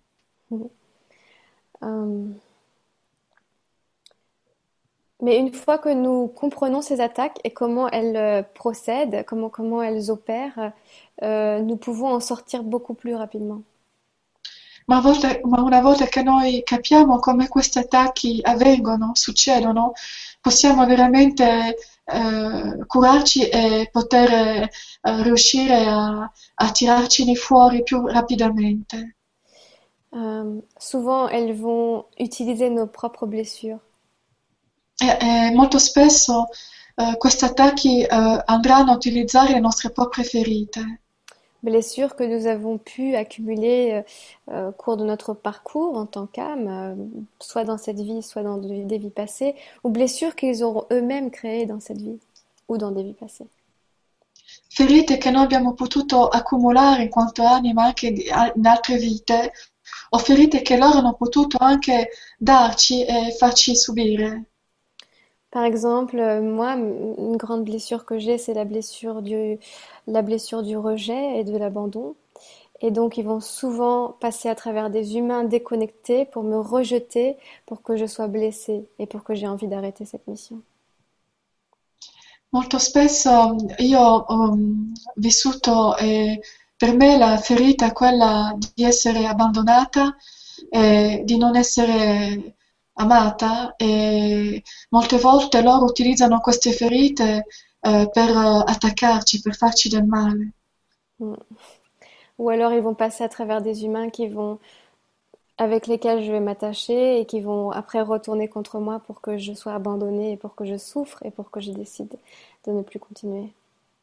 Mais une fois que nous comprenons ces attaques et comment elles procèdent, comment elles opèrent, nous pouvons en sortir beaucoup plus rapidement. Ma una volta che noi capiamo come questi attacchi avvengono, succedono, possiamo veramente curarci e poter riuscire a tirarcene fuori più rapidamente. Souvent, elles vont utiliser nos propres blessures. Molto spesso questi attacchi andranno a utilizzare le nostre proprie ferite. Blessures que nous avons pu accumuler au cours de notre parcours en tant qu'âme, soit dans cette vie, soit dans des vies passées, ou blessures qu'ils auront eux-mêmes créées dans cette vie ou dans des vies passées. Ferite che noi abbiamo potuto accumulare in quanto anima anche in altre vite, o ferite che loro hanno potuto anche darci e farci subire. Par exemple, moi, une grande blessure que j'ai, c'est la blessure du rejet et de l'abandon. Et donc, ils vont souvent passer à travers des humains déconnectés pour me rejeter, pour que je sois blessée et pour que j'ai envie d'arrêter cette mission. Molto spesso io ho vissuto, per me la ferita è quella di essere abbandonata, di non essere amata e molte volte loro utilizzano queste ferite per attaccarci, per farci del male. Mm. Ou alors, ils vont passer à travers des humains avec lesquels je vais m'attacher et qui vont après retourner contre moi pour que je sois abandonnée et pour que je souffre et pour que je décide de ne plus continuer.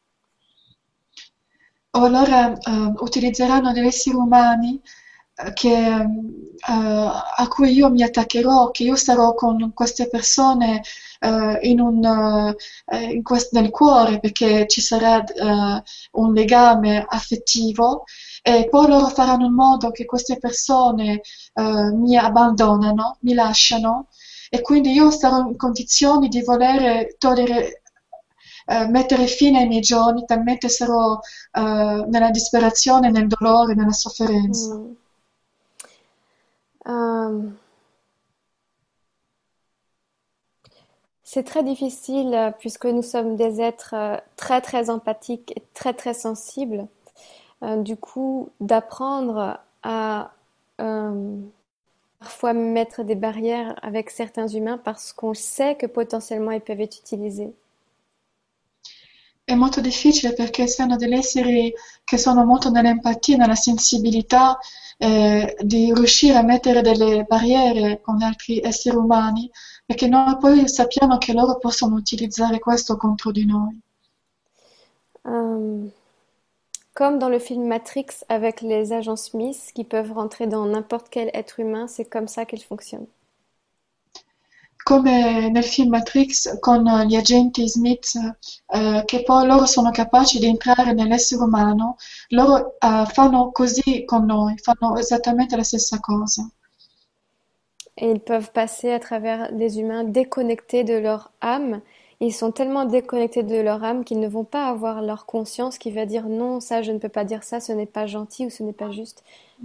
O allora utilizzeranno degli esseri umani a cui io mi attaccherò, che io sarò con queste persone nel cuore perché ci sarà un legame affettivo e poi loro faranno in modo che queste persone mi abbandonano, mi lasciano e quindi io sarò in condizioni di voler togliere, mettere fine ai miei giorni, talmente sarò nella disperazione, nel dolore, nella sofferenza. Mm. Euh, c'est très difficile puisque nous sommes des êtres très très empathiques et très très sensibles. Du coup, d'apprendre à parfois mettre des barrières avec certains humains parce qu'on sait que potentiellement ils peuvent être utilisés. È molto difficile perché essendo degli esseri che sono molto nell'empatia, nella sensibilità, di riuscire a mettere delle barriere con altri esseri umani, perché noi poi sappiamo che loro possono utilizzare questo contro di noi. Comme dans le film Matrix avec les agents Smith qui peuvent rentrer dans n'importe quel être humain, c'est comme ça qu'ils fonctionnent. Come nel film Matrix con gli agenti Smith, che poi loro sono capaci di entrare nell'essere umano, loro fanno così con noi, fanno esattamente la stessa cosa. Et ils peuvent passer à travers des humains déconnectés de leur âme. Ils sont tellement déconnectés de leur âme qu'ils ne vont pas avoir leur conscience qui va dire non, ça je ne peux pas dire ça, ce n'est pas gentil ou ce n'est pas juste.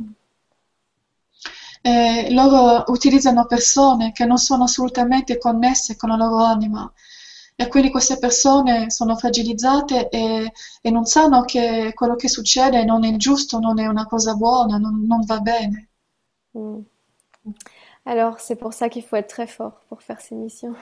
Loro utilizzano persone che non sono assolutamente connesse con la loro anima e quindi queste persone sono fragilizzate e non sanno che quello che succede non è giusto, non è una cosa buona, non va bene. Mm. Alors c'est pour ça qu'il faut être très fort pour faire ces missions.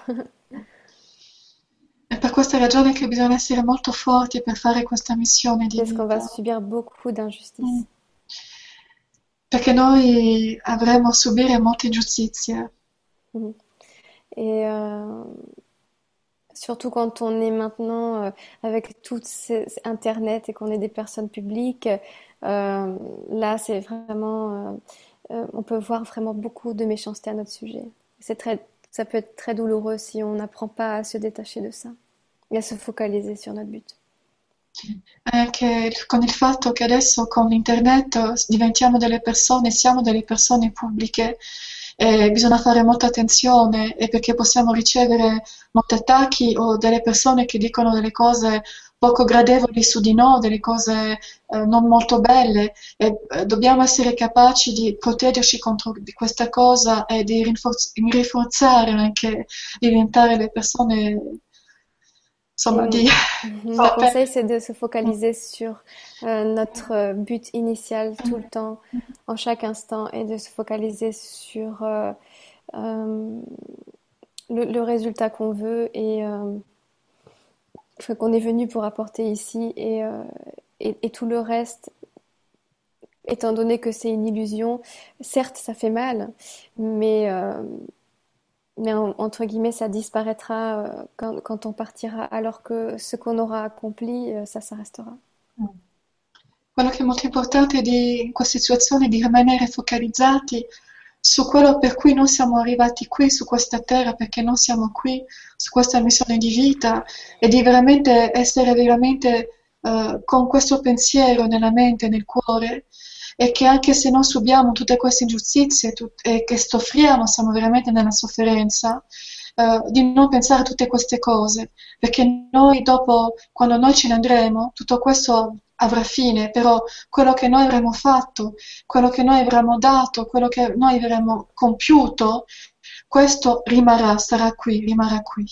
È per questa ragione che bisogna essere molto forti per fare questa missione di Parce qu'on va vita. subir beaucoup d'injustices. Perché noi avremo a subire molte ingiustizie. Mhm. Et surtout quand on est maintenant avec Internet et qu'on est des personnes publiques, là c'est vraiment, on peut voir vraiment beaucoup de méchanceté à notre sujet. Ça peut être très douloureux si on n'apprend pas à se détacher de ça et à se focaliser sur notre but. Anche con il fatto che adesso con internet diventiamo delle persone, siamo delle persone pubbliche, bisogna fare molta attenzione e perché possiamo ricevere molti attacchi o delle persone che dicono delle cose poco gradevoli su di noi, delle cose non molto belle e dobbiamo essere capaci di proteggerci contro di questa cosa e di rinforzare anche, diventare le persone, insomma, di Mon conseil, c'est de se focaliser sur notre but initial tout le temps, en chaque instant, et de se focaliser sur le résultat qu'on veut et enfin, qu'on est venu pour apporter ici et tout le reste, étant donné que c'est une illusion, certes, ça fait mal, mais, euh, entre guillemets, ça disparaîtra quand on partira, alors que ce qu'on aura accompli, ça restera. Quello che è molto importante in queste situazioni è di rimanere focalizzati su quello per cui non siamo arrivati qui, su questa terra, perché non siamo qui, su questa missione di vita e di veramente essere veramente con questo pensiero nella mente, nel cuore e che anche se non subiamo tutte queste ingiustizie e che soffriamo, siamo veramente nella sofferenza, di non pensare a tutte queste cose, perché noi dopo, quando noi ce ne andremo, tutto questo avrà fine, però quello che noi avremo fatto, quello che noi avremo dato, quello che noi avremo compiuto, questo rimarrà, sarà qui, rimarrà qui.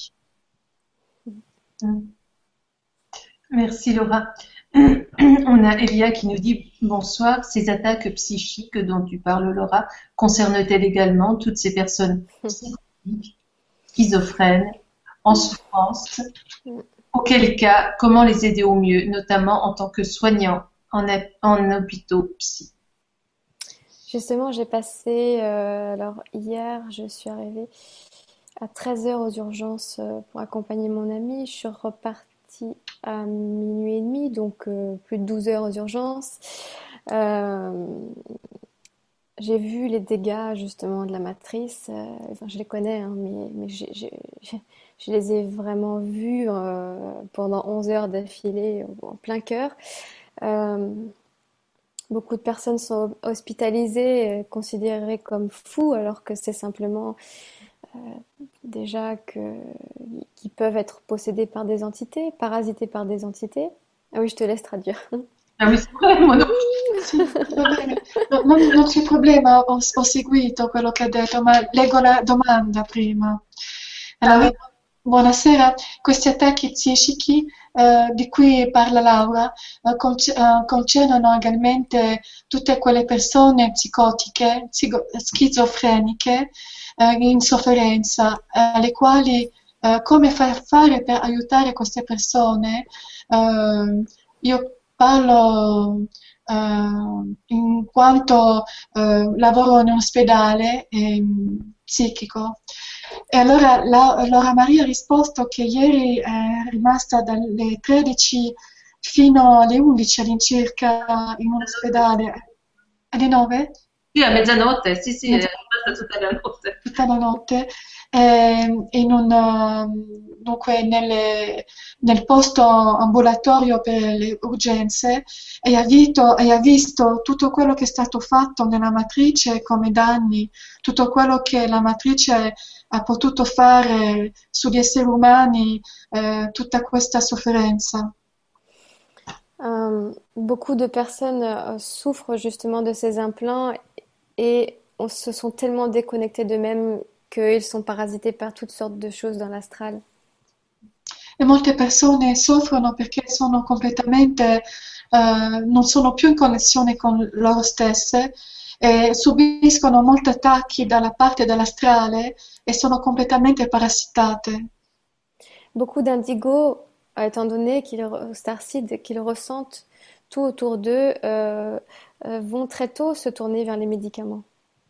Mm. Merci Laura. On a Elia qui nous dit bonsoir. Ces attaques psychiques dont tu parles, Laura, concernent-elles également toutes ces personnes psychotiques, schizophrènes, en souffrance? Auquel cas, comment les aider au mieux, notamment en tant que soignant en hôpitaux psy? Justement, j'ai passé, alors hier, je suis arrivée à 13 heures aux urgences pour accompagner mon ami. Je suis repartie à minuit et demi, donc plus de 12 heures aux urgences. Euh, j'ai vu les dégâts justement de la matrice. Enfin, je les connais, hein, mais je les ai vraiment vus pendant 11 heures d'affilée en plein cœur. Euh, Beaucoup de personnes sont hospitalisées, considérées comme fous, alors que c'est simplement déjà qu'ils peuvent être possédés par des entités, parasités par des entités. Ah oui, je te laisse traduire. Ah oui, c'est vrai, moi non. Sì, va bene. No, non c'è problema, ho seguito quello che ha detto, ma leggo la domanda prima. Ah oui, Allora, buonasera. Questi attacchi psichici di cui parla Laura concernono egalmente tutte quelle persone psicotiche, schizofreniche, in sofferenza, alle quali come fare per aiutare queste persone? Io parlo in quanto lavoro in un ospedale psichico. E allora Laura Maria ha risposto che ieri è rimasta dalle 13 fino alle 11 all'incirca in un ospedale. Alle 9? sì, a mezzanotte, sì, sì, è rimasta tutta la notte. Tutta la notte, dunque nel posto ambulatorio per le urgenze e ha visto tutto quello che è stato fatto nella matrice come danni, tutto quello che la matrice ha potuto fare sugli esseri umani, tutta questa sofferenza. Beaucoup de personnes souffrent justement de ces implants et se sont tellement déconnectés d'eux-mêmes qu'ils sont parasités par toutes sortes de choses dans l'astral. E molte persone soffrono perché sono completamente, non sono più in connessione con loro stesse e subiscono molti attacchi dalla parte dell'astrale e sono completamente parassitate. Beaucoup d'indigos, étant donné starseeds, qu'ils ressentent tout autour d'eux, vont très tôt se tourner vers les médicaments.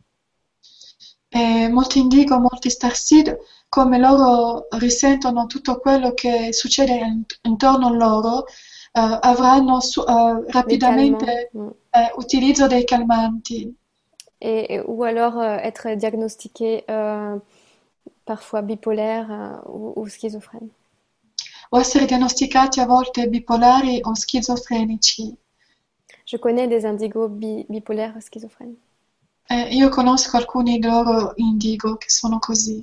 E molti indigo, molti starseed, come loro risentono tutto quello che succede intorno a loro, avranno rapidamente utilizzo dei calmanti. Ou alors être diagnostiqué parfois bipolaire ou schizophrène. O essere diagnosticati a volte bipolari o schizofrenici. Je connais des indigos bipolaires schizophrènes. Io conosco alcuni di loro indigo che sono così.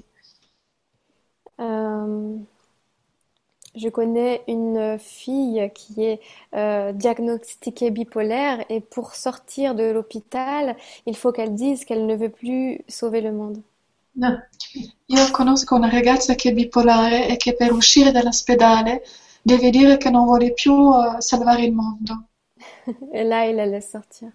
Je connais une fille qui est diagnostiquée bipolaire et pour sortir de l'hôpital, il faut qu'elle dise qu'elle ne veut plus sauver le monde. No. Io conosco una ragazza che è bipolare e che per uscire dall'ospedale deve dire che non vuole più salvare il mondo. Et là, il la laisse sortir.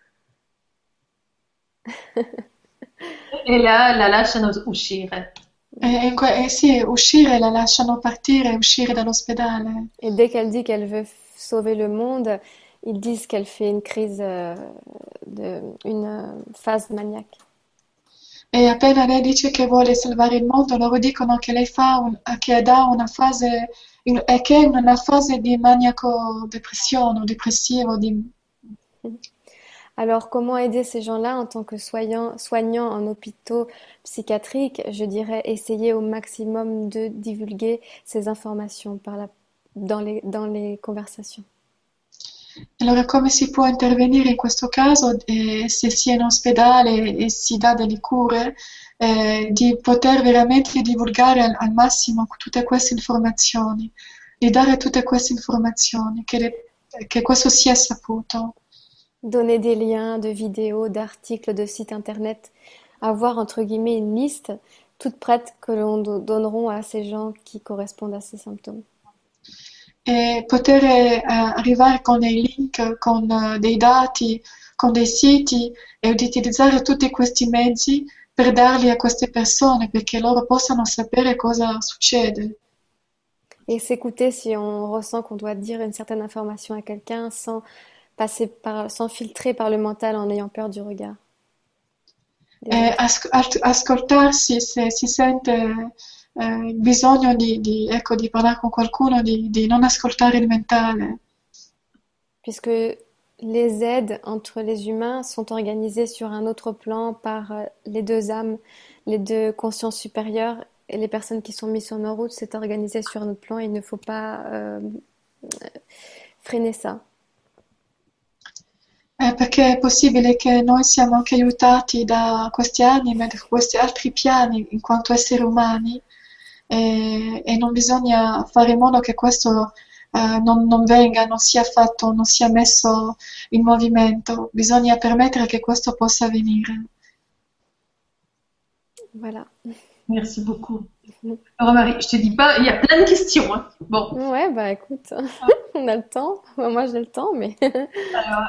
E la lasciano uscire. E sì, uscire, la lasciano partire e uscire dall'ospedale. Et dès qu'elle dit qu'elle veut sauver le monde, ils disent qu'elle fait une crise, une phase maniaque. E appena lei dice che vuole salvare il mondo, loro dicono che lei che dà una fase, che è una fase di maniaco depressione o depressivo, Alors, comment aider ces gens-là en tant que soignants en hôpitaux psychiatriques? Je dirais essayer au maximum de divulguer ces informations dans les conversations. Allora, come si può intervenire in questo caso, se si è in ospedale e si dà delle cure, di poter veramente divulgare al massimo tutte queste informazioni, di dare tutte queste informazioni, che questo sia saputo. Donner des liens de vidéos, d'articles, de sites internet, avoir entre guillemets une liste toute prête que l'on donneront à ces gens qui correspondent à ces symptômes. E poter arrivare con dei link, con dei dati, con dei siti e di utilizzare tutti questi mezzi per darli a queste persone perché loro possano sapere cosa succede. Et s'écouter si on ressent qu'on doit dire une certaine information à quelqu'un sans filtrer par le mental en ayant peur du regard des E autres. ascoltarsi se si sente il bisogno ecco, di parlare con qualcuno, di non ascoltare il mentale. Puisque les aides entre les humains sont organisées sur un autre plan par les deux âmes, les deux consciences supérieures, et les personnes qui sont mises sur nos routes, c'est organisé sur un autre plan, et il ne faut pas freiner ça. Perché è possibile che noi siamo anche aiutati da questi anime, da questi altri piani in quanto esseri umani e non bisogna fare in modo che questo non venga, non sia fatto, non sia messo in movimento. Bisogna permettere che questo possa avvenire. Voilà. Merci beaucoup. Alors, Marie, je te dis pas, il y a plein de questions, hein. Bon, Ouais, bah écoute, on a le temps. Enfin, moi j'ai le temps, mais alors,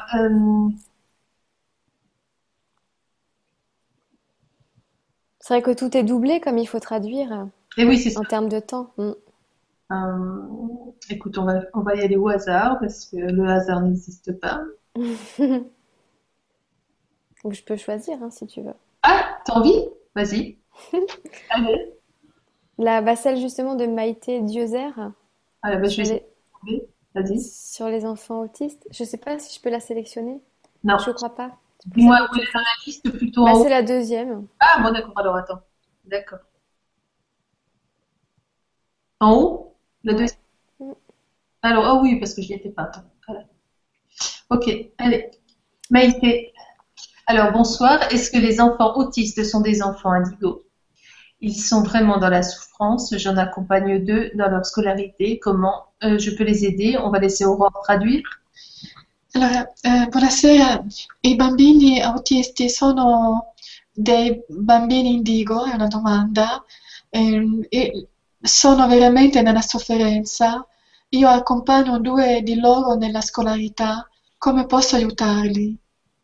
c'est vrai que tout est doublé comme il faut traduire et oui, c'est ça. en termes de temps. Écoute, on va y aller au hasard parce que le hasard n'existe pas. Ou je peux choisir hein, si tu veux. Ah, t'as envie? Vas-y. Allez. Celle justement de Maïté Dieuzer Allez, bah, je vais sur essayer les, de trouver. Vas-y. sur les enfants autistes. Je sais pas si je peux la sélectionner. Non. Je crois pas. C'est pour ça Dis-moi que où elle tu est dans fais. la liste, plutôt Bah, en haut. c'est la deuxième. Ah, bon, d'accord. Alors, attends. D'accord. En haut? La Ouais. deuxième. Alors, ah oui, parce que je n'y étais pas. Attends. Voilà. Ok, allez. Maïté. Alors, bonsoir. Est-ce que les enfants autistes sont des enfants indigos? Ils sont vraiment dans la souffrance. J'en accompagne deux dans leur scolarité. Comment je peux les aider? On va laisser Aurore traduire. Allora, buonasera. I bambini autisti sono dei bambini indigo? È una domanda. E sono veramente nella sofferenza. Io accompagno due di loro nella scolarità. Come posso aiutarli?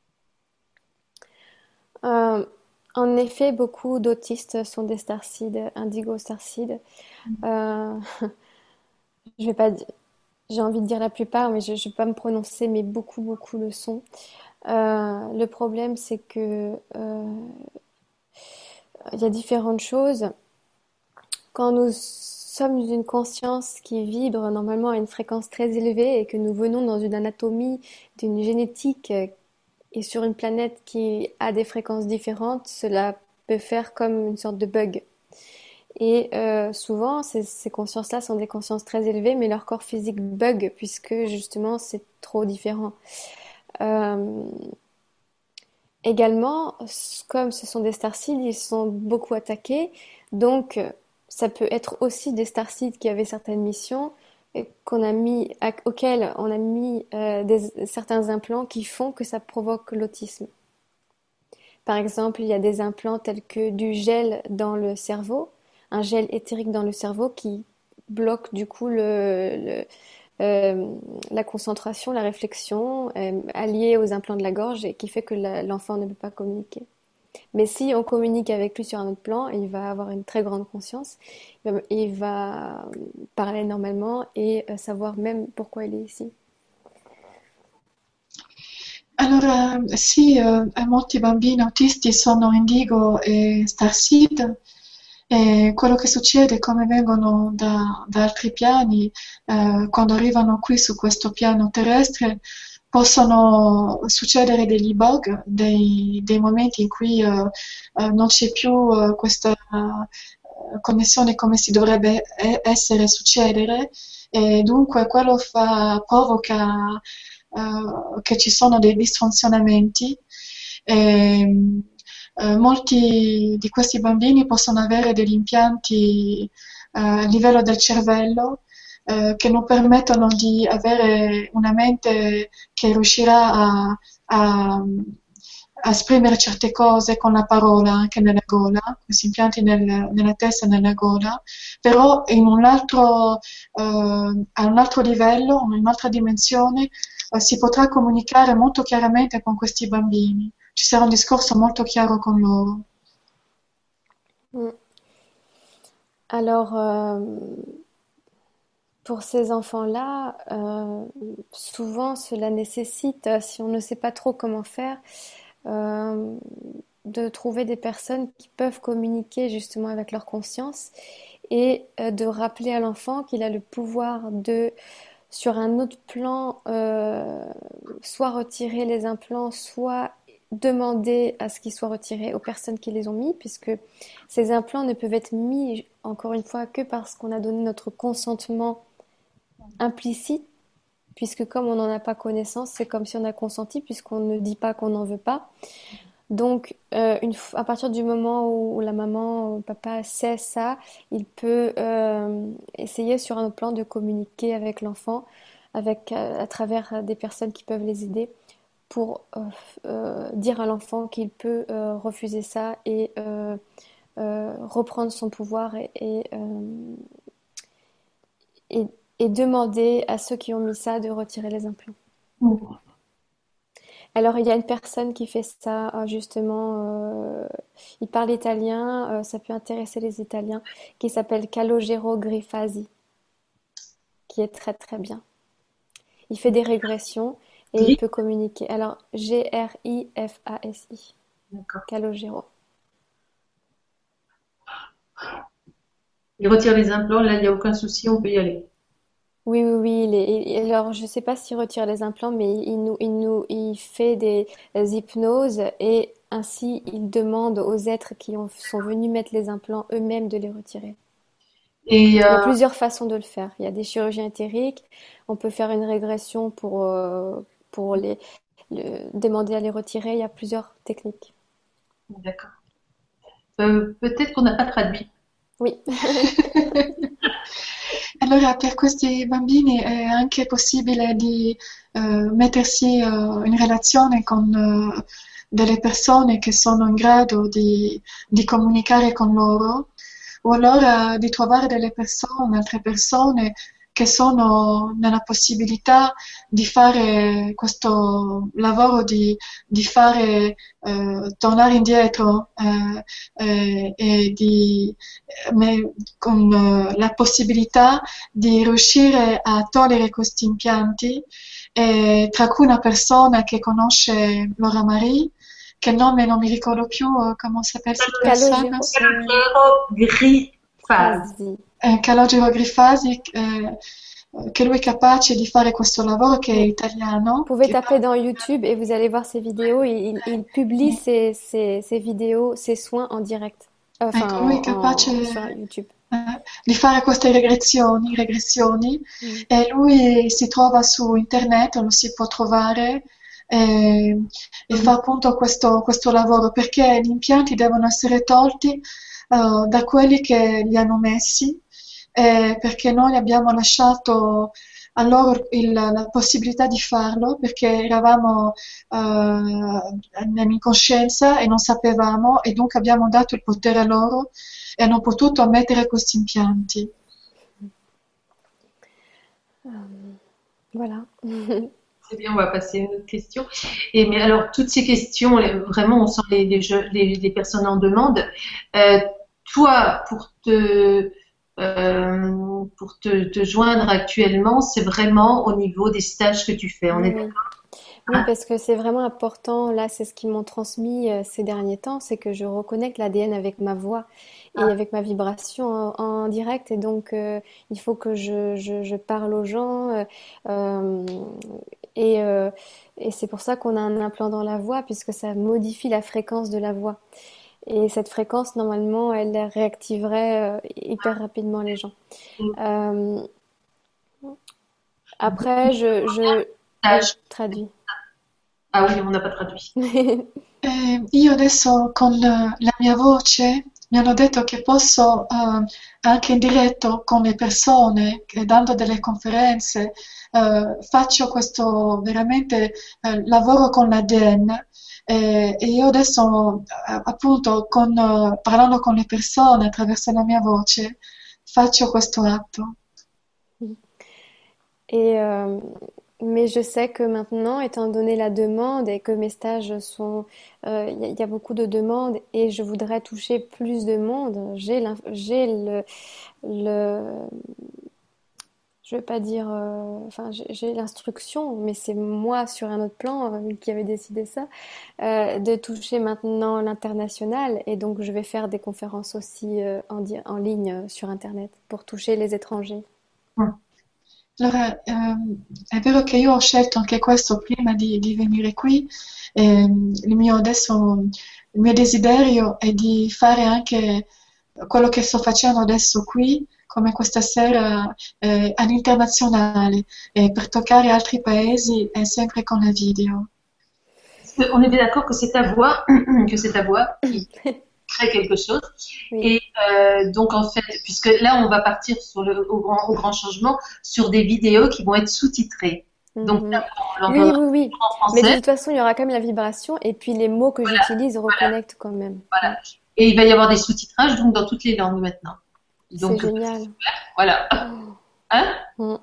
Euh, En effet, beaucoup d'autistes sont des starcides, indigo starcides. Euh, je vais pas, di- J'ai envie de dire la plupart, mais je vais pas me prononcer, mais beaucoup le sont. Le problème, c'est que il y a différentes choses. Quand nous sommes d'une conscience qui vibre normalement à une fréquence très élevée et que nous venons dans une anatomie, d'une génétique et sur une planète qui a des fréquences différentes, cela peut faire comme une sorte de bug. Et souvent, ces consciences-là sont des consciences très élevées, mais leur corps physique bug puisque justement c'est trop différent. Euh, Également, comme ce sont des starseeds, ils sont beaucoup attaqués, donc ça peut être aussi des starseeds qui avaient certaines missions auxquelles on a mis certains implants qui font que ça provoque l'autisme. Par exemple, il y a des implants tels que du gel dans le cerveau, un gel éthérique dans le cerveau qui bloque du coup la concentration, la réflexion alliée aux implants de la gorge et qui fait que l'enfant ne peut pas communiquer. Mais si on communique avec lui sur un autre plan, il va avoir une très grande conscience, il va parler normalement et savoir même pourquoi il est ici. Allora, sì, molti bambini autisti sono Indigo e Starseed e quello che succede, come vengono da altri piani, quando arrivano qui su questo piano terrestre, possono succedere degli bug, dei momenti in cui non c'è più questa connessione come si dovrebbe essere, succedere, e dunque quello provoca che ci sono dei disfunzionamenti. E, molti di questi bambini possono avere degli impianti a livello del cervello che non permettono di avere una mente che riuscirà a- a esprimere certe cose con la parola anche nella gola, questi impianti nella testa e nella gola, però a un altro livello, in un'altra dimensione, si potrà comunicare molto chiaramente con questi bambini. Ci sarà un discorso molto chiaro con loro. Mm. Alors, pour ces enfants-là, souvent cela nécessite, si on ne sait pas trop comment faire, euh, de trouver des personnes qui peuvent communiquer justement avec leur conscience et de rappeler à l'enfant qu'il a le pouvoir de, sur un autre plan, soit retirer les implants, soit demander à ce qu'ils soient retirés aux personnes qui les ont mis, puisque ces implants ne peuvent être mis, encore une fois, que parce qu'on a donné notre consentement implicite, puisque comme on n'en a pas connaissance, c'est comme si on a consenti, puisqu'on ne dit pas qu'on n'en veut pas. Donc, à partir du moment où la maman ou le papa sait ça, il peut essayer sur un autre plan de communiquer avec l'enfant, à travers des personnes qui peuvent les aider, pour dire à l'enfant qu'il peut refuser ça et reprendre son pouvoir et, et demander à ceux qui ont mis ça de retirer les implants. Mm. Alors, il y a une personne qui fait ça, il parle italien, ça peut intéresser les Italiens, qui s'appelle Calogero Grifasi, qui est très très bien. Il fait des régressions et il Gris. peut communiquer. Alors, Grifasi, D'accord. Calogero. Il retire les implants, là, il n'y a aucun souci, on peut y aller. Oui, oui, oui. Alors, je ne sais pas s'il retire les implants, mais il fait des hypnoses et ainsi il demande aux êtres sont venus mettre les implants eux-mêmes de les retirer. Et Il y a plusieurs façons de le faire. Il y a des chirurgies éthériques. On peut faire une régression pour demander à les retirer. Il y a plusieurs techniques. d'accord. Peut-être qu'on n'a pas traduit. Oui. Allora, per questi bambini è anche possibile di mettersi in relazione con delle persone che sono in grado di comunicare con loro, o allora di trovare altre persone che sono nella possibilità di fare questo lavoro di fare tornare indietro con la possibilità di riuscire a togliere questi impianti, tra cui una persona che conosce Laura Marie, che nome non mi ricordo più, come si chiama questa persona? Calogero Grifasi. Calogero Grifasi, che lui è capace di fare questo lavoro, che è Oui. italiano. Vous pouvez Che taper dans YouTube et vous allez voir ses vidéos. Il publie ses vidéos, ses soins en direct. ecco, lui è capace Sur YouTube. di fare queste regressioni, Mm. e lui si trova su internet, lo si può trovare e fa appunto questo lavoro, perché gli impianti devono essere tolti da quelli che li hanno messi, perché noi abbiamo lasciato a loro la possibilità di farlo, perché eravamo nell'incoscienza e non sapevamo, e dunque abbiamo dato il potere a loro e hanno potuto mettere questi impianti. Voilà. C'est bien, on va passer à une autre question. Et mais alors, toutes ces questions, vraiment, on sent les personnes en demande. Euh, Toi, te joindre actuellement, c'est vraiment au niveau des stages que tu fais. On est Oui. Oui, parce que c'est vraiment important. Là, c'est ce qu'ils m'ont transmis ces derniers temps, c'est que je reconnecte l'ADN avec ma voix et d'accord. avec ma vibration en direct. Et donc, il faut que je parle aux gens. Euh, et euh, et c'est pour ça qu'on a un implant dans la voix, puisque ça modifie la fréquence de la voix. Et cette fréquence, normalement, elle réactiverait hyper rapidement les gens. Euh, après, oui, Stage. traduis. Ah oui, on n'a pas traduit. Io adesso con la mia voce mi hanno detto che posso anche in diretto con le persone, dando delle conferenze, faccio questo veramente lavoro con l'ADN e io adesso appunto parlando con le persone attraverso la mia voce faccio questo atto. Et mais je sais que maintenant, étant donné la demande et que mes stages sont, il y a beaucoup de demandes et je voudrais toucher plus de monde. J'ai le, je vais pas dire, enfin, j'ai l'instruction, mais c'est moi sur un autre plan qui avait décidé ça, de toucher maintenant l'international et donc je vais faire des conférences aussi en ligne sur Internet pour toucher les étrangers. Allora, è vero che io ho scelto anche questo prima di venire qui. Adesso, il mio desiderio è di fare anche quello che sto facendo adesso qui, come questa sera, all'internazionale, per toccare altri paesi e sempre con la video. On est bien d'accord que c'est ta voix, que c'est ta voix qui crée quelque chose. Oui. Et donc en fait, puisque là on va partir au grand changement sur des vidéos qui vont être sous-titrées. Donc là, Mhm. on Oui, l'entendra oui, oui. en Mais de français. toute façon, il y aura quand même la vibration et puis les mots que j'utilise Voilà, reconnectent quand même. voilà. Et il va y avoir des sous-titrages donc dans toutes les langues maintenant. C'est Donc génial. voilà. Oh. Hein? Mm.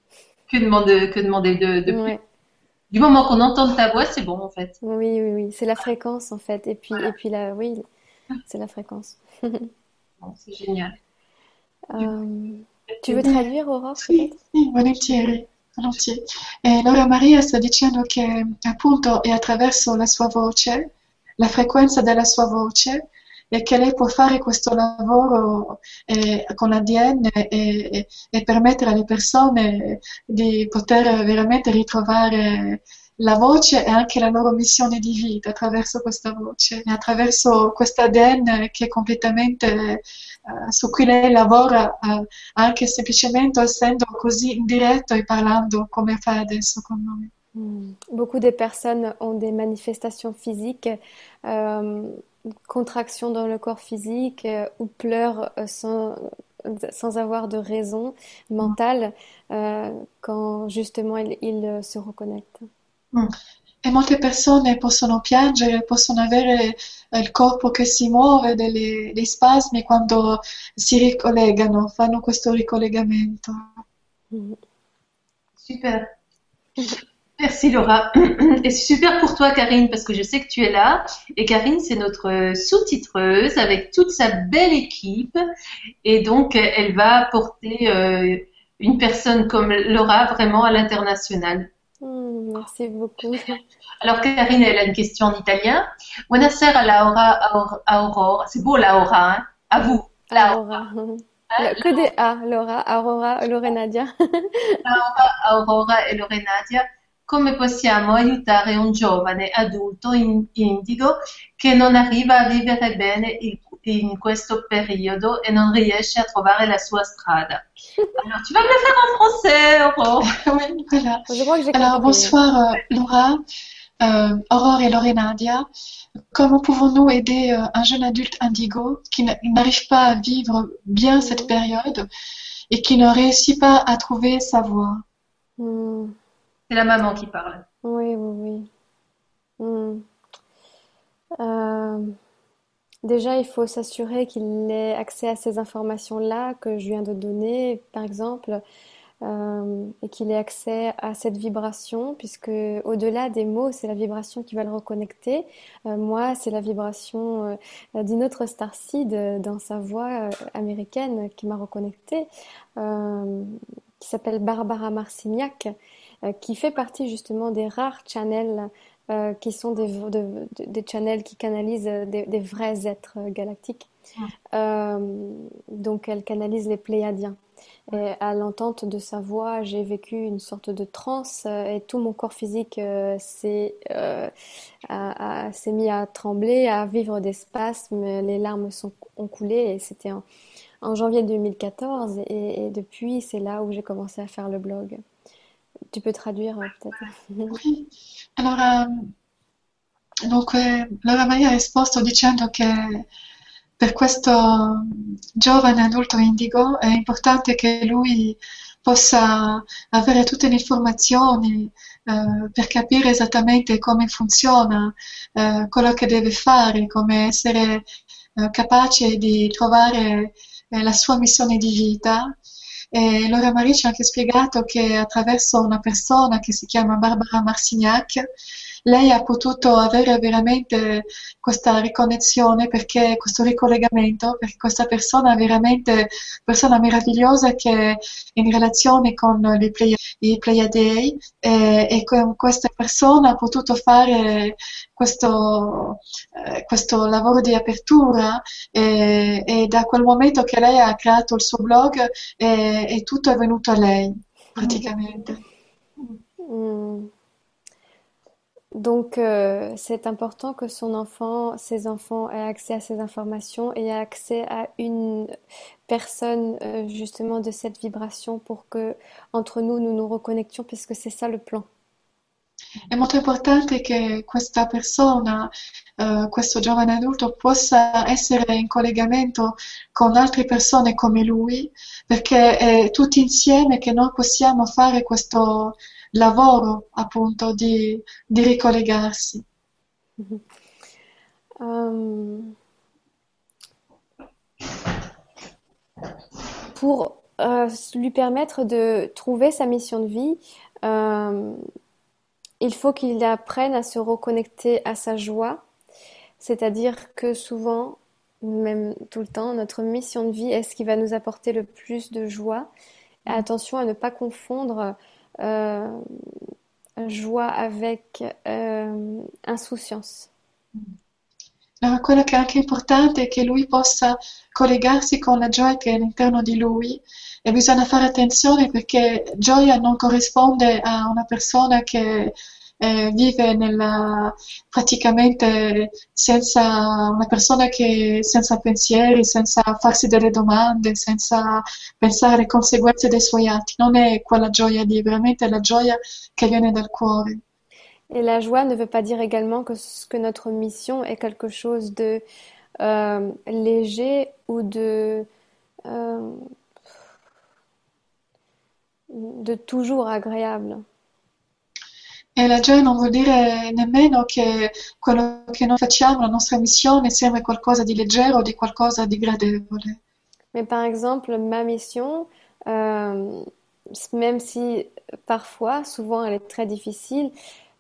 Que demander de plus? Ouais. Du moment qu'on entend ta voix, c'est bon en fait. Oui, oui, oui. C'est la fréquence en fait. Et puis là, oui, c'est la fréquence. Bon, c'est génial. Euh, Tu veux traduire, Aurore, Sì, peut-être? sì, volentieri, volentieri. Laura Maria sta dicendo che appunto è attraverso la sua voce, la frequenza della sua voce, e che lei può fare questo lavoro con l'ADN e permettere alle persone di poter veramente ritrovare la voce e anche la loro missione di vita attraverso questa voce e attraverso questo ADN che è completamente su cui lei lavora anche semplicemente essendo così in diretto e parlando come fai adesso con noi. Beaucoup de personnes ont des manifestations physiques, euh, contractions dans le corps physique ou pleurent sans avoir de raison mentale quand justement ils se reconnectent. Mm. E molte persone possono piangere, possono avere il corpo che si muove, dei spasmi quando si ricollegano, fanno questo ricollegamento. Mhm. Super. Merci Laura. Et c'est super pour toi Karine parce que je sais que tu es là. Et Karine, c'est notre sous-titreuse avec toute sa belle équipe. Et donc, elle va porter une personne comme Laura vraiment à l'international. Merci beaucoup. Alors Karine, elle a une question en italien. Buonasera Laura, Aurora. C'est beau Laura, hein? À vous. Laura, Aurora. Que des A, Laura, Aurora, Lorenadia. Aurora e Lorenadia, come possiamo aiutare un giovane adulto indigo che non arriva a vivere bene in questo periodo e non riesce a trovare la sua strada? Alors, tu vas me le faire en français, Aurore. Oui, voilà. Je crois que j'ai Alors, compris. bonsoir Laura, Aurore et Lorenadia. Comment pouvons-nous aider un jeune adulte indigo qui n'arrive pas à vivre bien cette Mhm. période et qui ne réussit pas à trouver sa voie? Hmm. C'est la maman qui parle. Oui, oui, oui. Euh, Déjà, il faut s'assurer qu'il ait accès à ces informations-là que je viens de donner, par exemple. et qu'il ait accès à cette vibration, puisque au-delà des mots, c'est la vibration qui va le reconnecter. Moi, c'est la vibration d'une autre starseed dans sa voix américaine qui m'a reconnectée, qui s'appelle Barbara Marcignac, qui fait partie justement des rares channels qui sont des channels qui canalisent des vrais êtres galactiques. Donc elle canalise les Pléiadiens. Et à l'entente de sa voix, j'ai vécu une sorte de transe et tout mon corps physique s'est mis à trembler, à vivre des spasmes, les larmes ont coulé et c'était en janvier 2014 et depuis c'est là où j'ai commencé à faire le blog. Tu peux traduire peut-être? Oui. Allora, dunque, Laura Maria ha risposto dicendo che per questo giovane adulto indigo è importante che lui possa avere tutte le informazioni per capire esattamente come funziona quello che deve fare, come essere capace di trovare la sua missione di vita. E Laura Maria ci ha anche spiegato che attraverso una persona che si chiama Barbara Marcignac, lei ha potuto avere veramente questa riconnessione, perché questo ricollegamento, perché questa persona è veramente persona meravigliosa che è in relazione con i Pleiadei e con questa persona ha potuto fare questo lavoro di apertura e da quel momento che lei ha creato il suo blog e tutto è venuto a lei praticamente. Mm. Donc, c'est important que ses enfants aient accès à ces informations et aient accès à une personne justement de cette vibration pour que entre nous, nous nous reconnections, puisque c'est ça le plan. È molto importante che questa persona, questo giovane adulto, possa essere in collegamento con altre persone come lui, perché è tutti insieme che noi possiamo fare questo lavoro, appunto, di ricollegarsi. Pour lui permettre de trouver sa mission de vie, il faut qu'il apprenne à se reconnecter à sa joie, c'est-à-dire que souvent, même tout le temps, notre mission de vie est ce qui va nous apporter le plus de joie. Et attention à ne pas confondre joie avec insouciance. Allora, quello che è anche importante è che lui possa collegarsi con la gioia che è all'interno di lui e bisogna fare attenzione perché gioia non corrisponde a una persona che vive praticamente una persona che senza pensieri, senza farsi delle domande, senza pensare alle conseguenze dei suoi atti. Non è quella gioia lì, veramente è la gioia che viene dal cuore. Et la joie ne veut pas dire également que notre mission est quelque chose de léger ou de toujours agréable. E la gioia non vuol dire nemmeno che quello che noi facciamo, la nostra missione, sia qualcosa di leggero o di qualcosa di gradevole. Mais par exemple, ma mission, même si parfois, souvent elle est très difficile,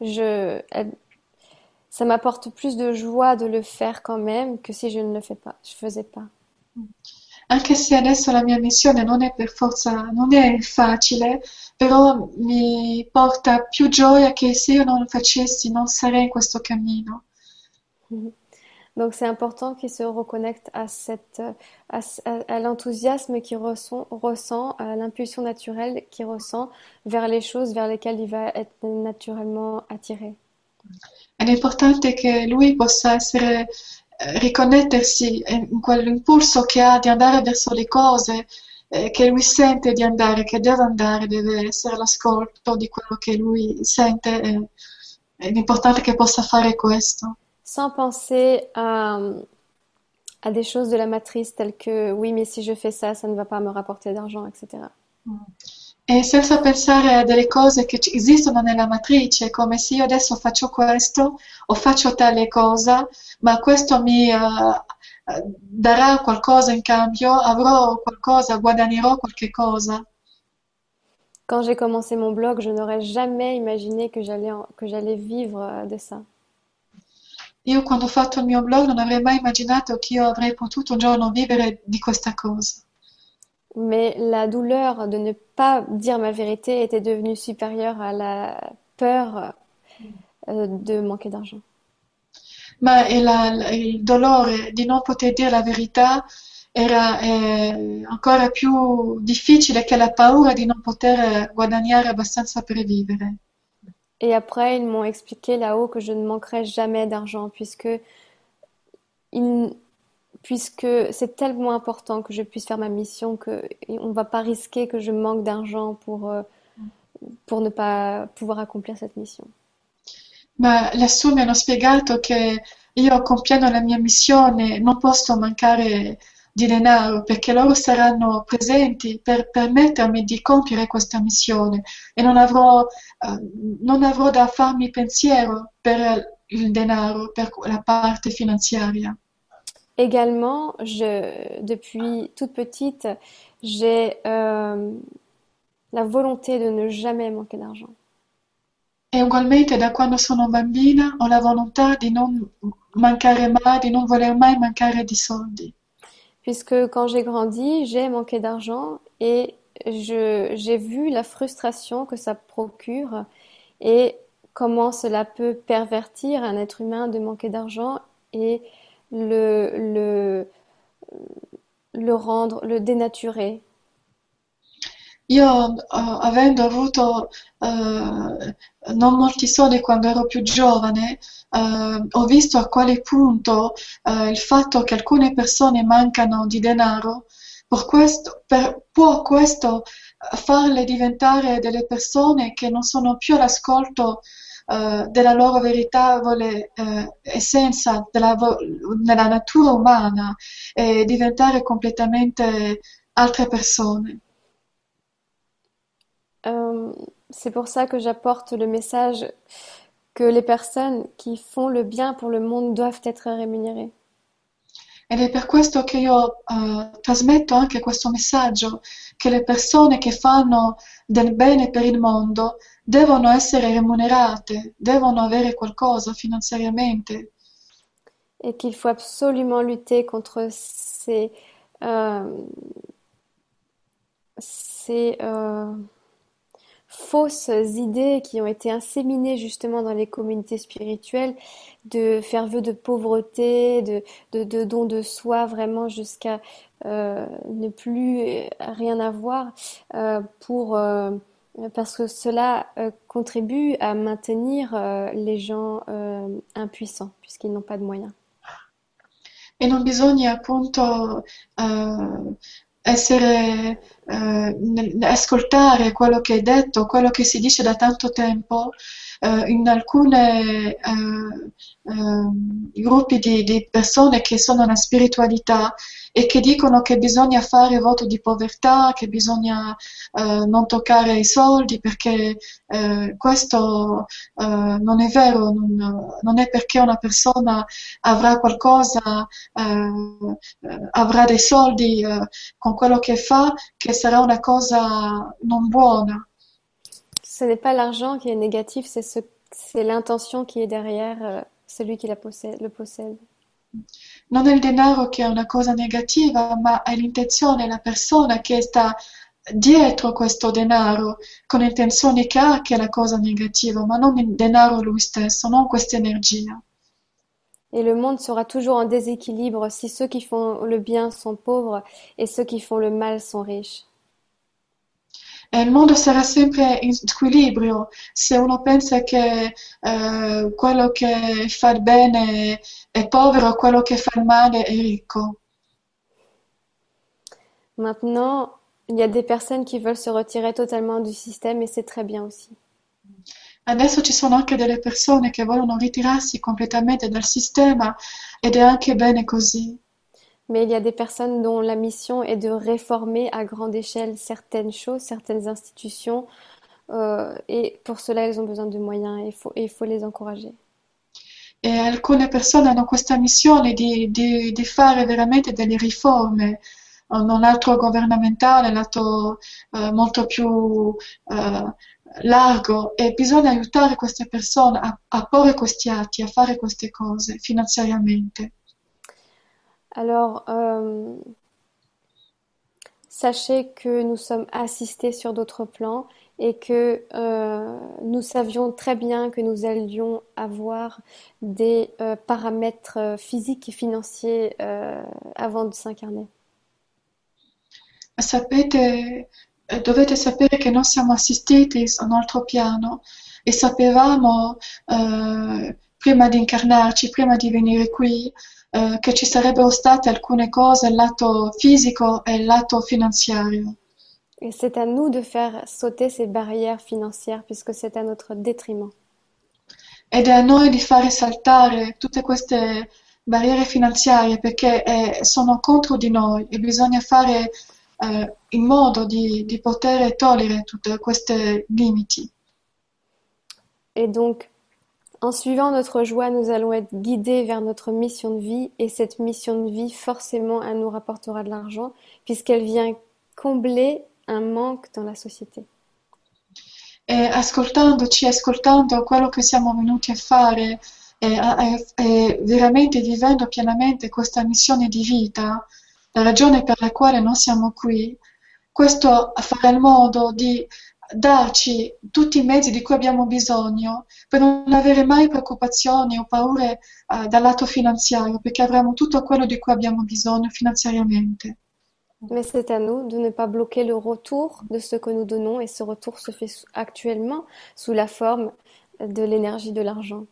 ça m'apporte plus de joie de le faire quand même que si je ne le faisais pas. Anche se adesso la mia missione non è per forza, non è facile, però mi porta più gioia che se io non lo facessi, non sarei in questo cammino. Donc c'est important qu'il se reconnecte à l'enthousiasme qu'il ressent, à l'impulsion naturelle qu'il ressent vers les choses vers lesquelles il va être naturellement attiré. Ed è importante che lui possa riconnettersi in quell'impulso che ha di andare verso le cose che lui sente di andare, che deve andare, deve essere l'ascolto di quello che lui sente. È importante che possa fare questo. Sans penser à des choses de la matrice telles que oui, mais si je fais ça, ça ne va pas me rapporter d'argent, etc. E senza pensare a delle cose che esistono nella matrice, come se io adesso faccio questo o faccio tale cosa, ma questo mi darà qualcosa in cambio, avrò qualcosa, guadagnerò qualche cosa. Quand j'ai commencé mon blog, je n'aurais jamais imaginé que j'allais vivre de ça. Io quando ho fatto il mio blog non avrei mai immaginato che io avrei potuto un giorno vivere di questa cosa. Mais la douleur de ne pas dire ma vérité était devenue supérieure à la peur de manquer d'argent. Ma il dolore di non poter dire la verità era ancora più difficile che la paura di non poter guadagnare abbastanza per vivere. Et après, ils m'ont expliqué là-haut que je ne manquerai jamais d'argent il- puisque c'est tellement important que je puisse faire ma mission que on ne va pas risquer que je manque d'argent pour ne pas pouvoir accomplir cette mission. Ma lassù mi hanno spiegato che io compiendo la mia missione non posso mancare di denaro perché loro saranno presenti per permettermi di compiere questa missione e non avrò da farmi pensiero per il denaro, per la parte finanziaria. Également, depuis toute petite, j'ai la volonté de ne jamais manquer d'argent. E ugualmente da quando sono bambina ho la volontà di non mancare mai, di non voler mai mancare di soldi. Puisque quand j'ai grandi, j'ai manqué d'argent et j'ai vu la frustration que ça procure et comment cela peut pervertir un être humain de manquer d'argent et le, le, le rendre, le dénaturer. Io, avendo avuto non molti soldi quando ero più giovane, ho visto a quale punto il fatto che alcune persone mancano di denaro, può questo farle diventare delle persone che non sono più all'ascolto della loro veritevole essenza, nella natura umana e diventare completamente altre persone. Euh, c'est pour ça que j'apporte le message que les personnes qui font le bien pour le monde doivent être rémunérées. Ed è per questo che io trasmetto anche questo messaggio, che le persone che fanno del bene per il mondo devono essere remunerate, devono avere qualcosa finanziariamente. Et qu'il faut absolument lutter contre euh, ces fausses idées qui ont été inséminées justement dans les communautés spirituelles, de faire vœu de pauvreté, de don de soi, vraiment jusqu'à ne plus rien avoir, parce que cela contribue à maintenir les gens impuissants, puisqu'ils n'ont pas de moyens. E non bisogna appunto ascoltare quello che è detto, quello che si dice da tanto tempo in alcune gruppi di persone che sono nella spiritualità e che dicono che bisogna fare voto di povertà, che bisogna non toccare i soldi perché questo non è vero, non è perché una persona avrà qualcosa, avrà dei soldi con quello che fa che sarà una cosa non buona. Ce n'est pas l'argent qui est négatif, c'est l'intention qui est derrière celui qui le possède. Non è il denaro che è una cosa negativa, ma è l'intenzione, la persona che sta dietro questo denaro, con l'intenzione che ha che è la cosa negativa, ma non il denaro lui stesso, non questa energia. Et le monde sera toujours en déséquilibre si ceux qui font le bien sont pauvres et ceux qui font le mal sont riches. E il mondo sarà sempre in squilibrio se uno pensa che quello che fa il bene è povero, quello che fa il male è ricco. Maintenant, il y a des personnes qui veulent se retirer totalement du système et c'est très bien aussi. Adesso ci sono anche delle persone che vogliono ritirarsi completamente dal sistema ed è anche bene così. Mais il y a des personnes dont la mission est de réformer à grande échelle certaines choses, certaines institutions, et pour cela, elles ont besoin de moyens et il faut les encourager. E alcune persone hanno questa missione di fare veramente delle riforme un altro governamentale, lato molto più largo, e bisogna aiutare queste persone a porre questi atti, a fare queste cose finanziariamente. Alors, sachez que nous sommes assistés sur d'autres plans et que nous savions très bien que nous allions avoir des paramètres physiques et financiers avant de s'incarner. Sapete, dovete sapere che noi siamo assistiti su un altro piano e sapevamo prima di incarnarci, prima di venire qui, che ci sarebbero state alcune cose, il lato fisico e il lato finanziario. Et c'est à nous de faire sauter ces barrières financières puisque c'est à notre détriment. Ed è a noi di fare saltare tutte queste barriere finanziarie perché sono contro di noi e bisogna fare in modo di poter togliere tutte queste limiti. Et donc, en suivant notre joie, nous allons être guidés vers notre mission de vie et cette mission de vie, forcément, elle nous rapportera de l'argent puisqu'elle vient combler un manque dans la société. E ascoltandoci, ascoltando quello che siamo venuti a fare e veramente vivendo pienamente questa missione di vita, la ragione per la quale noi siamo qui, questo farà il modo di darci tutti i mezzi di cui abbiamo bisogno per non avere mai preoccupazioni o paure dal lato finanziario, perché avremo tutto quello di cui abbiamo bisogno finanziariamente. Mais c'est à nous de ne pas bloquer le retour de ce que nous donnons et ce retour se fait actuellement sous la forme de l'énergie de l'argent.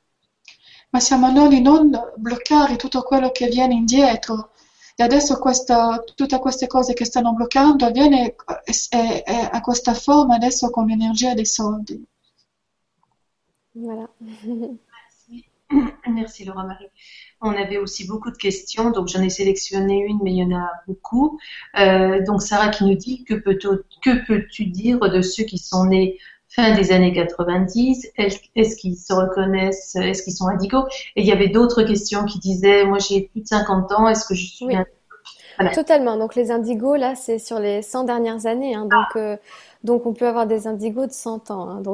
Ma siamo a noi di non bloccare tutto quello che viene indietro. E adesso tutte queste cose che stanno bloccando avviene a questa forma adesso con l'energia dei soldi. Voilà. Merci. Merci Laura Marie. On avait aussi beaucoup de questions, donc j'en ai sélectionné une, mais il y en a beaucoup. Donc Sarah qui nous dit que peux-tu dire de ceux qui sont nés fin des années 90, est-ce qu'ils se reconnaissent, est-ce qu'ils sont indigos? Et il y avait d'autres questions qui disaient, moi j'ai plus de 50 ans, est-ce que je suis Oui, Voilà. totalement. Donc les indigos, là, c'est sur les 100 dernières années, hein. Donc on peut avoir des indigos de 100 ans, hein.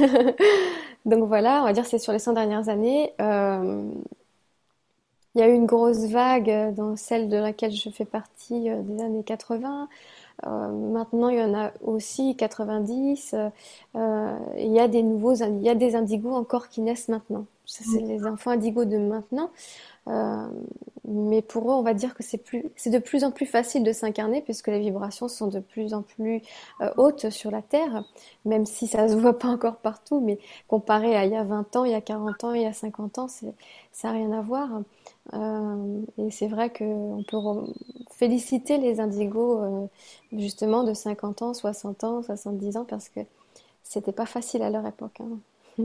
Donc voilà, on va dire que c'est sur les 100 dernières années. Il y a eu une grosse vague dans celle de laquelle je fais partie des années 80. Maintenant, il y en a aussi 90. Il y a il y a des indigos encore qui naissent maintenant. Ça, c'est les enfants indigos de maintenant. Euh, mais pour eux, on va dire que c'est de plus en plus facile de s'incarner puisque les vibrations sont de plus en plus hautes sur la Terre, même si ça ne se voit pas encore partout, mais comparé à il y a 20 ans, il y a 40 ans, il y a 50 ans, ça n'a rien à voir. Et c'est vrai qu'on peut féliciter les indigos justement de 50 ans, 60 ans, 70 ans parce que c'était pas facile à leur époque, hein.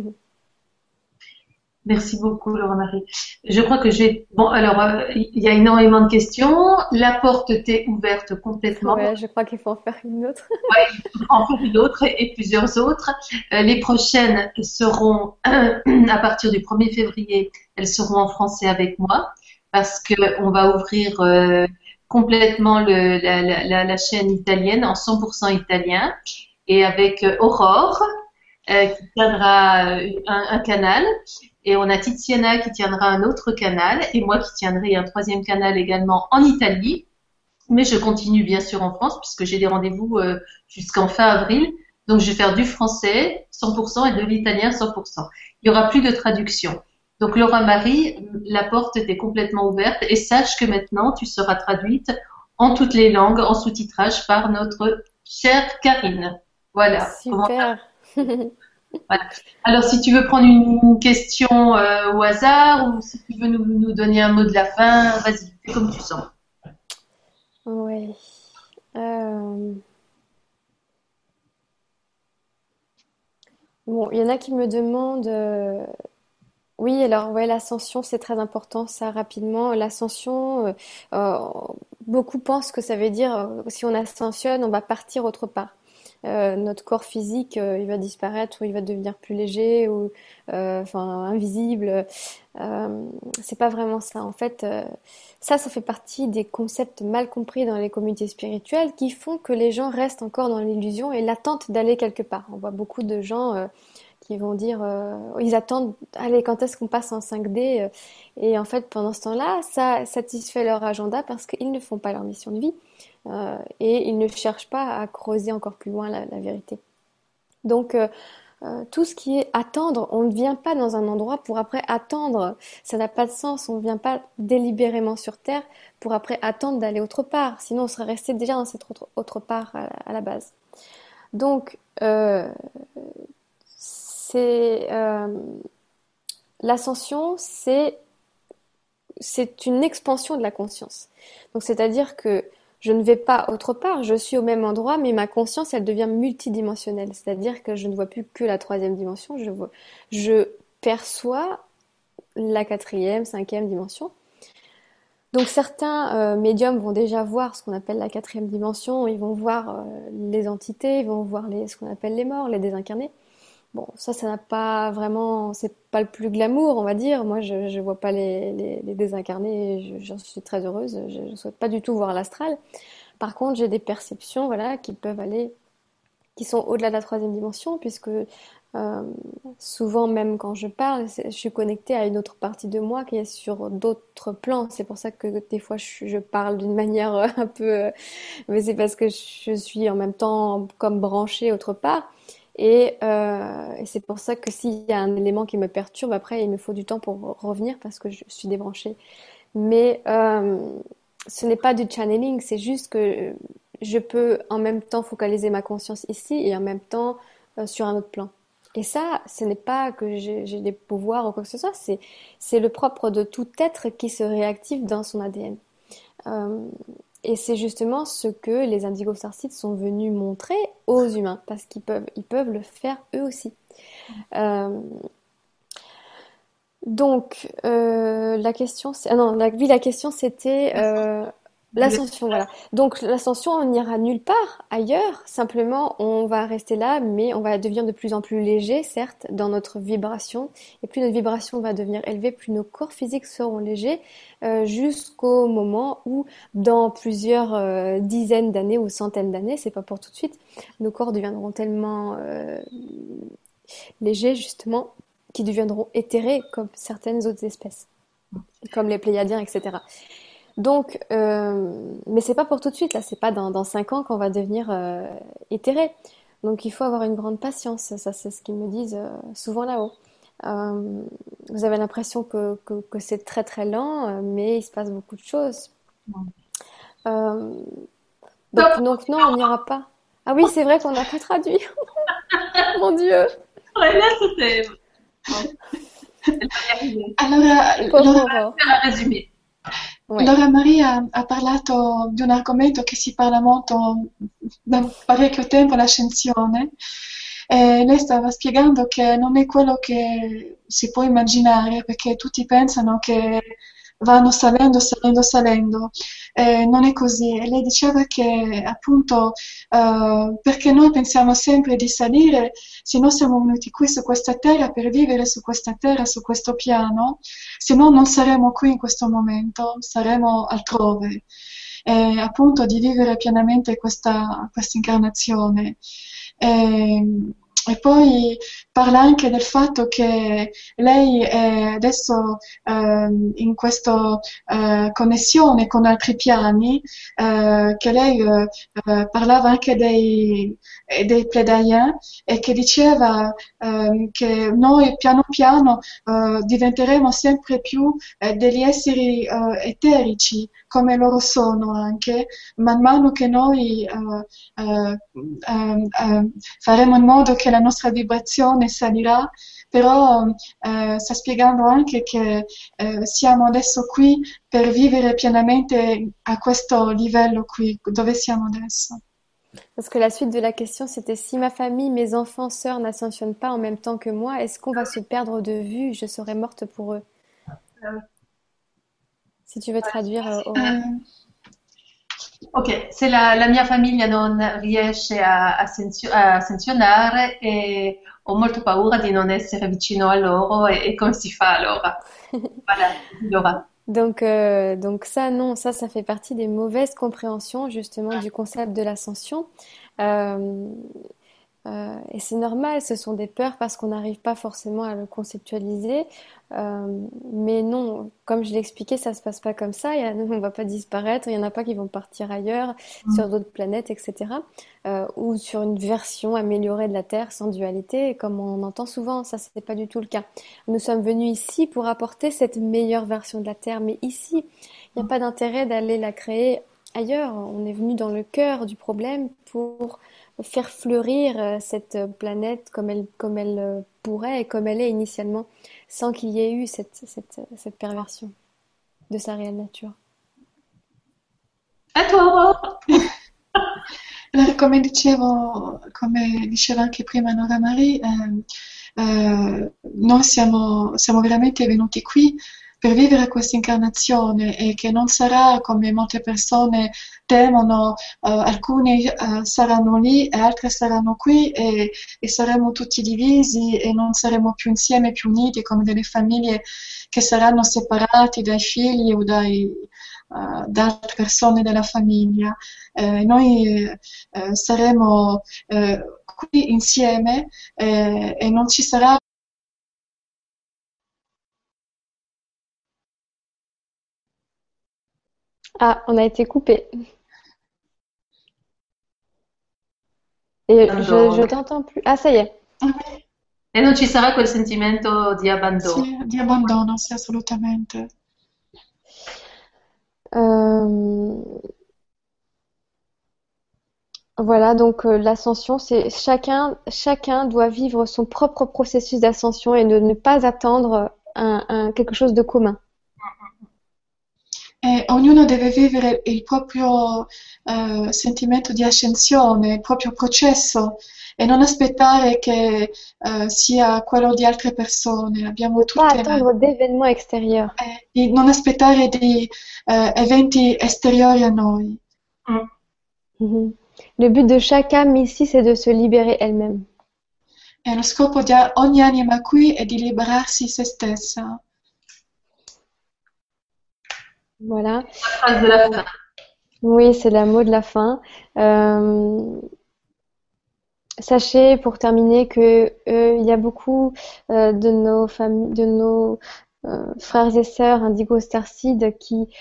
Merci beaucoup, Laura Marie. Je crois que bon, alors, il y a énormément de questions. La porte t'est ouverte complètement. Ouais, je crois qu'il faut en faire une autre. En faire une autre et plusieurs autres. Les prochaines seront, à partir du 1er février, elles seront en français avec moi parce que on va ouvrir complètement la chaîne italienne en 100% italien et avec Aurore qui tiendra un canal. Et on a Tiziana qui tiendra un autre canal et moi qui tiendrai un troisième canal également en Italie. Mais je continue bien sûr en France puisque j'ai des rendez-vous jusqu'en fin avril. Donc je vais faire du français 100% et de l'italien 100%. Il y aura plus de traduction. Donc Laura Marie, la porte était complètement ouverte et sache que maintenant tu seras traduite en toutes les langues en sous-titrage par notre chère Karine. Voilà. Super. Voilà. Alors, si tu veux prendre une question au hasard ou si tu veux nous donner un mot de la fin, vas-y, fais comme tu sens. Oui. Bon, il y en a qui me demandent. Oui, alors ouais, l'ascension, c'est très important, ça rapidement. L'ascension, beaucoup pensent que ça veut dire si on ascensionne, on va partir autre part. notre corps physique, il va disparaître ou il va devenir plus léger ou enfin invisible. C'est pas vraiment ça. En fait, ça fait partie des concepts mal compris dans les communautés spirituelles qui font que les gens restent encore dans l'illusion et l'attente d'aller quelque part. On voit beaucoup de gens qui vont dire, ils attendent, allez, quand est-ce qu'on passe en 5D? Et en fait, pendant ce temps-là, ça satisfait leur agenda parce qu'ils ne font pas leur mission de vie et ils ne cherchent pas à creuser encore plus loin la vérité. Donc, tout ce qui est attendre, on ne vient pas dans un endroit pour après attendre. Ça n'a pas de sens. On ne vient pas délibérément sur Terre pour après attendre d'aller autre part. Sinon, on serait resté déjà dans cette autre part à la base. Donc, c'est l'ascension, c'est une expansion de la conscience. Donc, c'est-à-dire que je ne vais pas autre part, je suis au même endroit, mais ma conscience, elle devient multidimensionnelle. C'est-à-dire que je ne vois plus que la troisième dimension, je perçois la quatrième, cinquième dimension. Donc certains médiums vont déjà voir ce qu'on appelle la quatrième dimension, ils vont voir les entités, ils vont voir ce qu'on appelle les morts, les désincarnés. Bon, ça n'a pas vraiment, c'est pas le plus glamour, on va dire. Moi, je vois pas les désincarnés, j'en suis très heureuse. Je ne souhaite pas du tout voir l'astral. Par contre, j'ai des perceptions, voilà, qui peuvent aller, qui sont au-delà de la troisième dimension, puisque souvent, même quand je parle, je suis connectée à une autre partie de moi qui est sur d'autres plans. C'est pour ça que des fois, je parle d'une manière un peu, mais c'est parce que je suis en même temps comme branchée autre part. Et c'est pour ça que s'il y a un élément qui me perturbe, après, il me faut du temps pour revenir parce que je suis débranchée. Mais ce n'est pas du channeling, c'est juste que je peux en même temps focaliser ma conscience ici et en même temps sur un autre plan. Et ça, ce n'est pas que j'ai des pouvoirs ou quoi que ce soit, c'est le propre de tout être qui se réactive dans son ADN. Euh, et c'est justement ce que les Indigo Starseeds sont venus montrer aux humains, parce qu'ils peuvent le faire eux aussi. Euh, donc, la question, ah non, oui, la question c'était l'ascension, voilà. Donc, l'ascension, on n'ira nulle part ailleurs, simplement, on va rester là, mais on va devenir de plus en plus léger, certes, dans notre vibration. Et plus notre vibration va devenir élevée, plus nos corps physiques seront légers, jusqu'au moment où, dans plusieurs dizaines d'années ou centaines d'années, c'est pas pour tout de suite, nos corps deviendront tellement légers, justement, qui deviendront éthérés comme certaines autres espèces, comme les Pléiadiens, etc. Donc, mais c'est pas pour tout de suite, là, c'est pas dans 5 ans qu'on va devenir éthéré. Donc il faut avoir une grande patience, ça c'est ce qu'ils me disent souvent là-haut. Euh, Vous avez l'impression que c'est très très lent, mais il se passe beaucoup de choses. Euh, donc non, on n'ira pas. Ah oui, c'est vrai qu'on n'a pas traduit. Mon Dieu. Ouais, là, c'était. Bon, elle va y arriver. Allora, Pauvre Laura, Aurore. Faire un résumé. Ouais. Laura Maria ha parlato di un argomento che si parla molto da parecchio tempo, l'ascensione, e lei stava spiegando che non è quello che si può immaginare, perché tutti pensano che vanno salendo, salendo, salendo. Non è così. E lei diceva che appunto perché noi pensiamo sempre di salire, se noi siamo venuti qui su questa terra per vivere su questa terra, su questo piano, se no non saremo qui in questo momento, saremo altrove. Appunto di vivere pienamente questa incarnazione. E poi parla anche del fatto che lei è adesso in questa connessione con altri piani, che lei parlava anche dei Pleiadiens e che diceva che noi piano piano diventeremo sempre più degli esseri eterici come loro sono anche, man mano che noi faremo in modo che la nostra vibrazione salirà, però sta spiegando anche che siamo adesso qui per vivere pienamente a questo livello qui, dove siamo adesso. Parce que la suite de la question, c'était si ma famille, mes enfants, sœurs n'ascensionnent pas en même temps que moi, est-ce qu'on va se perdre de vue? Je serai morte pour eux. Si tu veux traduire, Aurore. Eh, Ok, se la mia famiglia non riesce a sanzionare e ho molto paura di non essere vicino a loro e come si fa allora? Voilà, Laura. Donc ça, non, ça fait partie des mauvaises compréhensions justement du concept de l'ascension. Euh, et c'est normal, ce sont des peurs parce qu'on n'arrive pas forcément à le conceptualiser. Mais non, comme je l'ai expliqué, ça se passe pas comme ça. On va pas disparaître, il y en a pas qui vont partir ailleurs, sur d'autres planètes, etc. Ou sur une version améliorée de la Terre sans dualité, comme on entend souvent. Ça, c'est pas du tout le cas. Nous sommes venus ici pour apporter cette meilleure version de la Terre, mais ici, il n'y a pas d'intérêt d'aller la créer ailleurs. On est venu dans le cœur du problème pour faire fleurir cette planète comme elle pourrait et comme elle est initialement, sans qu'il y ait eu cette perversion de sa réelle nature. À toi, Aurore. Allora, come diceva anche prima Nora Marie, noi siamo veramente venuti qui per vivere questa incarnazione e che non sarà come molte persone temono, alcuni saranno lì e altri saranno qui e saremo tutti divisi e non saremo più insieme, più uniti come delle famiglie che saranno separati dai figli o da altre persone della famiglia. Noi saremo qui insieme e non ci sarà. Ah, on a été coupé. Et je t'entends plus. Ah, ça y est. E non ci sarà quel sentimento di abbandono. Sì, di abbandono, sì, assolutamente. Voilà, donc l'ascension, c'est chacun doit vivre son propre processus d'ascension et de ne pas attendre quelque chose de commun. E ognuno deve vivere il proprio sentimento di ascensione, il proprio processo e non aspettare che sia quello di altre persone. Abbiamo Pas tutte, attendre d'événements extérieurs. di non aspettare di eventi esteriori a noi. Mhm. Le but de chaque âme ici, c'est de se libérer elle-même. E lo scopo di ogni anima qui è di liberarsi se stessa. Voilà. La phrase de la fin. Oui, c'est le mot de la fin. Sachez, pour terminer, que il y a beaucoup de nos familles, de nos frères et sœurs Indigo Starseed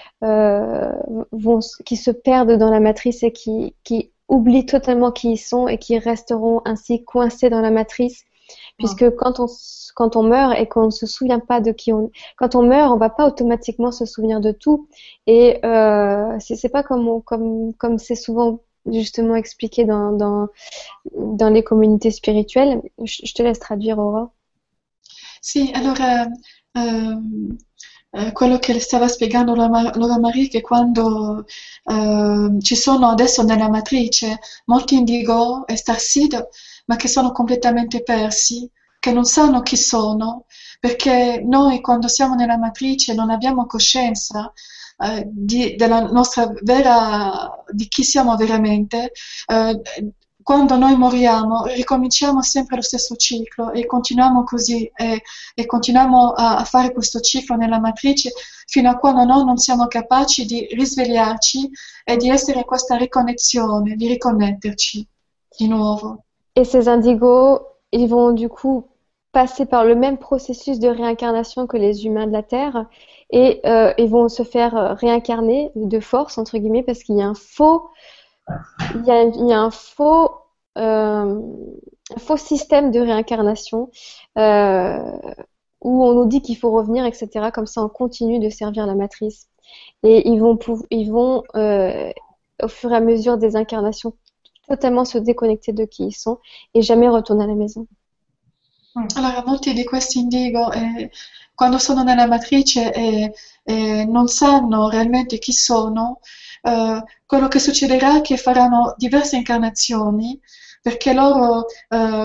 qui se perdent dans la matrice et qui oublient totalement qui ils sont et qui resteront ainsi coincés dans la matrice, puisque quand on meurt et qu'on ne se souvient pas de quand on meurt, on va pas automatiquement se souvenir de tout, et c'est pas comme c'est souvent justement expliqué dans les communautés spirituelles. Je te laisse traduire, Aurore. Sì, allora quello che stava spiegando Laura Marie, che quando ci sono adesso nella matrice molti indigo e starseed, ma che sono completamente persi, che non sanno chi sono, perché noi quando siamo nella matrice non abbiamo coscienza della nostra di chi siamo veramente. Quando noi moriamo ricominciamo sempre lo stesso ciclo e continuiamo così e continuiamo a fare questo ciclo nella matrice fino a quando noi non siamo capaci di risvegliarci e di essere in questa riconnessione, di riconnetterci di nuovo. Et ces indigos, ils vont du coup passer par le même processus de réincarnation que les humains de la Terre, et ils vont se faire réincarner de force, entre guillemets, parce qu'il y a un faux système de réincarnation où on nous dit qu'il faut revenir, etc. Comme ça, on continue de servir la matrice. Et ils vont au fur et à mesure des incarnations, totalement se déconnecter de qui ils sont et jamais retourner à la maison. Allora, molti di questi indigo, quando sono nella matrice non sanno realmente chi sono, quello che succederà è che faranno diverse incarnazioni perché loro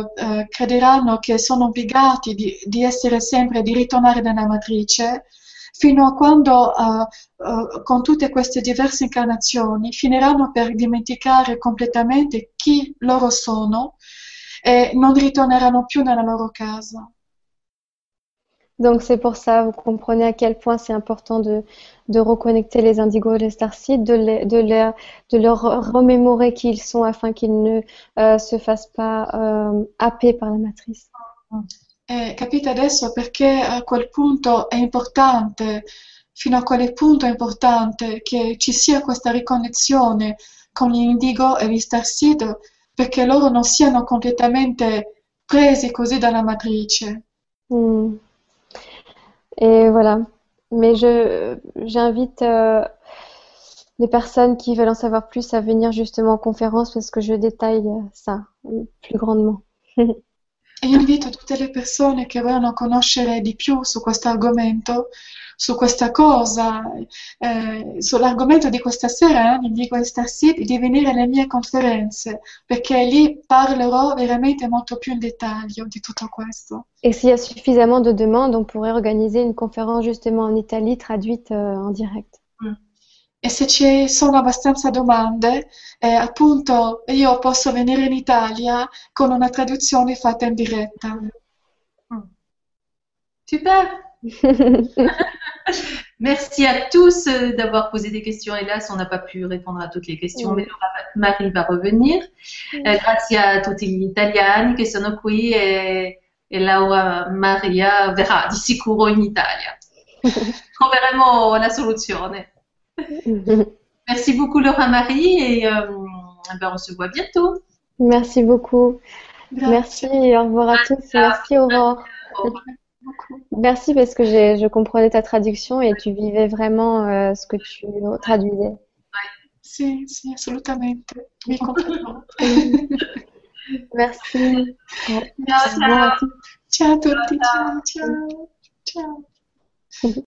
crederanno che sono obbligati di essere sempre, di ritornare nella matrice fino a quando, con tutte queste diverse incarnazioni, finiranno per dimenticare completamente chi loro sono e non ritorneranno più nella loro casa. Donc c'est pour ça, vous comprenez à quel point c'est important de reconnecter les indigos et les starseeds, de leur remémorer qui ils sont afin qu'ils ne se fassent pas happer par la matrice. Capite adesso perché a quel punto è importante, fino a quel punto è importante che ci sia questa riconnessione con gli indigo e gli starseed, perché loro non siano completamente presi così dalla matrice. Hmm. Et voilà. Mais j'invite les personnes qui veulent en savoir plus à venir justement en conférence parce que je détaille ça plus grandement. E io invito tutte le persone che vogliono conoscere di più su questo argomento, su questa cosa, sull'argomento di questa sera, di Indigo e Starseed, di venire alle mie conferenze, perché lì parlerò veramente molto più in dettaglio di tutto questo. Et s'il y a suffisamment de demandes, on pourrait organiser une conférence justement en Italie traduite en direct. E se ci sono abbastanza domande, appunto io posso venire in Italia con una traduzione fatta in diretta. Super. Merci à tous d'avoir posé des questions. Hélas, on n'a pas pu répondre à toutes les questions, mais Marie va revenir. Grazie a tutti gli italiani che sono qui e Laura Maria verrà di sicuro in Italia. Troveremo la soluzione. Merci beaucoup Laura Marie et on se voit bientôt. Merci beaucoup. Grazie. Merci, au revoir à tous. Merci Aurore. Merci parce que je comprenais ta traduction et tu vivais vraiment ce que tu traduisais. Sì, sì, assolutamente. Mi comprendo. Merci. Ciao, ciao. Ciao a tutti, ciao, ciao, ciao.